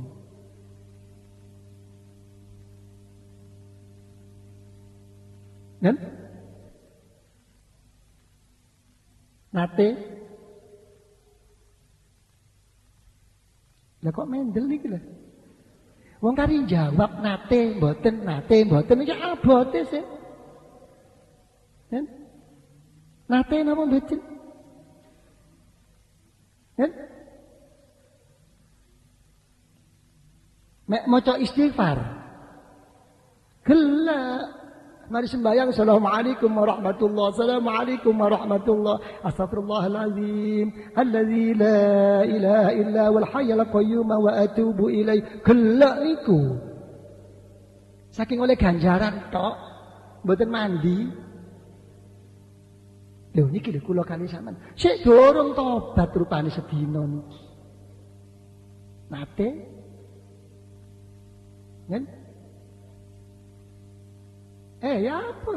Nen? Nate? Lah kok mendel niki lho? Wong kari jawab nate mboten ya abote sih. Nen? Nate napa mboten? Nen? Mek maca istighfar. Gelak. Mari sembahyang. Assalamualaikum warahmatullahi wabarakatuh. Assalamualaikum warahmatullahi wabarakatuh. Astaghfirullahalazim. Alladzi la ilaha illa wal hayyul qayyum wa atubu ilaih. Gelak niku. Saking oleh ganjaran tok, mboten mandi. Lho niki lho kula kali sampean. Sik dorong tobat rupane sedina niki. Nate kan? Ya apa?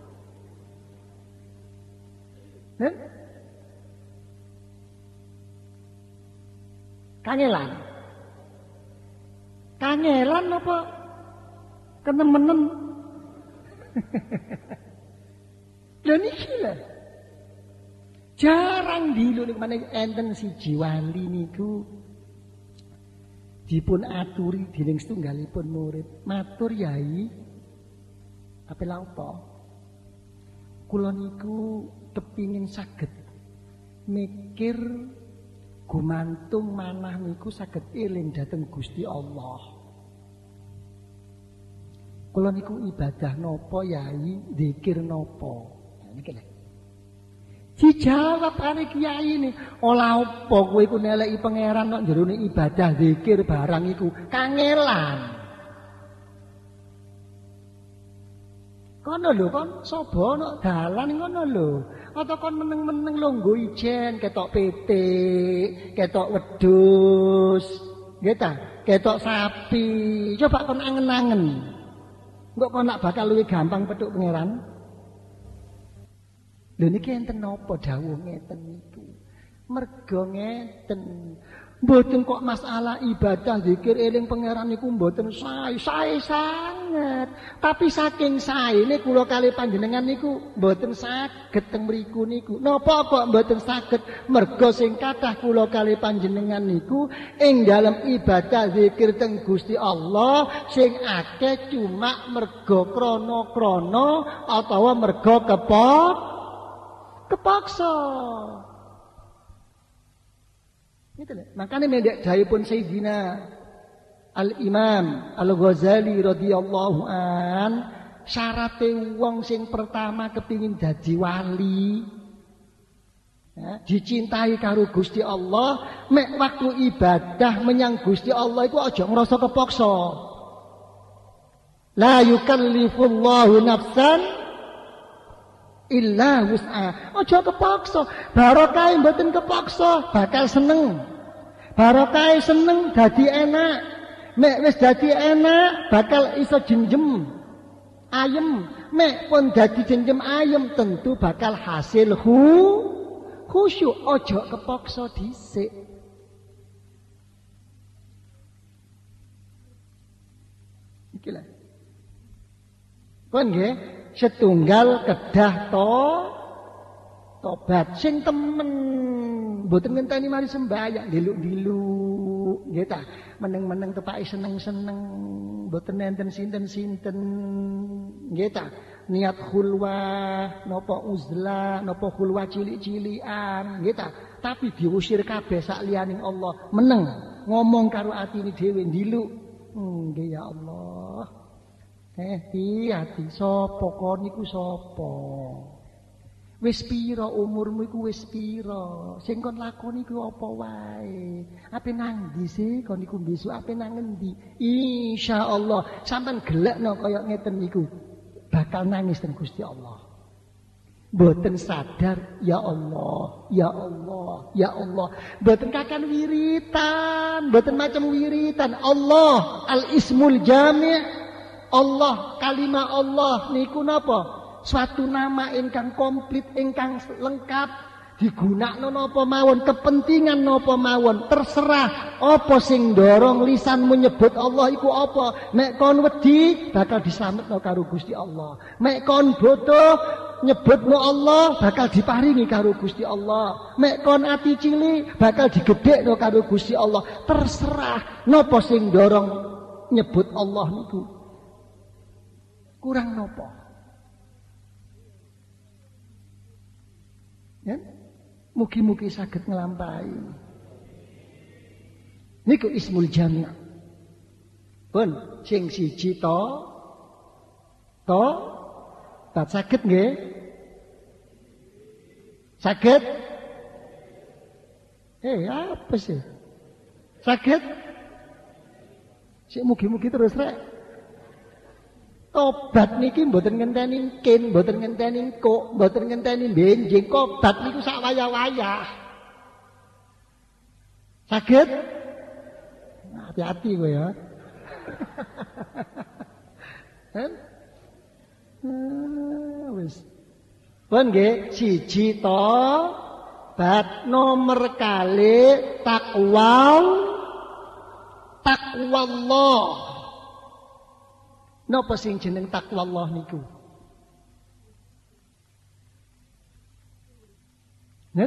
Kan? Kangelan apa? Kenemenen. Lha niki lho. Jarang dilu niku maneh enten siji wali niku dipun aturi dening setunggalipun murid. Matur Yai, ape lha apa? Kula niku kepingin saged mikir gumantung manah niku saged eling dhateng Gusti Allah. Kula niku ibadah napa Yai, zikir napa? Nah niki lho. Dijawab kali kiai ini, olah apa kowe iku neleki pangeran nek jerone ibadah zikir barang iku kangelan. Kono lho kon sapa nek dalan ngono lho. Atau kon meneng-meneng longgo ijen ketok pitik, ketok wedhus, nggih ta? Ketok sapi. Coba kon angen-angen. Engko kon nak bakal luwih gampang petuk pangeran. Lha niki enten napa dawuh ngeten niku? Merga ngeten. Mboten kok masalah ibadah zikir eling pangeran niku mboten sae sanget. Tapi saking saene kula kali panjenengan niku mboten saged teng mriku niku. Napa kok mboten saged? Merga sing kathah kula kali panjenengan niku ing dalem ibadah zikir teng Gusti Allah sing akeh cuma merga krana-krana atawa merga kepaksa. Gitu lho. Makane mendek dawuhipun Sayyidina Al-Imam Al-Ghazali radhiyallahu an, syarate wong sing pertama kepingin dadi wali Dicintai karo Gusti Allah, mek waktu ibadah menyang Gusti Allah iku aja ngrasa kepaksa. La yukallifullahu nafsan illa wus'aha. Aja kepaksa. Barokah mboten kepaksa, bakal seneng. Barokah seneng dadi enak. Mek wis dadi enak, bakal iso jenjem ayem. Mek pun dadi jenjem ayem, tentu bakal hasil khusyuk. Aja kepaksa dhisik. Iki lho. Pun nggih, setunggal kedah tobat sing temen. Mboten ngenteni mari sembahyang diluk-diluk, nggih ta. Meneng-meneng tepake seneng-seneng, mboten nenten sinten-sinten, nggih ta. Niat khulwah, napa uzlah, napa khulwah cilik-cilikan, nggih ta. Tapi diusir kabeh sak liyaning Allah, meneng ngomong karo atine dhewe diluk. Nggih ya Allah. Hati sapa kon niku sapa? Wis pira umurmu iku wis pira? Sing kon lakoni iku apa wae? Ape nang ndi sih kon niku besok ape nang endi? Insyaallah sampean gelekno kaya ngeten niku bakal nangis teng Gusti Allah. Mboten sadar ya Allah, ya Allah, ya Allah. Mboten kakan wiritan, mboten macam wiritan. Allah al-ismul jami'. Allah, kalimah Allah niku napa? Suatu nama ingkang komplit, ingkang lengkap, digunakno napa mawon, kepentingan napa mawon, terserah apa sing dorong lisanmu nyebut Allah iku apa. Mek kon wedi bakal dislametno karo Gusti Allah. Mek kon bodoh nyebutno Allah bakal diparingi karo Gusti Allah. Mek kon ati cilik bakal digedhekno karo Gusti Allah. Terserah napa sing dorong nyebut Allah niku. Kurang nopo? Ya? Mugi-mugi saged nglampahi. Niku ismul jami'. Pun sing siji to tak saged nggih? Saged? Apa sih? Saged? Sik mugi-mugi terus rek. Tobat niki mboten ngenteni kin, mboten ngenteni kok, mboten ngenteni benjing. Tobat niku sak wayah-wayah. Saged? Hati-hati kowe ya. Wis. Pun nggih, siji tobat, nomor kali taqwallah. Napa sing jeneng takwa Allah niku? Nen?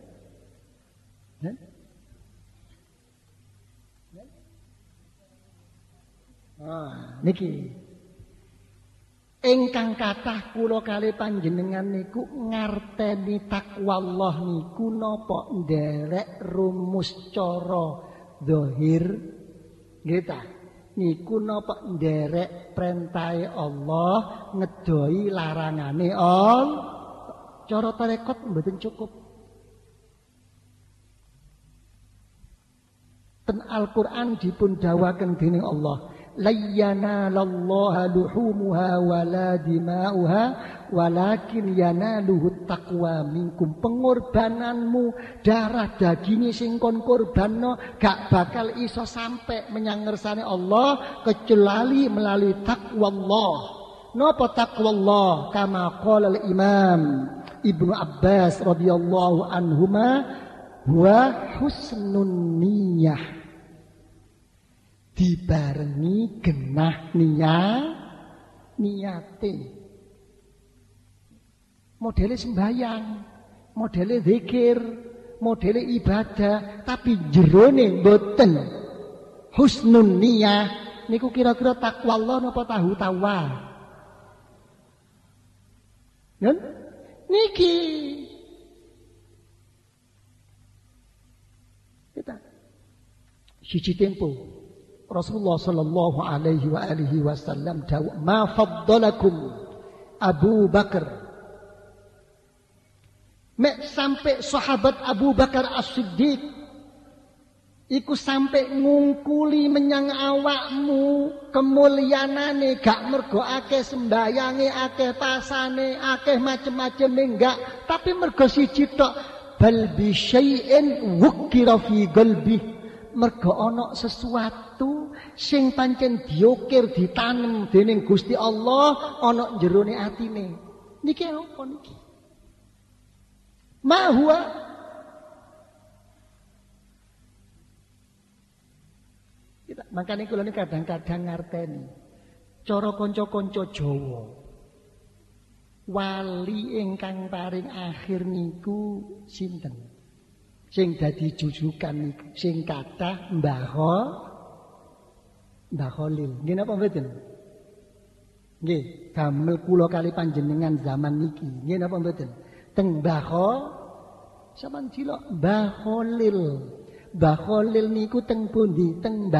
Niki. Ingkang kathah kula kalih panjenengan niku ngarteni takwa Allah niku napa nderek rumus cara zahir nggih ta? Niku napa nderek perintahe Allah, ngedoi larangane Allah. Cara tarekat mboten cukup. Ten Al-Qur'an dipun dawaken dening Allah, layyanallaha luhumuha wala dima'uha walakin yanaluhu taqwa minkum. Pengorbananmu, darah dagingnya sing kon korbanno gak bakal iso sampai menyang ngersane Allah kecuali melalui takwa Allah. Napa takwa Allah? Kama qala al-Imam Ibnu Abbas radhiyallahu anhuma wa husnun niyyah. Dibarengi genah niate. Modele sembahyang, modele zikir, modele ibadah, tapi jerone mboten husnun niyah. Niku kira-kira takwa Allah napa tahu tawa? Nen? Niki. Kita siji tempo Rasulullah sallallahu alaihi wa alihi wasallam dawuh, "Ma faddalakum Abu Bakar Mek sampai sahabat Abu Bakar As-Siddiq iku sampai ngungkuli menyang awakmu kemulyanane gak mergo akeh sembayange, akeh pasane, akeh macem-macem enggak, tapi mergo siji tok, bal bi syai'in wukira fi qalbi, mergo ana sesuatu sing pancen diukir ditanem dening Gusti Allah ana jerone atine. Niki apa niki? Ma huwa makanya kula ini kadang-kadang ngarteni cara kanca-kanca Jawa wali ingkang paring akhir niku sinten sing dadi jujukan niku sing kathah Mbah Khalil nggih napa mboten nggih damel kula kali panjenengan zaman niki nggih napa mboten teng Mbah sampean cilok Mbah Khalil. Mbah Khalil niku teng pundi? Teng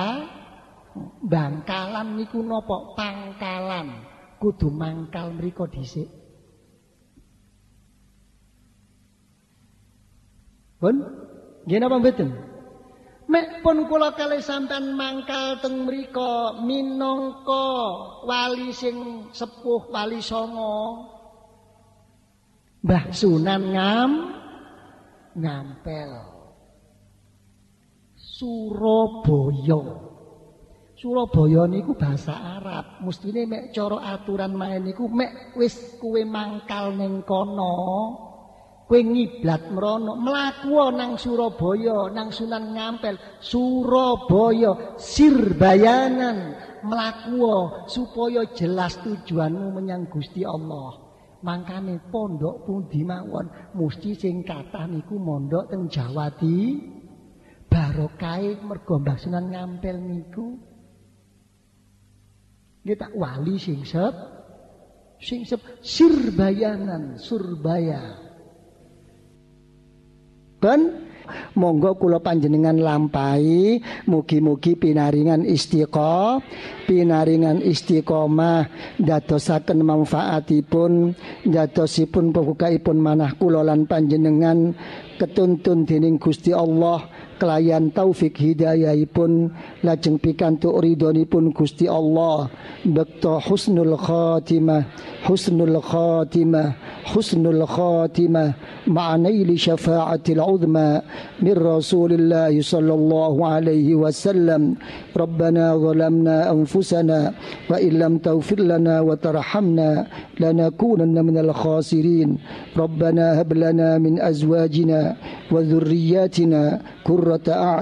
Bangkalan niku napa? Pangkalan. Kudu mangkal mriko dhisik. Pun nggih napa mboten? Mek pun kula kalih sampean mangkal teng mriko minangka wali sing sepuh, wali songo. Mbah Sunan Ngampel. Surabaya niku bahasa Arab. Mestine mek cara aturan main niku mek wis kowe mangkal ning kono, kowe ngiblat mrono, mlaku nang Surabaya, nang Sunan Ngampel, Surabaya sirbayanan, mlaku supaya jelas tujuanmu menyang Gusti Allah. Mangkane pondok pundi mawon mesti sing kathah niku mondok teng Jawa Barokai mergo Mbah Sunan Ngampel niku nggih tak wali sing sirbayanan Surbaya. Ben monggo kula panjenengan lampahi mugi-mugi pinaringan istiqomah dadosaken manfaatipun dadosipun pembukaipun manah kula lan panjenengan ketuntun dening Gusti Allah kelayan taufik hidayahipun lajeng pikantuk ridhonipun Gusti Allah bekto husnul khatimah ma'anaili syafa'atil uzma min Rasulillah sallallahu alaihi wasallam. Rabbana zalamna anfusana wa illam taghfir lana wa tarhamna lanakunanna minal khasirin. Rabbana hab lana min azwajina wa dhurriyyatina qurrata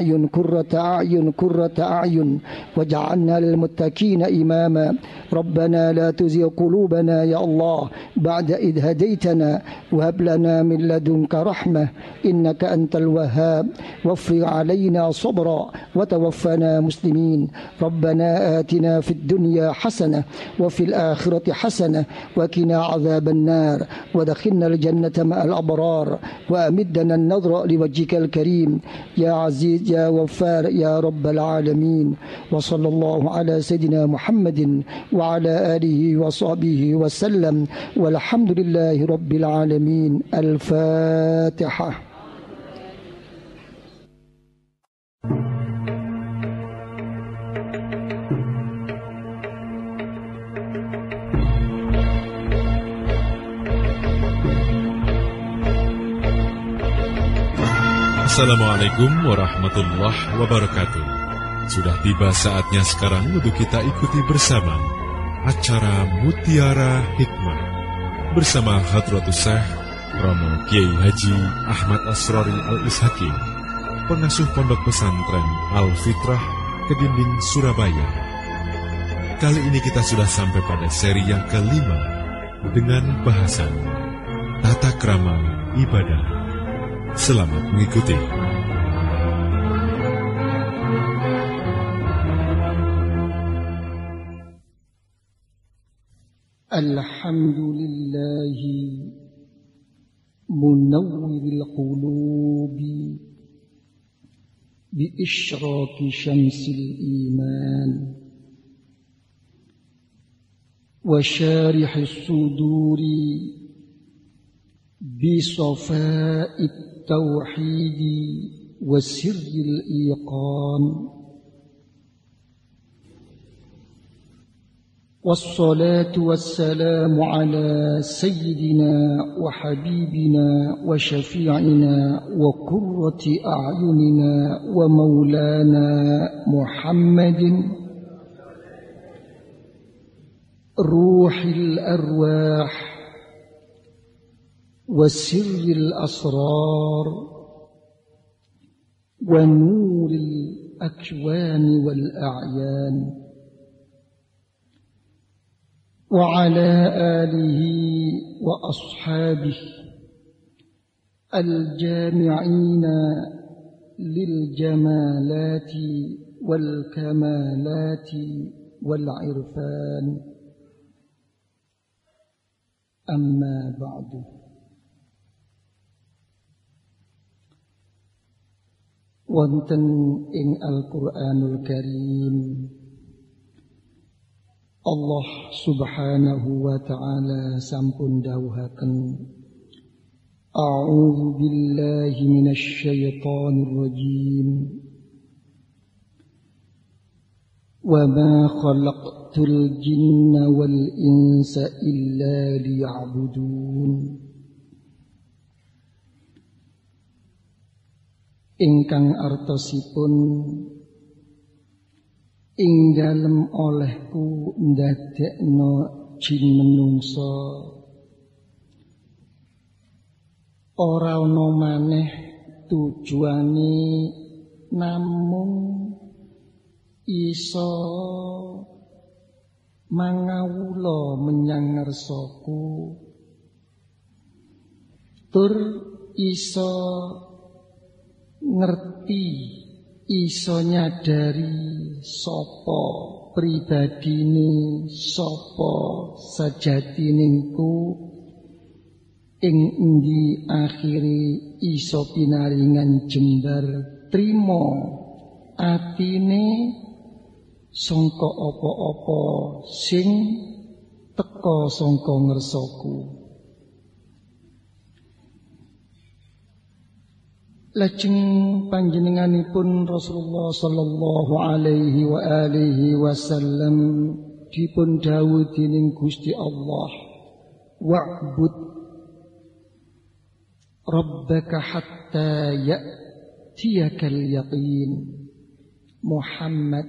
a'yun waj'alna lil muttaqina imama. Rabbana la tuzigh qulubana ya Allah ba'da idh hadaitana wa hab lana min ladunka rahmah innaka antal wahhab wafrig 'alaina sabra wa tawaffana muslimin. Rabbana atina fid dunya hasanah wa fil akhirati hasanah wa qina 'adzaban nar wa adkhilna al jannata ma'al abrar wa amiddana an-nadhra liwajhikal karim ya aziz ya waffar ya rabbal alamin. Wa sallallahu ala sayidina Muhammadin wa ala alihi wa sahbihi wa sallam walhamdulillahi rabbil alamin. Al-Fatihah. Assalamualaikum warahmatullahi wabarakatuh. Sudah tiba saatnya sekarang untuk kita ikuti bersama acara Mutiara Hikmah bersama Hadratus Syekh Romo Kiai Haji Ahmad Asrori Al-Ishaqi, pengasuh Pondok Pesantren Al-Fitrah Kedinding Surabaya. Kali ini kita sudah sampai pada seri yang kelima dengan bahasan Tata Krama Ibadah. Selamat mengikuti. Alhamdulillahi munawwiril qulubi bi isyraqi syamsil iman wa syarihis suduri بصفاء التوحيد وسر الإيقان والصلاة والسلام على سيدنا وحبيبنا وشفيعنا وقرة أعيننا ومولانا محمد روح الأرواح وسر الأسرار ونور الأكوان والأعيان وعلى آله وأصحابه الجامعين للجمالات والكمالات والعرفان أما بعد wonten ing Al-Qur'anul Karim Allah subhanahu wa ta'ala sampun dawuhaken A'udzu billahi minasy syaithanir rajim Wa ma khalaqtul jinna wal insa illa liya'budun Ingkang artosipun ing dalem olehku ndadekno jin menungsa ora ana maneh tujuane namung iso mangawula menyang ngarsaku tur iso ngerti iso nyadari sapa pribadine sapa sajatiningku ing endi akhire iso pinaringan jembar trima atine sangka apa-apa sing teka sangka ngersaku Lajeng panjenenganipun Rasulullah sallallahu alaihi wa alihi wasallam dipun dawuh dening Gusti Allah wa'bud rabbaka hatta ya'tiyakal yaqin Muhammad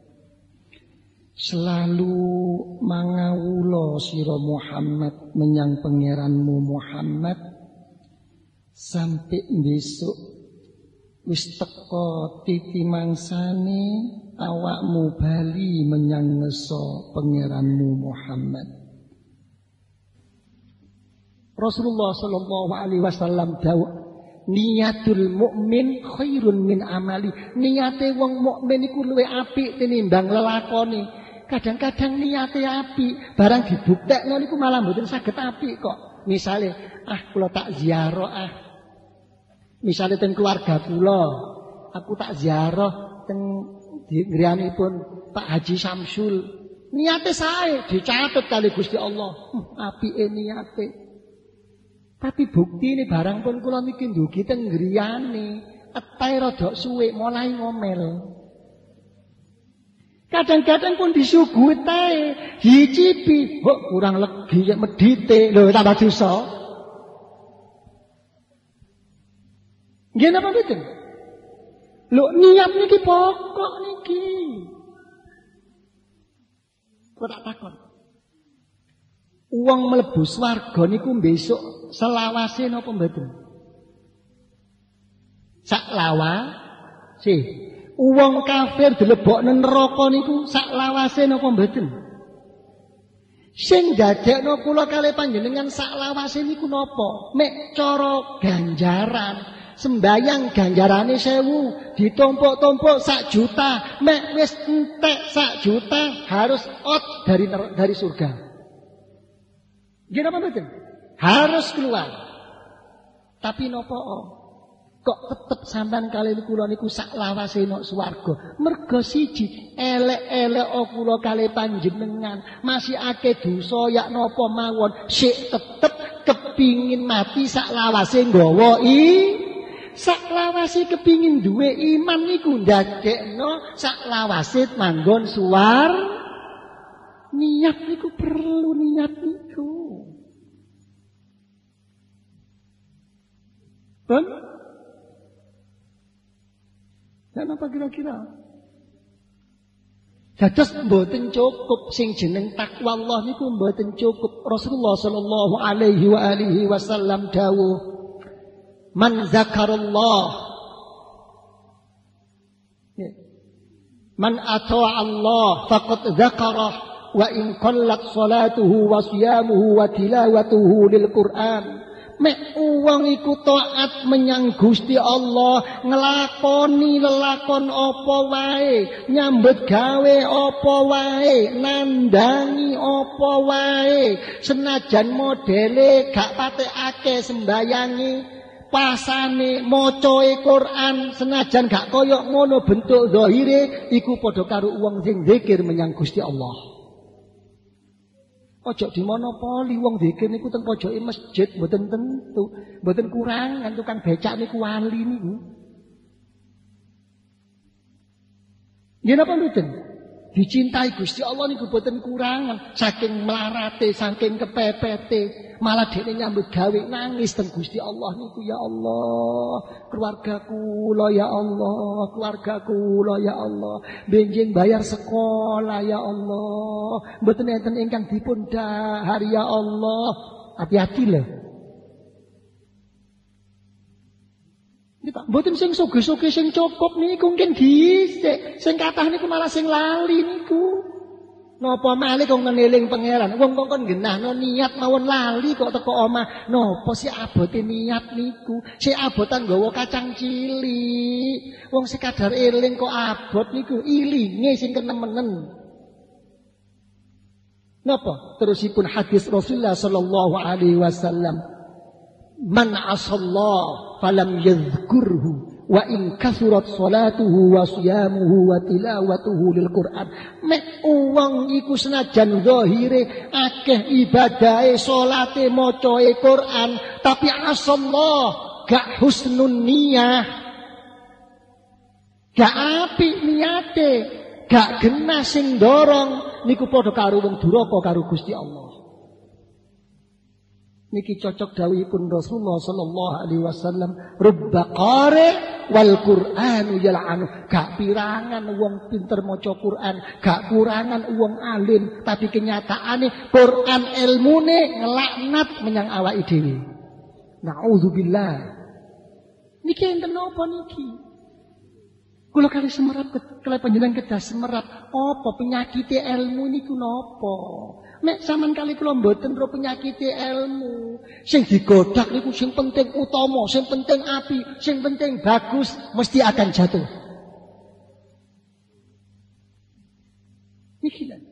selalu mangawula sira Muhammad menyang pangeranmu Muhammad sampai besok wis teka titi mangsane awakmu bali menyang ngeso pangeranmu Muhammad. Rasulullah sallallahu alaihi wasallam dawuh niyatul mukmin khairun min amali. Niyate wong mukmin iku luwih apik tinimbang lelakone. Kadang-kadang niyate apik, barang dibuktekno niku malah mboten saged apik kok. Misale kula tak ziarah Misalnya teng keluarga kula, aku tak ziarah teng ngriyanipun Pak Haji Samsul. Niate sae dicatet kali Gusti Allah. Apike niate. Tapi buktine barang pun kula niki ndugi teng ngriyane, etahe rada suwe mulai ngomel. Kadang-kadang pun disuguhi tae, dicipi, kok kurang legi ya medite, lho tambah dosa. Nggih napa mboten? Lho niat niki pokok niki. Kok tak takon. Wong mlebu swarga niku besok selawase napa mboten? Sak lawase. Wong kafir dilebokne neraka niku sak lawase napa mboten? Sing dadekno kula kalih panjenengan sak lawase niku napa? Mek cara ganjaran. Sembayang ganjarane 1000, ditumpuk-tumpuk 1 juta, mek wis entek 1 juta harus out dari surga. Nggih napa mboten? Harus keluar. Tapi napa kok tetep sampean kali kula niku sak lawase nok swarga? Merga siji, elek-elek kula kali panjenengan masih akeh dosa yak napa mawon, sik tetep kepingin mati saklawase nggawa saklawase kepingin duwe iman niku ndadekno saklawase manggon suwar. Niat niku perlu niat niku. Pun? Kenapa kira-kira? Dados mboten cukup sing jeneng takwa Allah niku mboten cukup. Rasulullah sallallahu alaihi wa alihi wasallam dawuh, "Man zakarallah, man ata'a Allah faqad zakarah wa in qallat salatuhu wa siyamuhu wa tilawatuhu lil Qur'an." Mek wong iku taat menyang Gusti Allah, nglakoni lelakon apa wae, nyambut gawe apa wae, nandangi apa wae, senajan modele gak patekake sembayangi, pasane macae Quran, senajan gak koyok ngono bentuk zahire, iku padha karo wong sing zikir menyang Gusti Allah. Ojo dimonopoli wong zikir niku teng pojoke masjid mboten tentu, mboten kurang kan tukang becak niku wali niku. Nggih napa mboten? Dicintai Gusti Allah niku mboten kurang, saking melarate, saking kepepete, malah dene nyambut gawe nangis teng Gusti Allah niku, ya Allah, keluargaku lo ya Allah, keluargaku lo ya Allah, benjing bayar sekolah ya Allah, mboten enten ingkang dipun dahar ya Allah. Hati-hati lho. Mboten sing soge-soge sing cukup niku mungkin dhisik, sing kathah niku malah sing lali niku. Napa malih kok ngeling pangeran, wong kok kon genahno niat mawon lali kok teko omah. Napa si abote niat niku? Si abotan nggawa kacang cilik. Wong sekadar eling kok abot niku, ilinge sing kenemenen. Napa? Terusipun hadis Rasulullah sallallahu alaihi wasallam, "Man asallah falam yadhkurhu wa in kasurat salatuhu wa siyamuhu wa tilawatuhu lil Qur'an." Mek wong iku senajan zahire akeh ibadahe, salate, macae Qur'an, tapi asallah gak husnun niyah, gak apik niate, gak genah sing dorong, niku padha karo wong duraka karo Gusti Allah. Niki cocok dawuhipun Rasulullah sallallahu alaihi wasallam, "Rubba qari wal Qur'anu yal'anu." Gak pirangan wong pinter maca Qur'an, gak kurangan wong alim, tapi kenyataane Qur'an ilmune nglaknat menyang awake dhewe. Nauzubillah. Niki enten napa niki? Kula kali semerap kali panjenengan kedah semerap, apa penyakite ilmu niku napa? Mek sampean kali kula mboten ro penyakite ilmu. Sing digodak niku sing penting utama, sing penting api, sing penting bagus, mesti akan jatuh. Niki lho.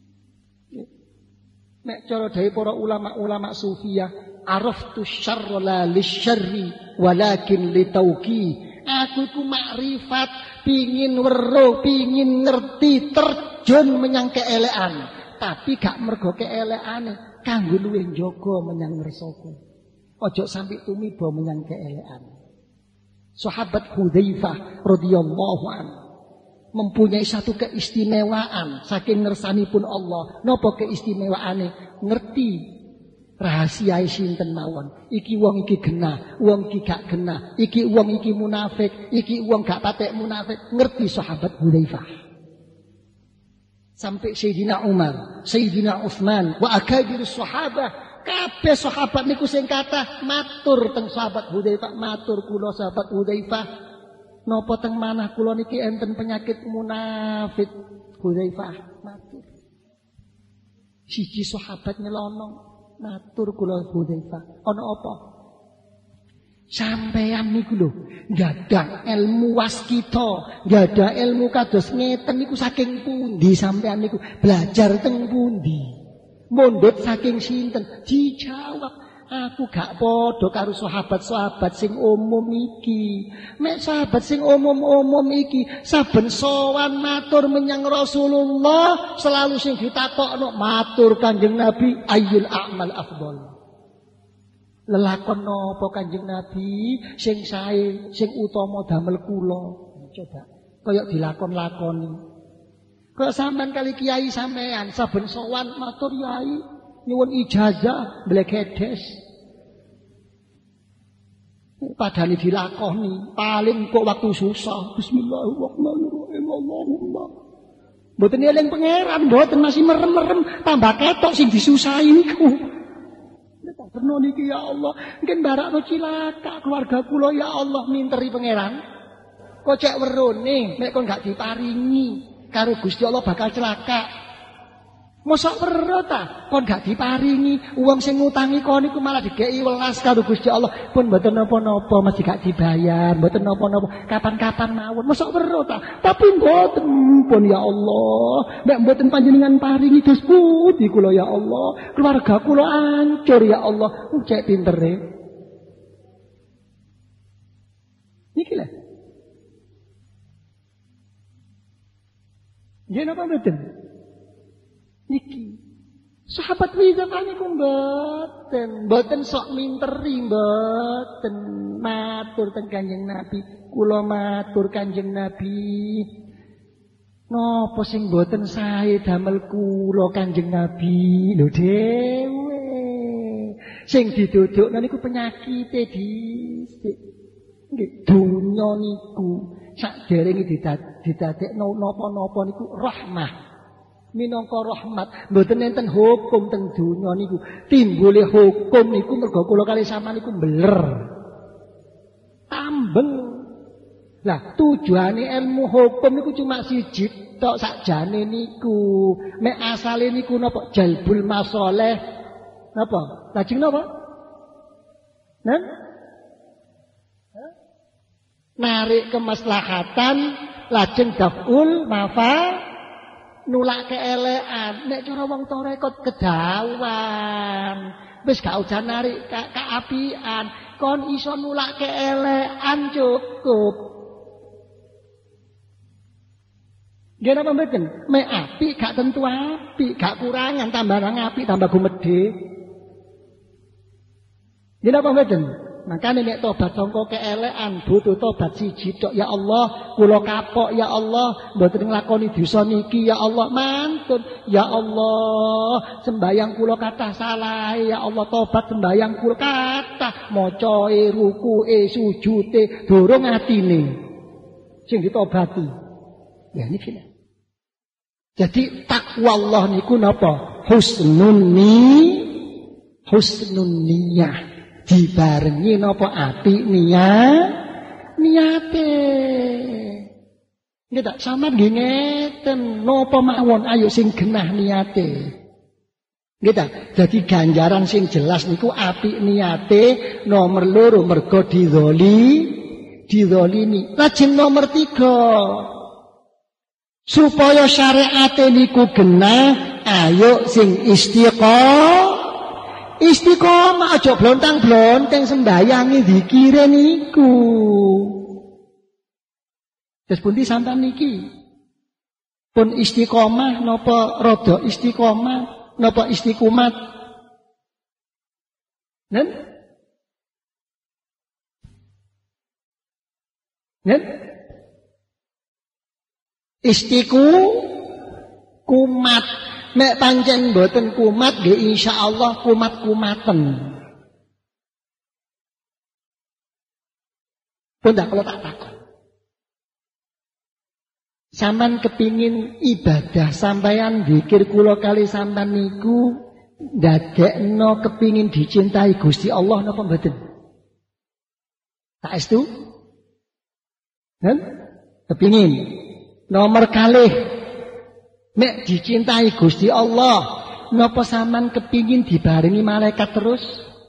Mek cara dhewe para ulama-ulama sufiyah, araftu syarra la lisyarri walakin litauqi. Aku iku makrifat, pingin weruh, pingin ngerti, terjun menyang keelekan. Tapi gak mergo keelekane, kanggo luwih njaga menyang ngersaka. Ojo sampai tumiba menyang keelekan. Sahabat Hudzaifah radhiyallahu anhu mempunyai satu keistimewaan saking ngersanipun Allah. Napa keistimewaane? Ngerti rahasia sinten mawon. Iki wong iki genah, wong iki gak genah. Iki wong iki munafik, iki wong gak patek munafik. Ngerti sahabat Hudzaifah. Sampai Sayyidina Umar, Sayyidina Utsman, wa akabir sahabah, kabeh sahabat niku sing kathah matur teng sahabat Hudzaifah, matur kula sahabat Hudzaifah, napa teng manah kula niki enten penyakit munafik. Hudzaifah matur. Siji sahabat nyelonong, matur kula Hudzaifah, ana apa? Sampeyan niku lho, gadah ilmu waskita, gadah ilmu kados ngeten niku saking pundi sampeyan niku? Belajar teng pundi? Mondhot saking sinten? Dijawab, aku gak padha karo sahabat-sahabat sing umum iki. Mek sahabat sing umum-umum iki saben sowan matur menyang Rasulullah, selalu sing ditakokno matur Kanjeng Nabi, ayyul a'mal afdal. Lelakon napa Kanjeng Nabi sing sae, sing utama damel kula. Coba kaya dilakon-lakoni. Kok sampean kali kiai sampean saben sowan matur yai nyuwun ijazah blegedes. Padahal dilakoni, paling kok waktu susah. Bismillahirrahmanirrahim. Allahumma. Mboten eling pangeran, mboten masih merem-merem, tambah ketok sing disusahi niku. Pernah niki ya Allah, mungkin barakno cilaka keluarga kula ya Allah minteri pangeran. Kok cek werone nek kon gak diparingi karo Gusti Allah bakal celaka. Mosok weruh ta kon gak diparingi wong sing ngutangi kon niku malah digeki welas karo Gusti Allah pun mboten napa-napa mesti gak dibayar, mboten napa-napa kapan-kapan mawon. Mosok weruh ta tapi mboten pun ya Allah, nek mboten panjenengan paringi dos pundi kula ya Allah, keluarga kula hancur ya Allah. Cek pintere niki lho. Nggih napa mboten? Niki. Sahabat wisata niku mboten sok minteri, mboten matur teng Kanjeng Nabi. Kula matur Kanjeng Nabi. Napa sing mboten sae damel kula Kanjeng Nabi lho dhewe. Sing didudukna niku penyakite dhisik. Nggih, donya niku sakderenge didadekno napa-napa niku rahmah. Minangka rahmat, mboten enten hukum teng donya niku. Timbule hukum niku mergo kula kali sampeyan niku mbeler. Tambeng. Lah tujuane ilmu hukum niku cuma siji tok sakjane niku. Mek asale niku napa? Jalbul masalih. Napa? Lajeng napa? Narik kemaslahatan, lajeng daf'ul nulak keelekan. Nek cara wong tarekat kedawan. Wis gak usah narik keapian, kon iso nulak keelekan cukup. Nggih napa mboten? Mek apik gak tentu apik, gak kurangan, tambah apik tambah gumedhe. Nggih napa mboten? Makanya nek tobat sangka keelekan butuh tobat siji tok. Ya Allah, kula kapok ya Allah, mboten nglakoni dosa niki ya Allah, mantun. Ya Allah, sembayang kula kathah salah ya Allah, tobat sembayang kula kathah, macae, rukuke, sujute, durung atine sing ditobati. Ya niki. Jadi takwa Allah niku napa? Husnun niyah. Dibarengi napa apik niate. Nggih tak sampeyan nggih ngeten napa mawon ayo sing genah niate. Nggih tak. Dadi ganjaran sing jelas niku apik niate, nomor loro mergo dizalimi. Lajeng nomor 3 supaya syariate niku genah, ayo sing istiqomah aja blontang-blonteng sembayangi zikire niku. Terus pundi sampean niki? Pun istiqomah napa rada istiqomah napa istiqomat? Nen? Kumat. Nek pancen mboten kumat nggih insyaallah kumat-kumaten. Pun tak kula tak takon. Sampeyan kepingin ibadah sampeyan zikir kula kali sampeyan niku ndadekno kepingin dicintai Gusti Allah napa mboten? Saestu? Kepingin. Nomor kalih nek dicintai Gusti Allah, napa sampean kepingin dibarengi malaikat terus?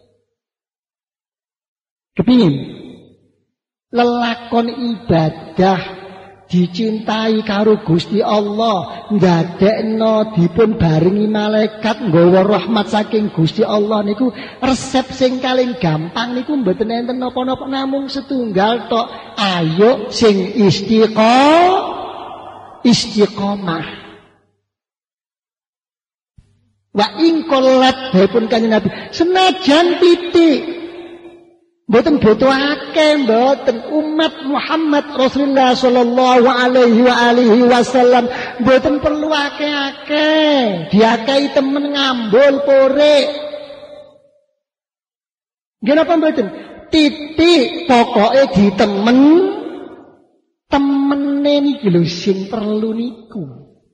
Kepingin? Lelakon ibadah dicintai karo Gusti Allah, ndadekno dipun barengi malaikat nggawa rahmat saking Gusti Allah niku resep sing paling gampang niku mboten enten napa-napa namung setunggal tok. Ayo sing istiqomah. Wa ing qolat pun Kanjeng Nabi senajan titik Mboten butuhake mboten umat Muhammad Rasulullah sallallahu alaihi wasallam mboten perlu akeh-akeh. Diakai temen ngambul porek. Nggih napa mboten? Titik pokoke ditemen temene niki lho sing perlu niku.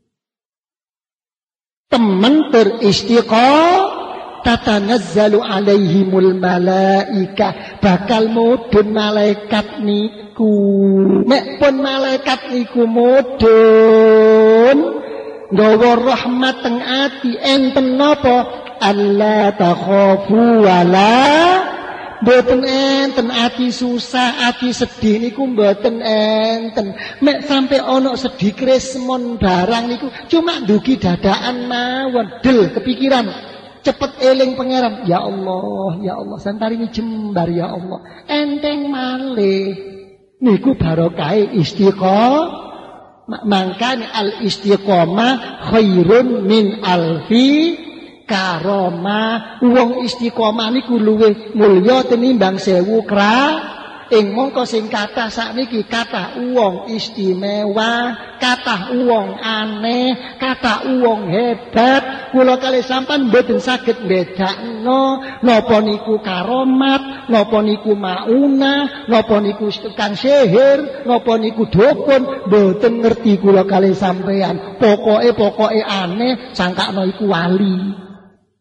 Temen teristiqomah tatanazzalu alaihimul malaika bakal mudhun malaikat niku mek pun malaikat niku mudhun nggawa rahmat teng ati enten napa alla takhafu wala mboten enten ati susah ati sedih niku mboten enten mek sampai ana sedih kresmon barang niku cuma ndugi dadakan mawon del kepikiran cepet eling pangeran ya Allah santarini jembar ya Allah enteng malih niku barokahe istiqomah mangkane al istiqomah khairun min alfi karomah wong istiqomah niku luwih mulya tinimbang 1000 ing mongko sing kathah sakniki kathah wong istimewa, kathah wong aneh, kathah wong hebat. Kula kalih sampean mboten saged mbedakno napa niku karomat, napa niku maunah, napa niku tukang sihir, napa niku dukun, mboten ngerti kula kalih sampean. Pokoke aneh sangkakno iku wali.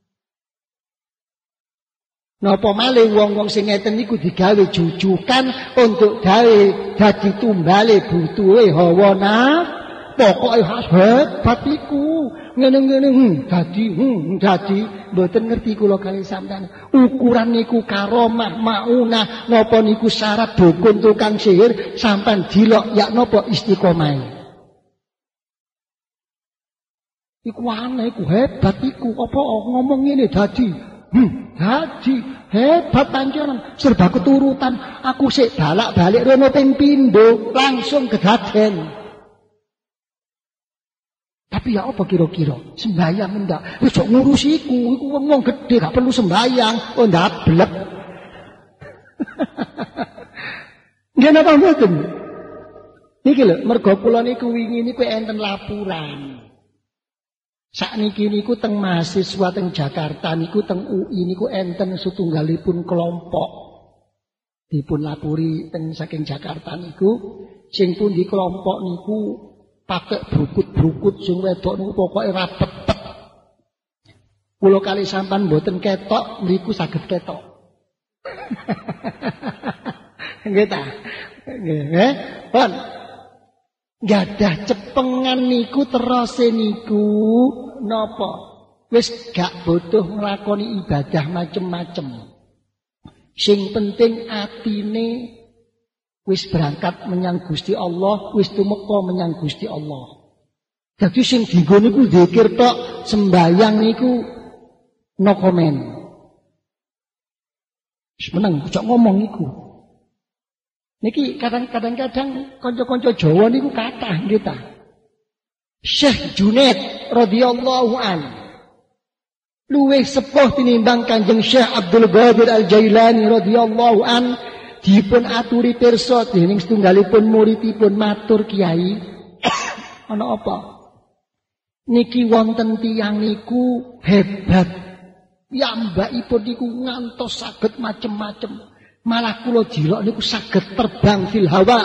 Napa malih wong-wong sing ngeten niku digawe jujukan untuk gawe dadi tumbale butuhe hawa nafsu. Pokoke hebat iku. Ngene-ngene dadi mboten ngerti kula kalih sampeyan. Ukuran niku karomah, maunah, napa niku syarat dukun tukang sihir sampean dilok ya napa istiqomah. Iku aneh, iku hebat iku. Apa ngomong ngene dadi Haji hebat panjenengan serba keturutan aku sik balak-balik rono ping pindho langsung kedaden. Tapi ya apa kira-kira sembahyang ndak wis kok ngurusi iku wong gedhe gak perlu sembahyang ndablek. Nggih napa mboten? Niki lho mergo kula niku wingi niku enten laporan. Sakniki niku teng mahasiswa teng Jakarta niku teng UI niku enten setunggalipun kelompok dipun lapuri teng saking Jakarta niku sing pundi kelompok niku pakai brukut-brukut sing wedok niku pokoke rapet. Kula kalih sampean mboten ketok mriku saged ketok. Nggih ta? Nggih, pun gadah cepengan niku terose niku napa wis gak butuh nglakoni ibadah macem-macem sing penting atine wis berangkat menyang Gusti Allah wis tumeka menyang Gusti Allah dadi sing dienggo niku zikir tok sembayang niku no comment wis meneng ojo ngomong niku. Niki kadang-kadang kanca-kanca Jawa niku kathah nggih ta. Syekh Junaid radhiyallahu an luwih sepuh tinimbang Kanjeng Syekh Abdul Qadir Al-Jailani radhiyallahu an dipun aturi pirsa dening setunggalipun muridipun matur Kiai ana apa? Niki wonten tiyang niku hebat. Piyambakipun niku ngantos saged macem-macem. Malah kula jilok niku saged terbang fil hawa.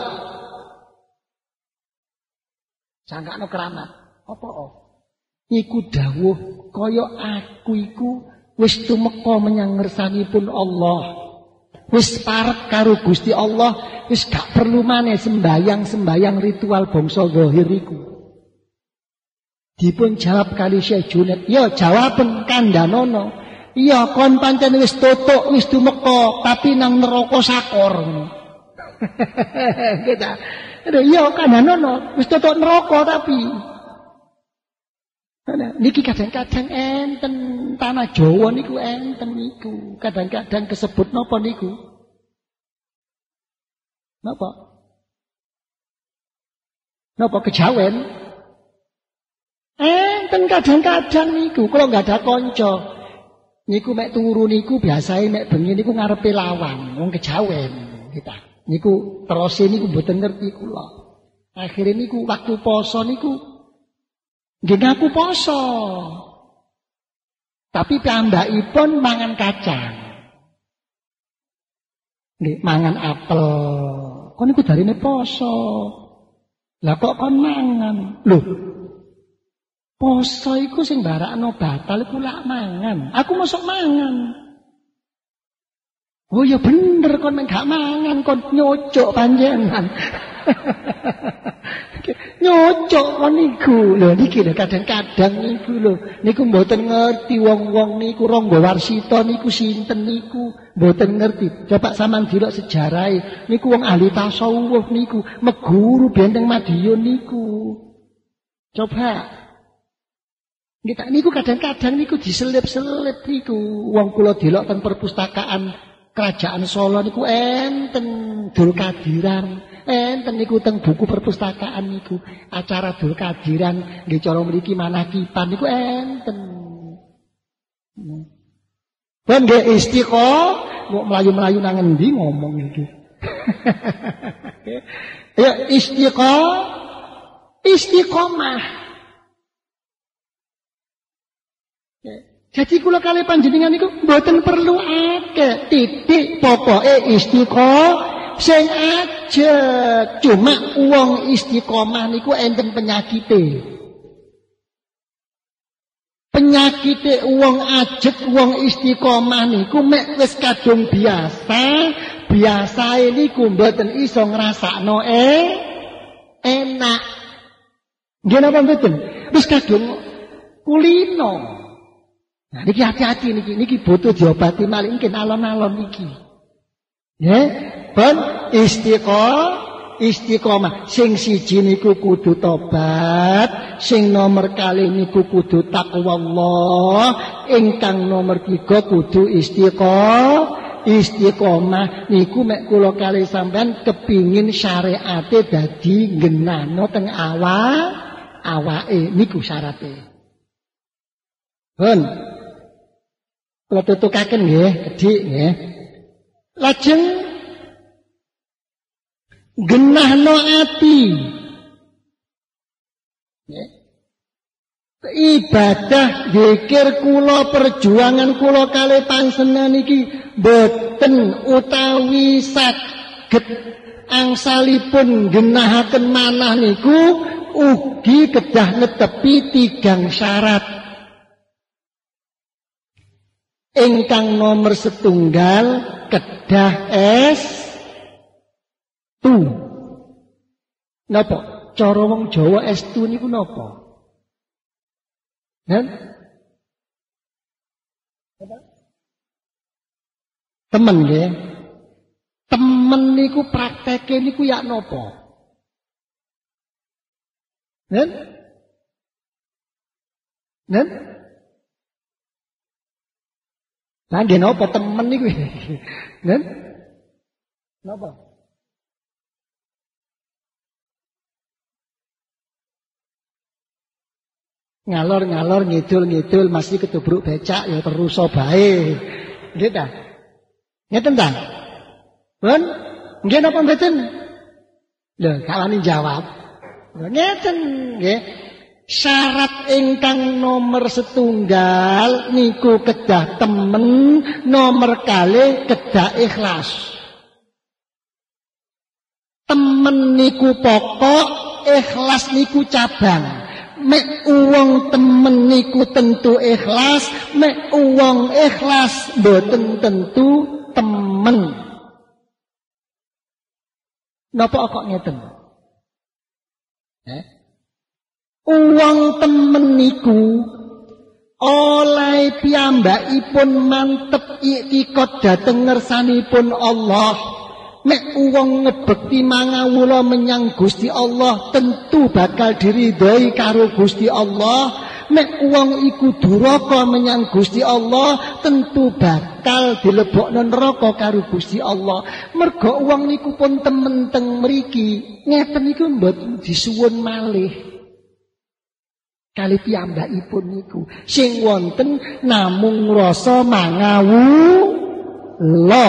Sangkakno keramat. Apa? Iku dawuh kaya aku iku wis tumeka menyang ngersanipun Allah. Wis parek karo Gusti Allah, wis gak perlu maneh sembayang ritual bangsa zahir iku. Dipun jawab kali Syekh Junaid, "Ya jawaben kandhanono. Iya kon pancen wis tutuk wis tumeka tapi nang neraka sakor ngono." Kita. Iya kandhanono wis tutuk neraka tapi. Niki kadang-kadang enten tanah Jawa niku enten niku. Kadang-kadang kesebut napa niku? Napa? Napa kejawen? Enten kadang-kadang niku kalau enggak ada kanca. Niku mek turu niku biasae mek bengi niku ngarepe lawang, wong kejawen kita. Niku terose niku mboten ngerti kula. Akhire niku waktu poso niku nggih ngaku poso. Tapi piyambakipun mangan kacang. Nggih mangan apel. Kon niku darine poso. Lah kok kon mangan? Lho. Poso iku sing barakno batal iku lak mangan. Aku mosok mangan. Oh ya bener kon gak mangan kon nyocok panjenengan. Nyocok kon niku. Lho niki lho kadang-kadang niku lho. Niku mboten ngerti wong-wong niku Rangga Warsita niku sinten niku. Mboten ngerti. Coba sampean delok sejarahe. Niku wong ahli tasawuf niku, meguru benteng Madiun niku. Coba kita niku kadang-kadang niku diselip-selip niku. Wong kula delok teng perpustakaan Kerajaan Solo niku enten Dul Kadiran, enten niku teng buku perpustakaan niku acara Dul Kadiran nggih cara mriki manakipan niku enten. Ben nggih istiqomah kok mlayu-mlayu nang endi ngomong iki. Ya istiqomah. Jadi kula kali panjenengan niku mboten perlu akeh, titik pokoke istiqomah sing ajeg. Cuma wong istiqomah niku enten penyakite. Penyakite wong ajeg, wong istiqomah niku mek wis kadung biasa, biasae niku mboten iso ngrasakno enak. Nggih napa mboten? Wis kadung kulino. Nah, niki hati-hati niki butuh diobati malih mungkin alon-alon niki. Nggih, ben istiqomah. Sing siji niku kudu tobat, sing nomor kali niku kudu takwa Allah, ingkang nomor 3 kudu istiqomah. Niku mek kula kali sampean kepingin syariate dadi genano teng awake niku syarate. Ben kula tutukaken nggih, gedhik nggih. Lajeng genahno ati. Nggih. Ibadah zikir kula perjuangan kula kalih panjenengan iki boten utawi saged angsalipun genahaken manah niku ugi kedah netepi 3 syarat. Ingkang nomor 1 kedah S2. Napa? Cara wong Jawa S2 niku napa? Temen nggih. Temen niku prakteke niku ya napa? Nen? Lah nggih napa temen niku? Nen? Napa? Ngalor-ngalor ngidul-ngidul masih ketubruk becak ya terus bae. Nggih ta? Ngeten ta? Pun nggih napa mboten? Lho, kawani jawab. Lho ngeten nggih. Syarat ingkang nomor 1 niku kedah temen, nomor 2 kedah ikhlas. Temen niku pokok, ikhlas niku cabang. Mek uwong temen niku tentu ikhlas, mek uwong ikhlas mboten tentu temen. Napa kok ngeten? Uwong temen niku oleh piyambakipun mantep iktikad dhateng ngersanipun Allah. Mek uwong ngebekti mangawula menyang Gusti Allah tentu bakal diridhoi karo Gusti Allah. Mek uwong iku duraka menyang Gusti Allah tentu bakal dilebokno neraka karo Gusti Allah. Merga uwong niku pun temen teng mriki, ngeten niku mboten disuwun malih. Kali piyambakipun niku sing wonten namung rasa mangawu lo.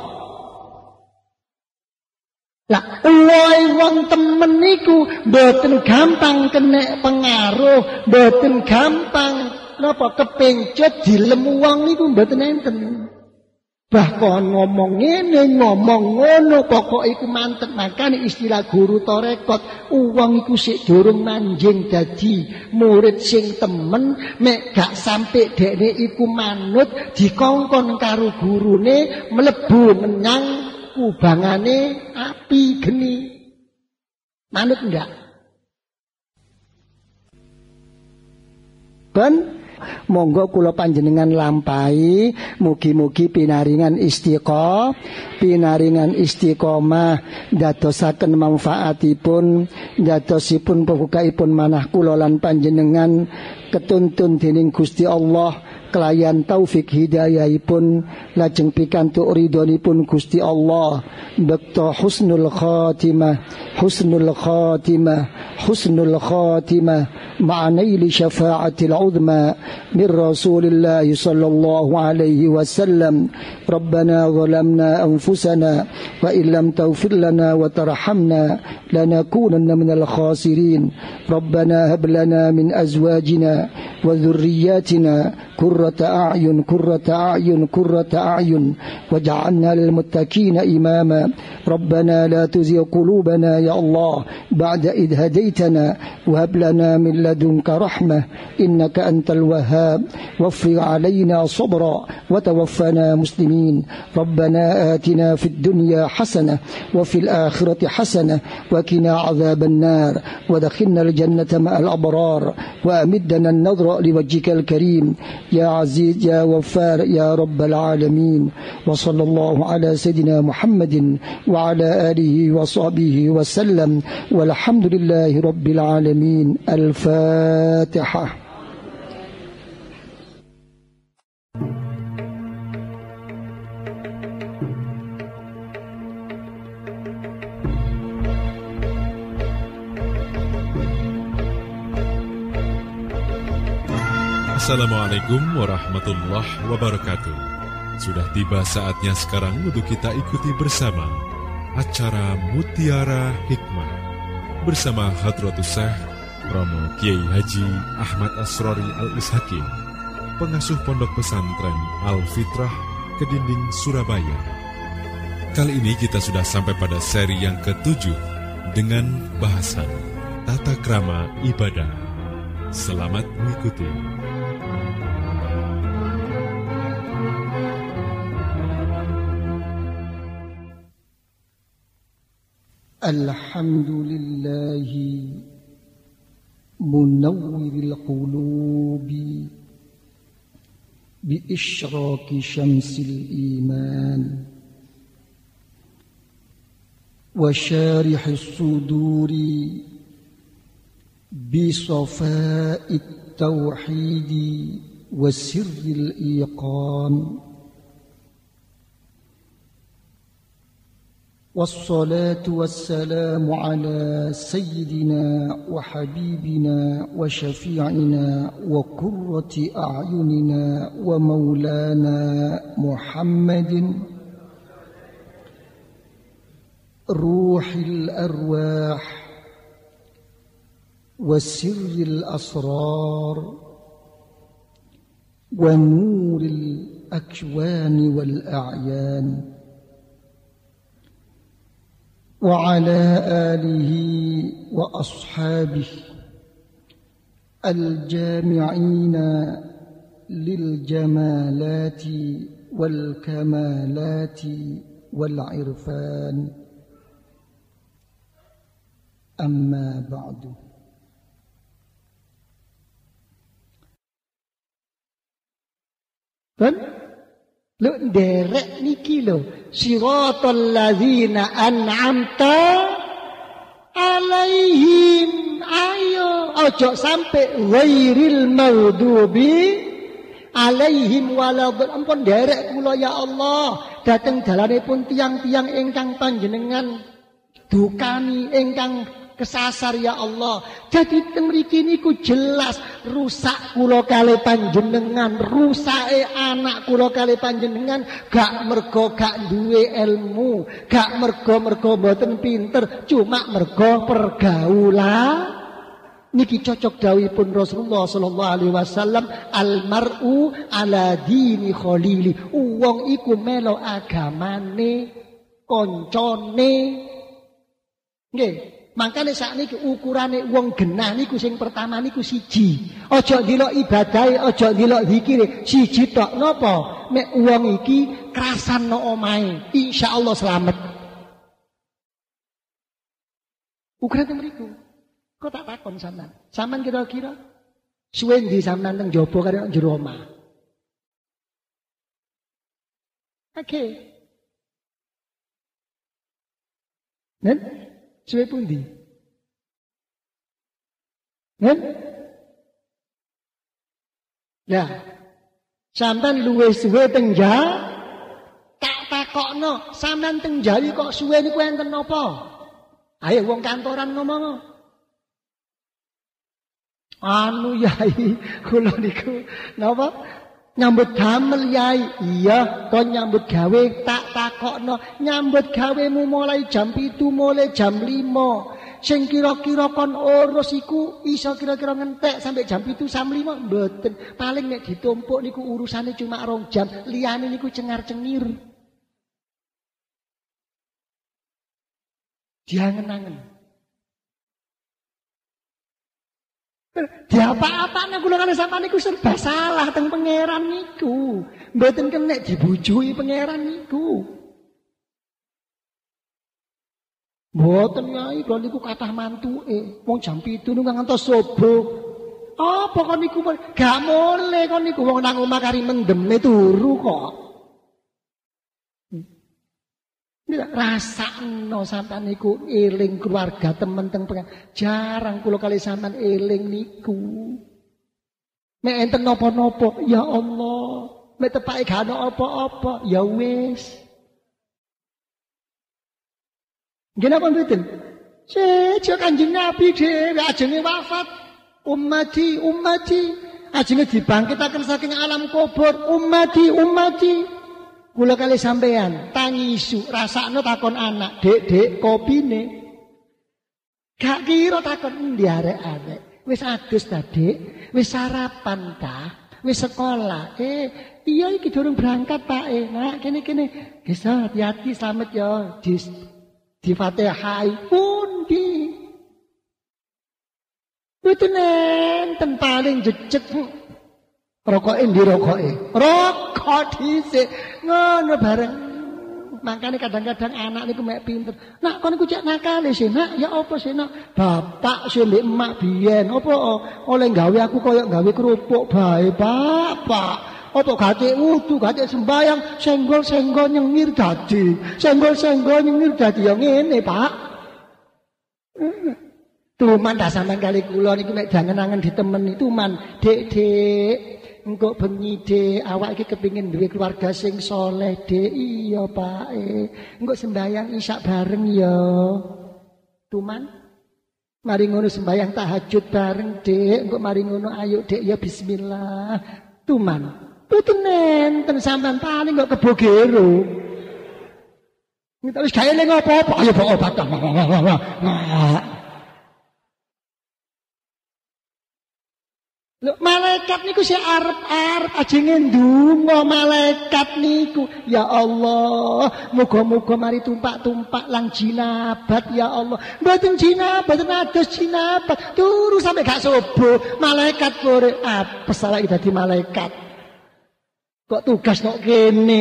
Lah uwoe wong temen niku mboten gampang kena pengaruh, mboten gampang napa kepencut dilemu wong niku mboten enten. Bahkan ngomong ngene, ngomong ngono, pokok iku mantep. Makanya istilah guru tarekat, uang iku sik durung manjing dadi murid sing temen, mek gak sampe dekne iku manut dikongkon karo gurune mlebu menyang kubangane api geni. Manut ndak? Ben monggo kula panjenengan lampahi, mugi-mugi pinaringan istiqomah dadosaken manfaatipun, dadosipun pembukaipun manah kula lan panjenengan ketuntun dening Gusti Allah kelayan taufik hidayahipun lajeng pikantuk ridhonipun Gusti Allah bekto husnul khatimah ma'anaili syafa'atil uzma min Rasulillah sallallahu alaihi wasallam. Rabbana zalamna anfusana wa illam taghfir lana wa tarhamna lanakunanna minal khasirin. Rabbana hab lana min azwajina wa dhurriyyatina qurrata a'yun waj'alna lil muttaqina imama. Rabbana la tuzigh qulubana ya Allah ba'da idh hadaytana wa hab lana min ladunka rahmah innaka antal wahhab waghfir 'alaina sabra wa tawaffana muslimin. Rabbana atina fid dunya hasanah wa fil akhirati hasanah wa qina 'adzaban nar wa adkhilna al jannata ma'al abrar wa amiddana an-nadhra liwajhikal karim ya aziz ya ghaffar ya rabbal alamin. Wa sallallahu ala sayidina Muhammadin wa ala alihi wa sahbihi wa sallam walhamdulillahi rabbil alamin. Al-Fatihah. Assalamualaikum warahmatullahi wabarakatuh. Sudah tiba saatnya sekarang untuk kita ikuti bersama acara Mutiara Hikmah bersama Hadratus Syekh Romo Kiai Haji Ahmad Asrori Al-Ishaqi, pengasuh Pondok Pesantren Al-Fitrah Kedinding Surabaya. Kali ini kita sudah sampai pada seri yang ke-7 dengan bahasan Tata Krama Ibadah. Selamat mengikuti. Alhamdulillahi munawwiril qulubi bi isyraqi syamsil iman wa syarihis suduri bi safa'it tauhidi wa sirril iqan. والصلاة والسلام على سيدنا وحبيبنا وشفيعنا وقرة أعيننا ومولانا محمد روح الأرواح وسر الأسرار ونور الأكوان والأعيان وعلى آله وأصحابه الجامعين للجمالات والكمالات والعرفان. أما بعد. Lu derek niki lho, siratal ladzina an'amta alaihim. Ayo ojo sampai ghairil maghdubi alaihim waladhdallin. Ampun derek kula ya Allah dhateng dalanipun tiang-tiang ingkang panjenengan dukani, ingkang kesasar ya Allah. Jadi teng mriki niku jelas rusak kula kali panjenengan, rusake anak kula kali panjenengan gak mergo gak duwe ilmu, gak mergo mboten pinter, cuma mergo pergaulan. Niki cocok dawuhipun Rasulullah sallallahu alaihi wasallam, almar'u ala dini khalili. Wong iku melo agamane koncone. Nggih, makane sakniki ukurane wong genah niku sing pertama niku siji. Aja ndelok ibadahe, aja ndelok zikire, siji tok. Napa? Mek wong iki krasano omahe, insyaallah slamet. Ukurane mriku. Kok tak takon sampean? Sampean kira-kira suwe ndi sampean teng jaba karo jero omah? Oke. Nen? Suwe pundi? Nen? Lah, sampean luwih suwe teng tak takokno, sampean teng Jawi kok suwe niku enten napa? Ayo wong kantoran ngomong. Anu yai, kula niku napa? Nyambut damel yai. Iya, kon nyambut gawe tak takokno. Nyambut gawemu mulai jam 7, mulai jam 5. Sing kira-kira kon urus iku iso kira-kira ngentek sampai jam 7 sampai 5 mboten. Paling nek ditumpuk niku urusane cuma 2 jam, liyane niku cengar-cengir. Diangen-angen. Di apa-apa nek kula kali sampean niku serba salah teng pangeran niku. Mboten kenek dibujui pangeran niku. Mboten yai kula niku kathah mantuke. Wong jam 7 niku ngantos subuh. Apa kon niku gak mule kon niku wong nang omah kari mendeme turu kok. Rasakno sampean niku eling keluarga temen teng pengen. Jarang kula kali sampean eling niku. Mek enten napa-napa, ya Allah. Mek tepake gak ana apa-apa, ya wis. Nggih napa mboten? Sejo Kanjeng Nabi dhewe ajenge wafat. Ummati, ajenge dibangkitaken saking alam kubur. Ummati. Kula kali sampean tangi isu rasakno takon anak, "Dek, kopine?" Gak kira takon endi arek-arek. Wis adus ta, Dik? Wis sarapan ta? Wis sekolah? Iya iki durung berangkat, Pak. Nah, kene. Wis hati-hati slamet ya. Di Fatihah pundi. Mboten enten paling jejeg. Rokoke ndi rokoke? Rokok dhisik. Ngono bareng. Makane kadang-kadang anak niku mek pinter. Nak kon niku cek nakale sih, Nak. Ya apa sih, Nak? Bapak sih mbek emak biyen. Apa oleh gawe aku koyo gawe kerupuk bae, Bapak. Apa gate wudu, gate sembayang, senggol-senggol nyengir dadi. Senggol-senggol nyengir dadi ya ngene, Pak. Tuman dah sampean kali kula niku mek jangan-angen ditemeni tuman. Dek. Engko bengi Dek, awak iki kepengin duwe keluarga sing soleh, Dek. Iya, Pak. Engko sembayang isya bareng ya. Tuman. Mari ngono sembayang tahajud bareng, Dek. Engko mari ngono ayo, Dek, ya bismillah. Tuman. Mboten enten sampean paling kok kebogero. Kita wis gawe ning apa-apa, ayo bawa obat. Malaikat niku sing arep-arep ajenge ndonga malaikat niku. Ya Allah, muga-muga mari tumpak-tumpak lang jinabat ya Allah. Mboten jinabat, mboten ados jinabat. Turu sampe gak subuh, malaikat pore apes awake dadi malaikat. Kok tugas kok kene.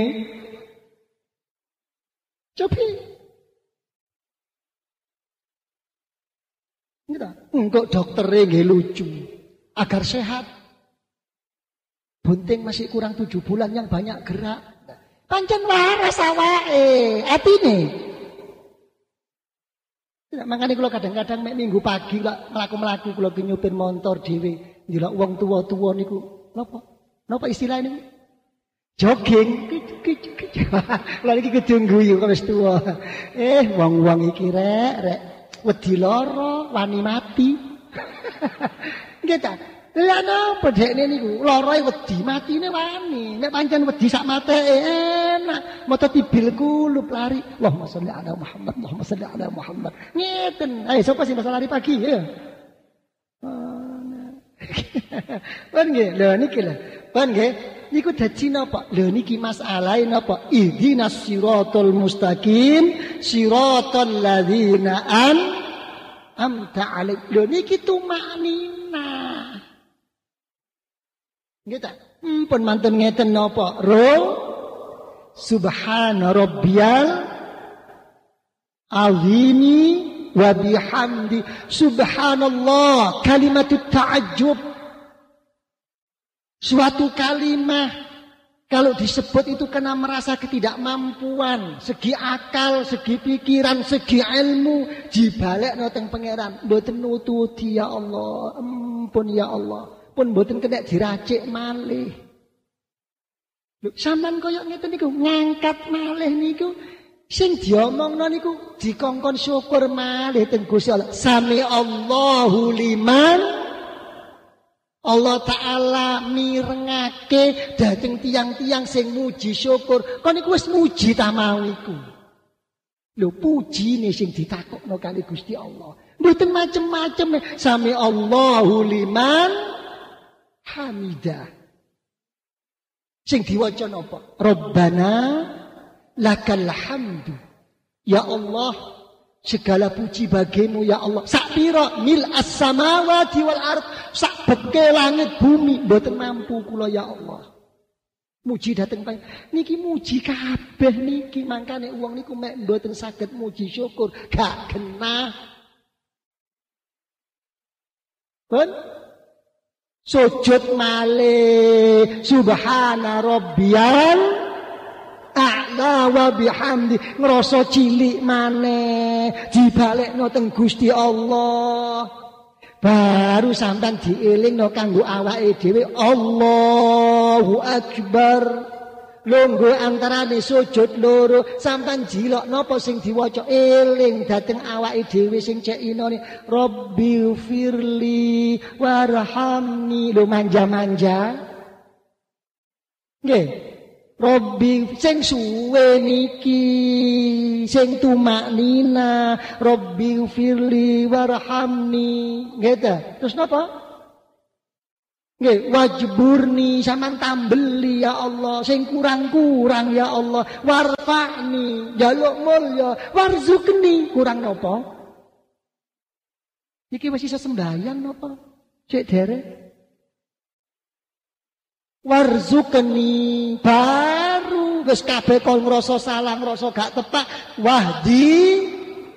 Cobi. Engko doktere nggih lucu. Agar sehat. Bunting masih kurang 7 bulan yang banyak gerak. Pancen waras awake, atine. Makanya kalau kadang-kadang mek minggu pagi lah mlaku-mlaku kula nyupir motor dhewe, ndelok wong tuwa-tuwa niku. Napa istilah niku? Jogging. Lah iki kudu guyu kok wis tuwa. Wong-wong iki rek. wedi lara, wani mati. Nggih ta? Lha napa dekne niku? Larae wedi, matine wani. Nek pancen wedi sak mateke enak. Moto tibil kulub lari. Allahumma sholli ala Muhammad, Allahumma sholli ala Muhammad. Ngeten. Ayo sapa sing lari pagi ya? Pun nggih, lho niki lho. Pun nggih, niku dadi napa? Lho niki masalahe napa? Ihdinas siratal mustaqim, siratal ladzina an'amta 'alaihim. Lho niki tumaknina. Nggih ta? Pun mantun ngeten napa? Subhana rabbiyal azimi wa bihamdi. Subhanallah, kalimatut ta'ajjub. Suatu kalimat kalau disebut itu kena merasa ketidakmampuan, segi akal, segi pikiran, segi ilmu, dibalekno teng pangeran. Mboten nututi ya Allah, ampun ya Allah. Pun mboten kena diracik malih. Lho sampean koyo ngeten niku ngangkat malih niku sing diomongno niku dikongkon syukur malih teng Gusti Allah. Sami Allahu liman Allah Ta'ala mirengake dhateng tiang-tiang sing muji syukur. Kon niku wis muji ta mau iku. Lho pujine sing ditakokno kali Gusti Allah. Mboten macem-macem. Sami Allahu liman hamidah. Sing diwaca napa? Rabbana lakal hamdu. Ya Allah, segala puji bagimu ya Allah. Sak pira mil as-samawati wal ard, sak beke langit bumi mboten mampu kula ya Allah. Muji dateng niki muji kabeh niki, mangkane wong niku mek mboten saged muji syukur gak genah. Pun sujud malih subhana rabbiyal a'la wa bihamdi, ngrasa cilik maneh dibalekno teng Gusti Allah. Baru sampean dielingno kanggo awake dhewe Allahu Akbar. Lungguh antarane sujud loro sampean jilok napa sing diwaca eling dhateng awake dhewe sing cek inone Rabbi firli warhamni. Lho manja-manja nggih. Rabbi sing suwe niki sing tumaknina Rabbi firli warhamni nggih ta. Terus napa? Nggih, wajburni sampean tambeli ya Allah, sing kurang-kurang ya Allah, warfa'ni, njaluk mulya, warzukni, kurang napa? Iki wis iso sembahyang napa? Cek derek. Warzukni baru wis kabeh kon ngrasa salah, ngrasa gak tepak, wahdi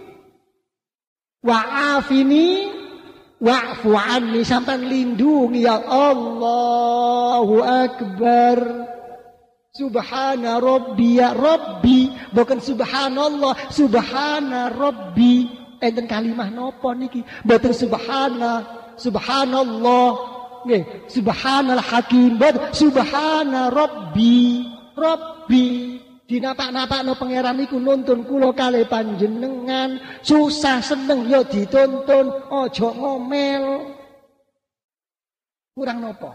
wa'afini wa'fu anni, sampean lindungi ya Allahu Akbar. Subhana rabbi ya Rabbi, bukan subhanallah, subhana Rabbi. Enten kalimah napa niki? Mboten subhanallah, nggih, subhanal hakim, mboten subhana Rabbi. Dinapak-napakno pangeran niku nuntun kula kalih panjenengan, susah seneng ya dituntun, aja ngomel. Kurang napa?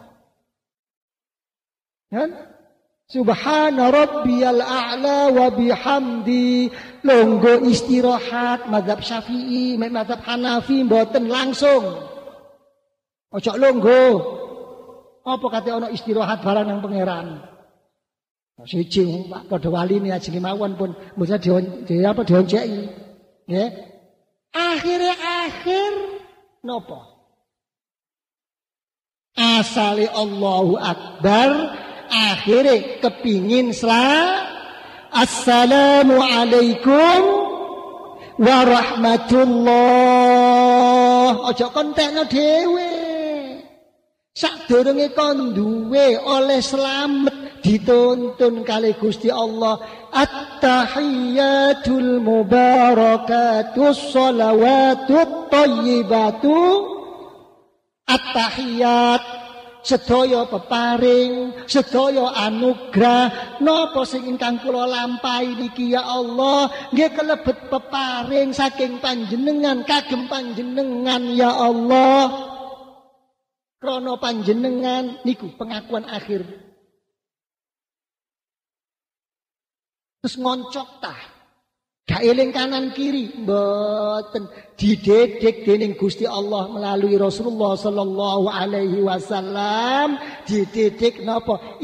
Kan? Subhana rabbiyal a'la wa bihamdi. Longgo istirahat mazhab Syafi'i, mazhab Hanafi mboten langsung. Aja longgo. Apa kate ana istirahat barang nang pangeran? Siji Pak padha waline ajenge mawon pun mboten dionceki. Nggih. Akhir napa? Asale Allahu Akbar, akhire kepingin Assalamu alaikum warahmatullah. Aja kontekno dhewe. Sadurunge kon duwe oleh slamet dituntun kali Gusti Allah. At-tahiyyatul mubarakatus shalawatut thayyibatu. At-tahiyyat sedaya peparing, sedaya anugrah napa sing ingkang kula lampahi niki ya Allah nggih kelebet peparing saking panjenengan kagem panjenengan ya Allah. Krana panjenengan niku pengakuan akhir. Terus ngoncok tah. Gak eling kanan kiri, mboten dididik dening Gusti Allah melalui Rasulullah sallallahu alaihi wasallam, dididik napa?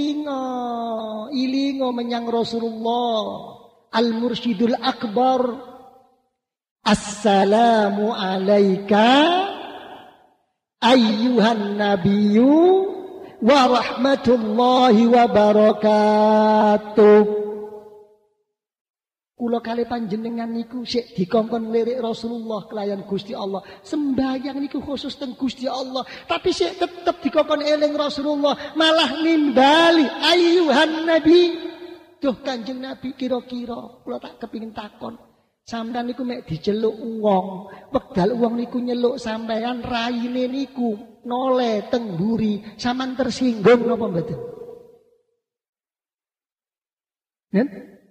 Ilingo menyang Rasulullah Al-Mursyidul Akbar. Assalamu alayka ayyuhan nabiyyu wa rahmatullahi wa barakatuh. Kula kali panjenengan niku sik dikongkon lirik Rasulullah kelayan Gusti Allah. Sembahyang niku khusus teng Gusti Allah, tapi sik tetep dikongkon eling Rasulullah, malah nimbali ayyuhan nabi. Duh Kanjeng Nabi, kira-kira kula tak kepingin takon. Sampeyan niku mek diceluk wong, wekdal wong niku nyeluk sampeyan raine niku noleh teng mburi, sampean tersinggung napa mboten? Nen?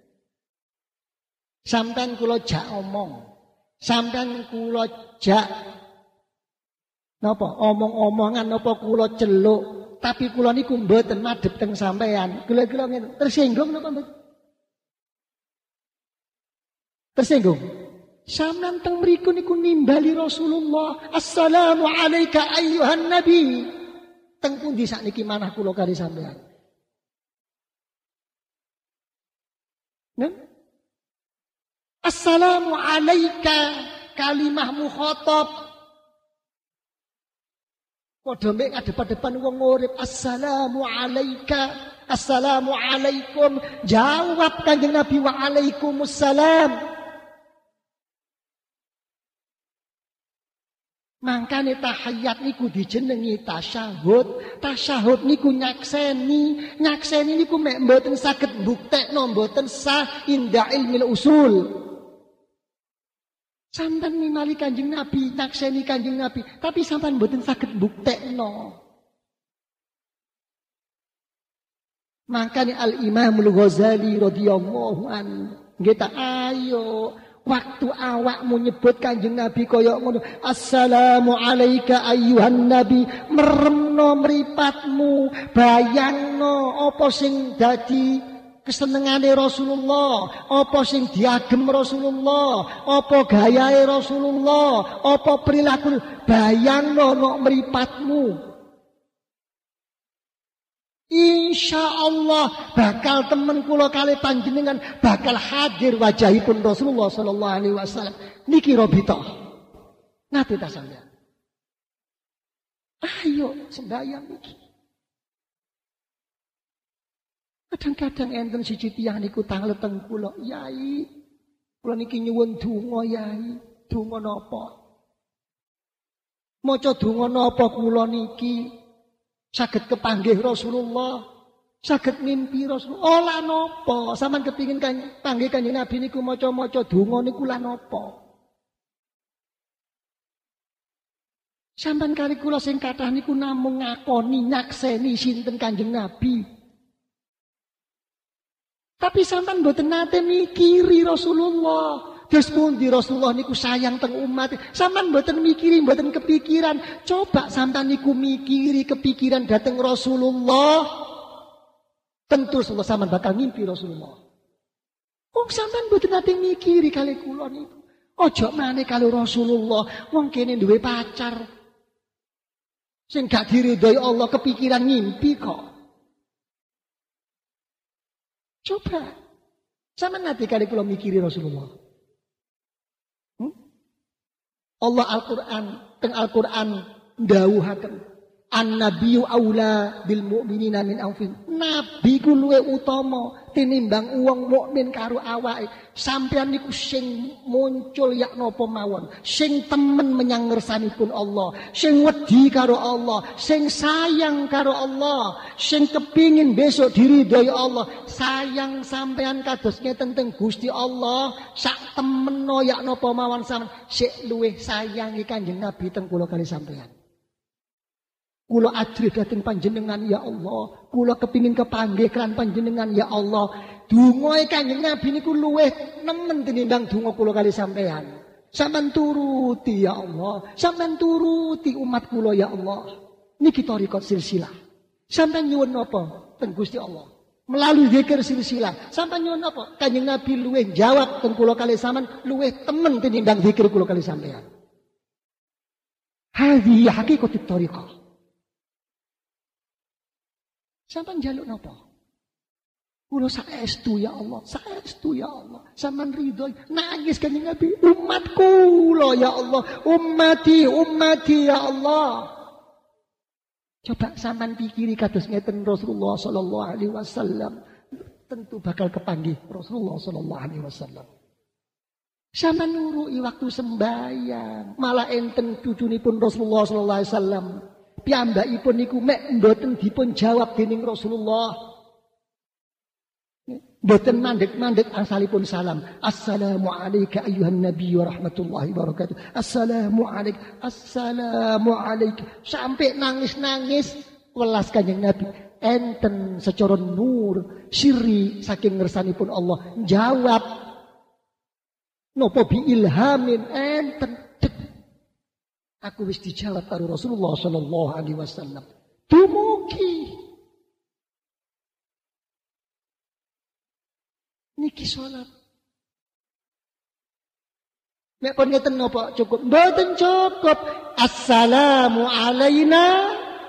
Sampeyan kula jak omong. Sampeyan kula jak napa omong-omongan napa kula celuk, tapi kula niku mboten madhep teng sampeyan. Kula-kula ngene, tersinggung napa mboten? Tersinggung. Sampeyan teng mriku niku nimbali Rasulullah, assalamu alayka ayyuhan nabi. Teng pundi sakniki manah kula kali sampeyan? Nen? Assalamu alayka kalimah mukhatab. Padha mek ngadep-adepan wong urip, assalamu alayka, assalamu alaikum. Jawab Kanjeng Nabi, wa alaikumussalam. Mangkane tahiyat niku dijenengi tasyahud. Tasyahud niku nyakseni niku mek mboten saged mbuktekno mboten sah inda ilmil usul. Sampeyan ningali Kanjeng Nabi, nakseni Kanjeng Nabi, tapi sampeyan mboten saged mbuktekno. Makanya Al-Imamul Ghazali radhiyallahu anhu nggih ta, ayo waktu awakmu nyebut Kanjeng Nabi kaya ngono, assalamu alayka ayyuhan nabi, meremno mripatmu, bayangno apa sing dadi kesenengane Rasulullah, apa sing diagem Rasulullah, apa gayahe Rasulullah, apa perilaku, bayangno nok mripatmu. Insyaallah bakal temen kula kali panjenengan bakal hadir wajahipun Rasulullah sallallahu alaihi wasallam. Niki robito. Nate ta sampeyan. Ayo sembahyang niki. Kadang-kadang enten siji tiyang niku tanglet teng kula, Yai. Kula niki nyuwun donga, Yai. Donga napa? Maca donga napa kula niki? Saged kepanggih Rasulullah, saged ngimpi Rasulullah. Oh lah napa? Sampeyan kepingin panggih Kanjeng Nabi niku maca-maca donga niku lah napa? Sampeyan kali kula sing kathah niku namung ngakoni nyakseni sinten Kanjeng Nabi. Tapi sampean mboten nate mikiri Rasulullah. Terus pundi Rasulullah niku sayang teng umat. Sampean mboten mikiri, mboten kepikiran. Coba sampean niku mikiri kepikiran dateng Rasulullah. Tentu Rasulullah sampean bakal mimpi Rasulullah. Wong sampean mboten nate mikiri kali kula niku. Ojo maneh kali Rasulullah. Wong kene duwe pacar. Sing gak diridhoi Allah kepikiran ngimpi kok. Coba. Sampeyan nate kali kula mikiri Rasulullah. Allah Al-Qur'an, teng Al-Qur'an ndhawuhaken an-nabiyyu aula bil mu'minina min anfusihim. Nabi ku luwih utama tinimbang wong mukmin karo awake. Sampeyan niku sing muncul yak napa mawon, sing temen menyang ngersanipun Allah, sing wedi karo Allah, sing sayang karo Allah, sing kepingin besok diridhoi Allah. Sayang sampeyan kados ngeten teng Gusti Allah, sak temeno yak napa mawon sampeyan sik luwih sayangi Kanjeng Nabi teng kula kali sampeyan. Kula ajrih dhateng panjenengan ya Allah. Kula kepingin kepanggih kan panjenengan ya Allah. Dongae Kanjeng Nabi niku luwih nemen tinimbang donga kula kali sampean. Sampeyan turuti ya Allah. Sampeyan turuti umat kula ya Allah. Niki thariqat silsilah. Sampeyan nyuwun napa teng Gusti Allah? Melalui zikir silsilah. Sampeyan nyuwun napa? Kanjeng Nabi luwih jawab teng kula kali sampean luwih temen tinimbang zikir kula kali sampean. Hadhihi haqiqatut thariqah. Sampeyan njaluk napa? Kula saestu ya Allah, saestu ya Allah. Sampeyan ridho nangis Kanjeng Nabi, umatku kula ya Allah, ummati ya Allah. Coba sampeyan pikiri kados ngeten Rasulullah sallallahu alaihi wasallam, tentu bakal kepanggih Rasulullah sallallahu alaihi wasallam. Sampeyan nuruki waktu sembahyang, malah enten cucunipun Rasulullah sallallahu alaihi wasallam. Piyambakipun niku mek mboten dipun jawab dening Rasulullah. Mboten mandek-mandek asalipun salam. Assalamu alayka ayyuhan nabiy wa rahmatullahi wa barakatuh. Assalamu alayka. Sampai nangis-nangis welas Kanjeng Nabi. Enten secara nur sirri saking ngersanipun Allah jawab. Napa bi ilhamin enten aku wis dijawab karo Rasulullah sallallahu alaihi wasallam. Dumugi niki salat. Nek pun ngeten napa cukup? Mboten cukup. Assalamu alaina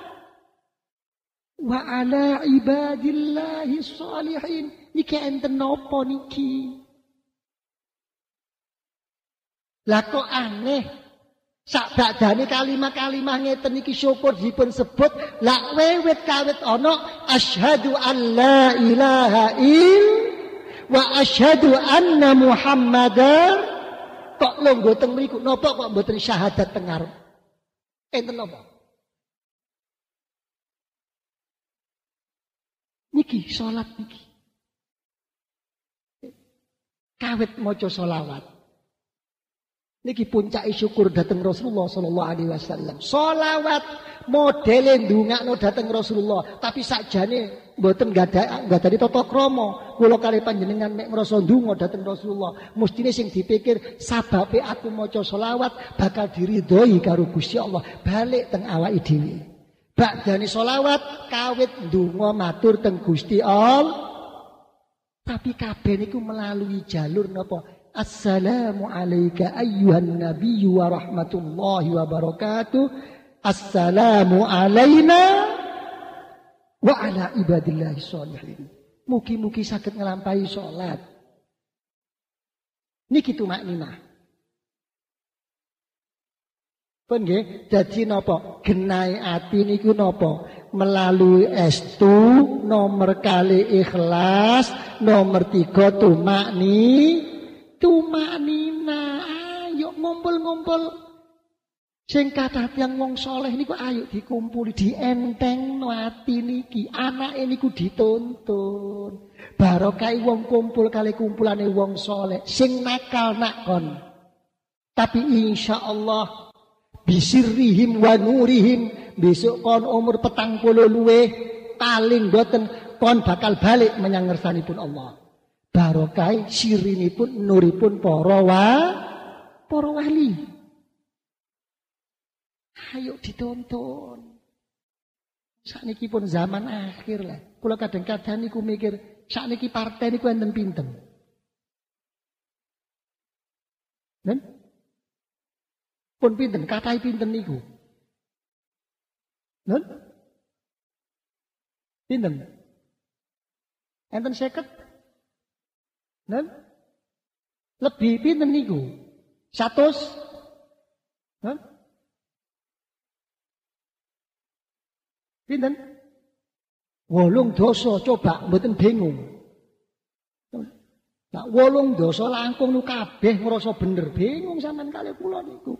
wa ala ibadillahi sholihin. Niki enten napa niki? Lah kok aneh? Sakbadane kalimah-kalimah ngeten iki syukur dipun sebut la wewet kawit ana asyhadu an la ilaha wa asyhadu anna muhammadar kok longgo teng mriku napa kok mboten syahadat teng ngarep enten napa niki salat niki kawit maca selawat. Niki puncake syukur dateng Rasulullah sallallahu alaihi wasallam. Shalawat modele ndongakno dateng Rasulullah, tapi sakjane mboten nggadahi tata krama. Kula kali panjenengan nek ngrasa ndonga dateng Rasulullah, mestine sing dipikir sababe aku maca shalawat bakal diridhoi karo Gusti Allah. Balik teng awake dhewe. Badane shalawat kawit ndonga matur teng Gusti Allah. Tapi kabeh niku melalui jalur napa? Assalamu alayka ayyuhan nabiyyu wa rahmatullahi wa barakatuh. Assalamu alayna wa ala ibadillahi sholihin. Mugi-mugi saged nglampahi salat. Niki tumakninah. Pun nggih, dadi napa? Genahe ati niku napa? Melalui estu, nomor kali ikhlas, nomor 3 tumaknina, ayo ngumpul-ngumpul. Sing kathah tiyang wong saleh niku ayo dikumpuli, dientengno ati niki. Anake niku dituntun. Barokah wong kumpul kali kumpulane wong saleh. Sing nakal nakon. Tapi insyaallah bisirrihim wa nurihim besok kon umur 40 luweh paling boten kon bakal balik menyang ngersanipun Allah. Barokah sirinipun nuripun para wali. Ayo dituntun. Sakniki pun zaman akhir lah. Kula kadang-kadang niku mikir sakniki partai niku enten pinten. Nen? Pun pinten kathah pinten niku. Nen? Pinten? Enten 50? Nen? Lebih pinten niku? 100? Nen? Pinten? 8 dosa coba mboten bingung. Nah 8 dosa langkung nu kabeh ngrasa bener bingung sampean kali kula niku.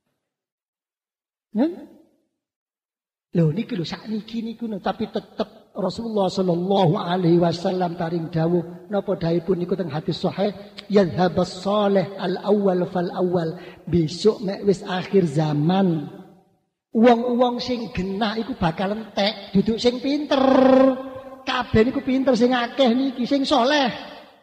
Nen? Lho niki lho sakniki niku tapi tetep Rasulullah sallallahu alaihi wasallam paring dawuh napa dawuhipun niku teng hadis sahih yadhhabas salih al awwal fal awwal besok mek wis akhir zaman Wong-wong sing genah iku bakal entek, duduk sing pinter. Kabeh niku pinter sing akeh niki sing saleh.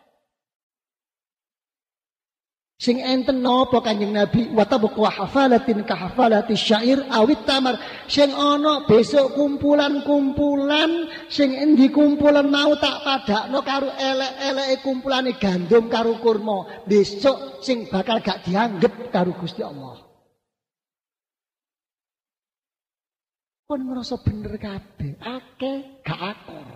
Sing enten napa Kanjeng Nabi wa tabqa hafalatin ka hafalati syair awit tamar. Sing ana besok kumpulan-kumpulan sing endi kumpulan mau tak padakno karo elek-eleke kumpulane gandum karo kurma. Besok sing bakal gak dianggep karo Gusti Allah. Pun ngerasa bener kabeh, akeh gak akor.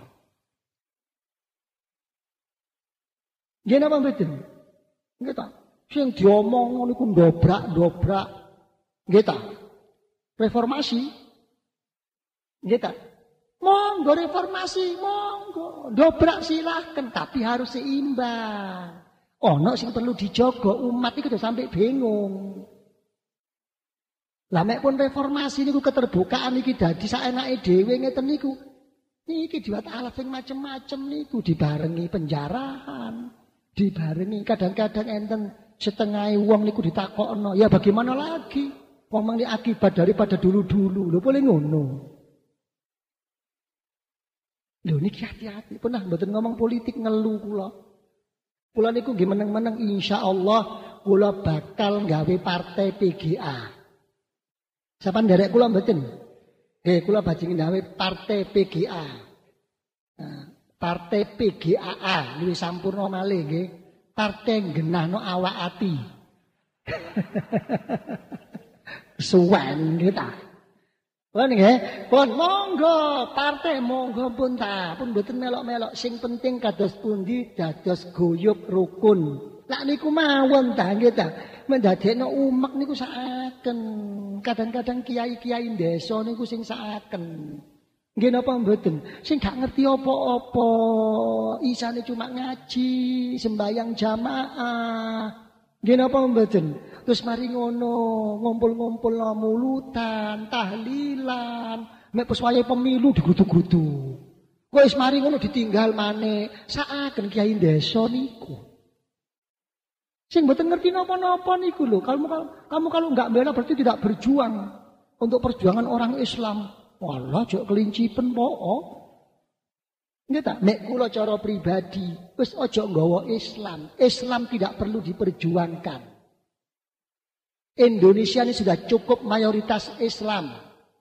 Nggih napa mboten? Nggih ta? Sing diomong ngono iku ndobrak-ndobrak. Nggih ta? Reformasi. Nggih ta? Monggo reformasi, monggo. Dobrak silahkan, tapi harus seimbang. Ono sing perlu dijaga, umat iku sampai bingung. Lah mek pun reformasi niku keterbukaan iki dadi saenake dhewe ngeten niku. Niki diwat alat sing macem-macem niku dibarengi penjarahan, dibarengi kadang-kadang enten setengah wong niku ditakokno. Ya bagaimana lagi? Wong ini akibat daripada dulu-dulu. Lho boleh ngono. Lho niki hati-hati. Pernah mboten ngomong politik ngeluh kula. Kula niku nggih meneng-meneng insyaallah kula bakal gawe partai PGA. Sapan derek kula mboten. Nggih kula bajing gawe partai PGA. Nah, partai PGAA luwih sampurna malih nggih. Partai genahno awak ati. Suwen nggih ta. Pun nggih, pun monggo partai monggo pun ta, pun mboten melok-melok sing penting kados pundi dados guyub rukun. Lah niku mawon ta nggih ta. Mendadekno umek niku saaken. Kadang-kadang kiai-kiai desa niku sing saaken. Nggih napa mboten? Sing gak ngerti apa-apa, isane cuma ngaji, sembayang jamaah. Nggih napa mboten? Terus mari ngono, ngumpul-ngumpul mulutan, tahlilan, mek pas wayahe pemilu digudu-gudu. Wis mari ngono ditinggal maneh. Saaken kiai desa niku. Sing mboten ngerti napa-napa niku lho. Kamu kalau enggak bela berarti tidak berjuang untuk perjuangan orang Islam. Walah jok kelincipen po. Nggih ta? Nek kula cara pribadi wis aja nggawa Islam. Islam tidak perlu diperjuangkan. Indonesia ini sudah cukup mayoritas Islam.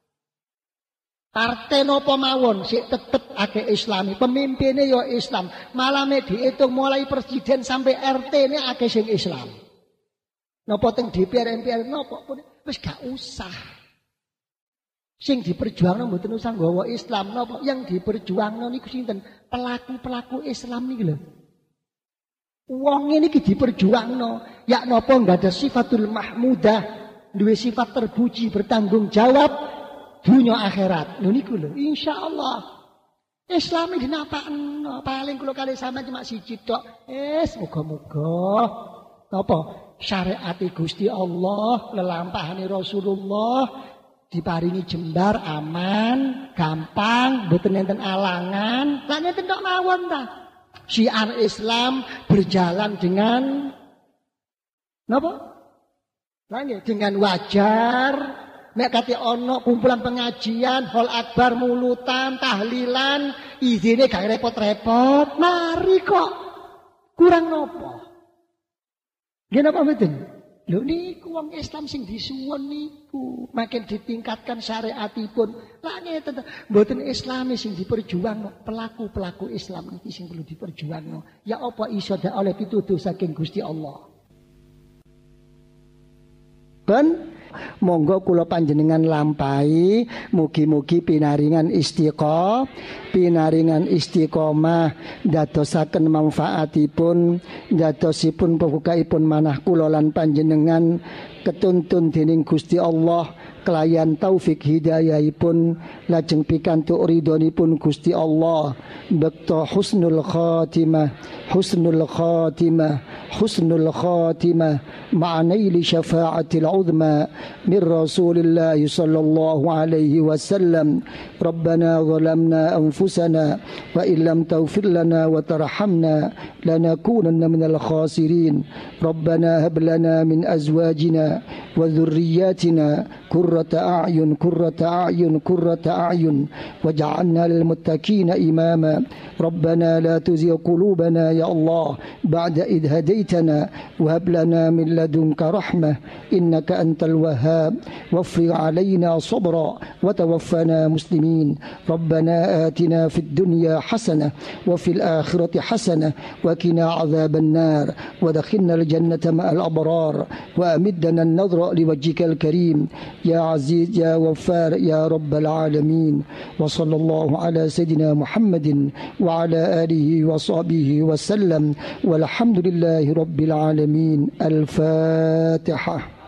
Partai napa mawon sik tetep akeh Islami, pemimpinnya ya Islam. Malah dihitung mulai presiden sampai RT ini akeh sing Islam. Napa teng DPR MPR napa pun wis gak usah. Sing diperjuangno mboten usah nggawa Islam napa yang diperjuangno niku sinten? Pelaku-pelaku Islam niki lho. Wong niki diperjuangno, yak napa enggak ada sifatul mahmudah, duwe sifat terpuji, bertanggung jawab dunia akhirat. Lho niku lho, insyaallah. Islam iki dinapakno, paling kula kali sampean cuma siji tok. Muga-muga napa syariat Gusti Allah, lelampahane Rasulullah diparingi jembar aman, gampang, mboten enten alangan. Lah nenten tok mawon ta. Syiar Islam berjalan dengan napa? Lah nggih dengan wajar. Nek kate ana kumpulan pengajian, hol akbar mulutan, tahlilan, izine gak repot-repot, mari kok. Kurang napa? Nggih napa mboten? Lho niku wong Islam sing disuwun niku, makin ditingkatkan syariatipun. Lah ngeten mboten Islami sing diperjuangno, pelaku-pelaku Islam iki sing perlu diperjuangno. Ya apa iso dak oleh pituduh saking Gusti Allah. Ben monggo kula panjenengan lampahi mugi-mugi pinaringan istiqomah dadosaken manfaatipun dadosipun pembukaipun manah kula lan panjenengan ketuntun dening Gusti Allah kelayan taufik hidayahipun lajeng pikantuk ridhonipun Gusti Allah bekto husnul khatimah ma'anaili syafa'atil uzma min Rasulillah sallallahu alaihi wasallam. Rabbana zalamna anfusana wa illam taghfir lana wa tarhamna lanakunanna minal khasirin. Rabbana hab lana min azwajina wa dhurriyyatina قرة أعين قرة أعين قرة أعين واجعلنا للمتقين إماما ربنا لا تزغ قلوبنا يا الله بعد إذ هديتنا وهب لنا من لدنك رحمة إنك أنت الوهاب وافرغ علينا صبرا وتوفنا مسلمين ربنا آتنا في الدنيا حسنة وفي الآخرة حسنة وقنا عذاب النار ودخلنا الجنة مع الأبرار وأمدنا النظر لوجهك الكريم يا عزيز يا غفار يا رب العالمين وصلى الله على سيدنا محمد وعلى آله وصحبه وسلم والحمد لله رب العالمين. الفاتحة.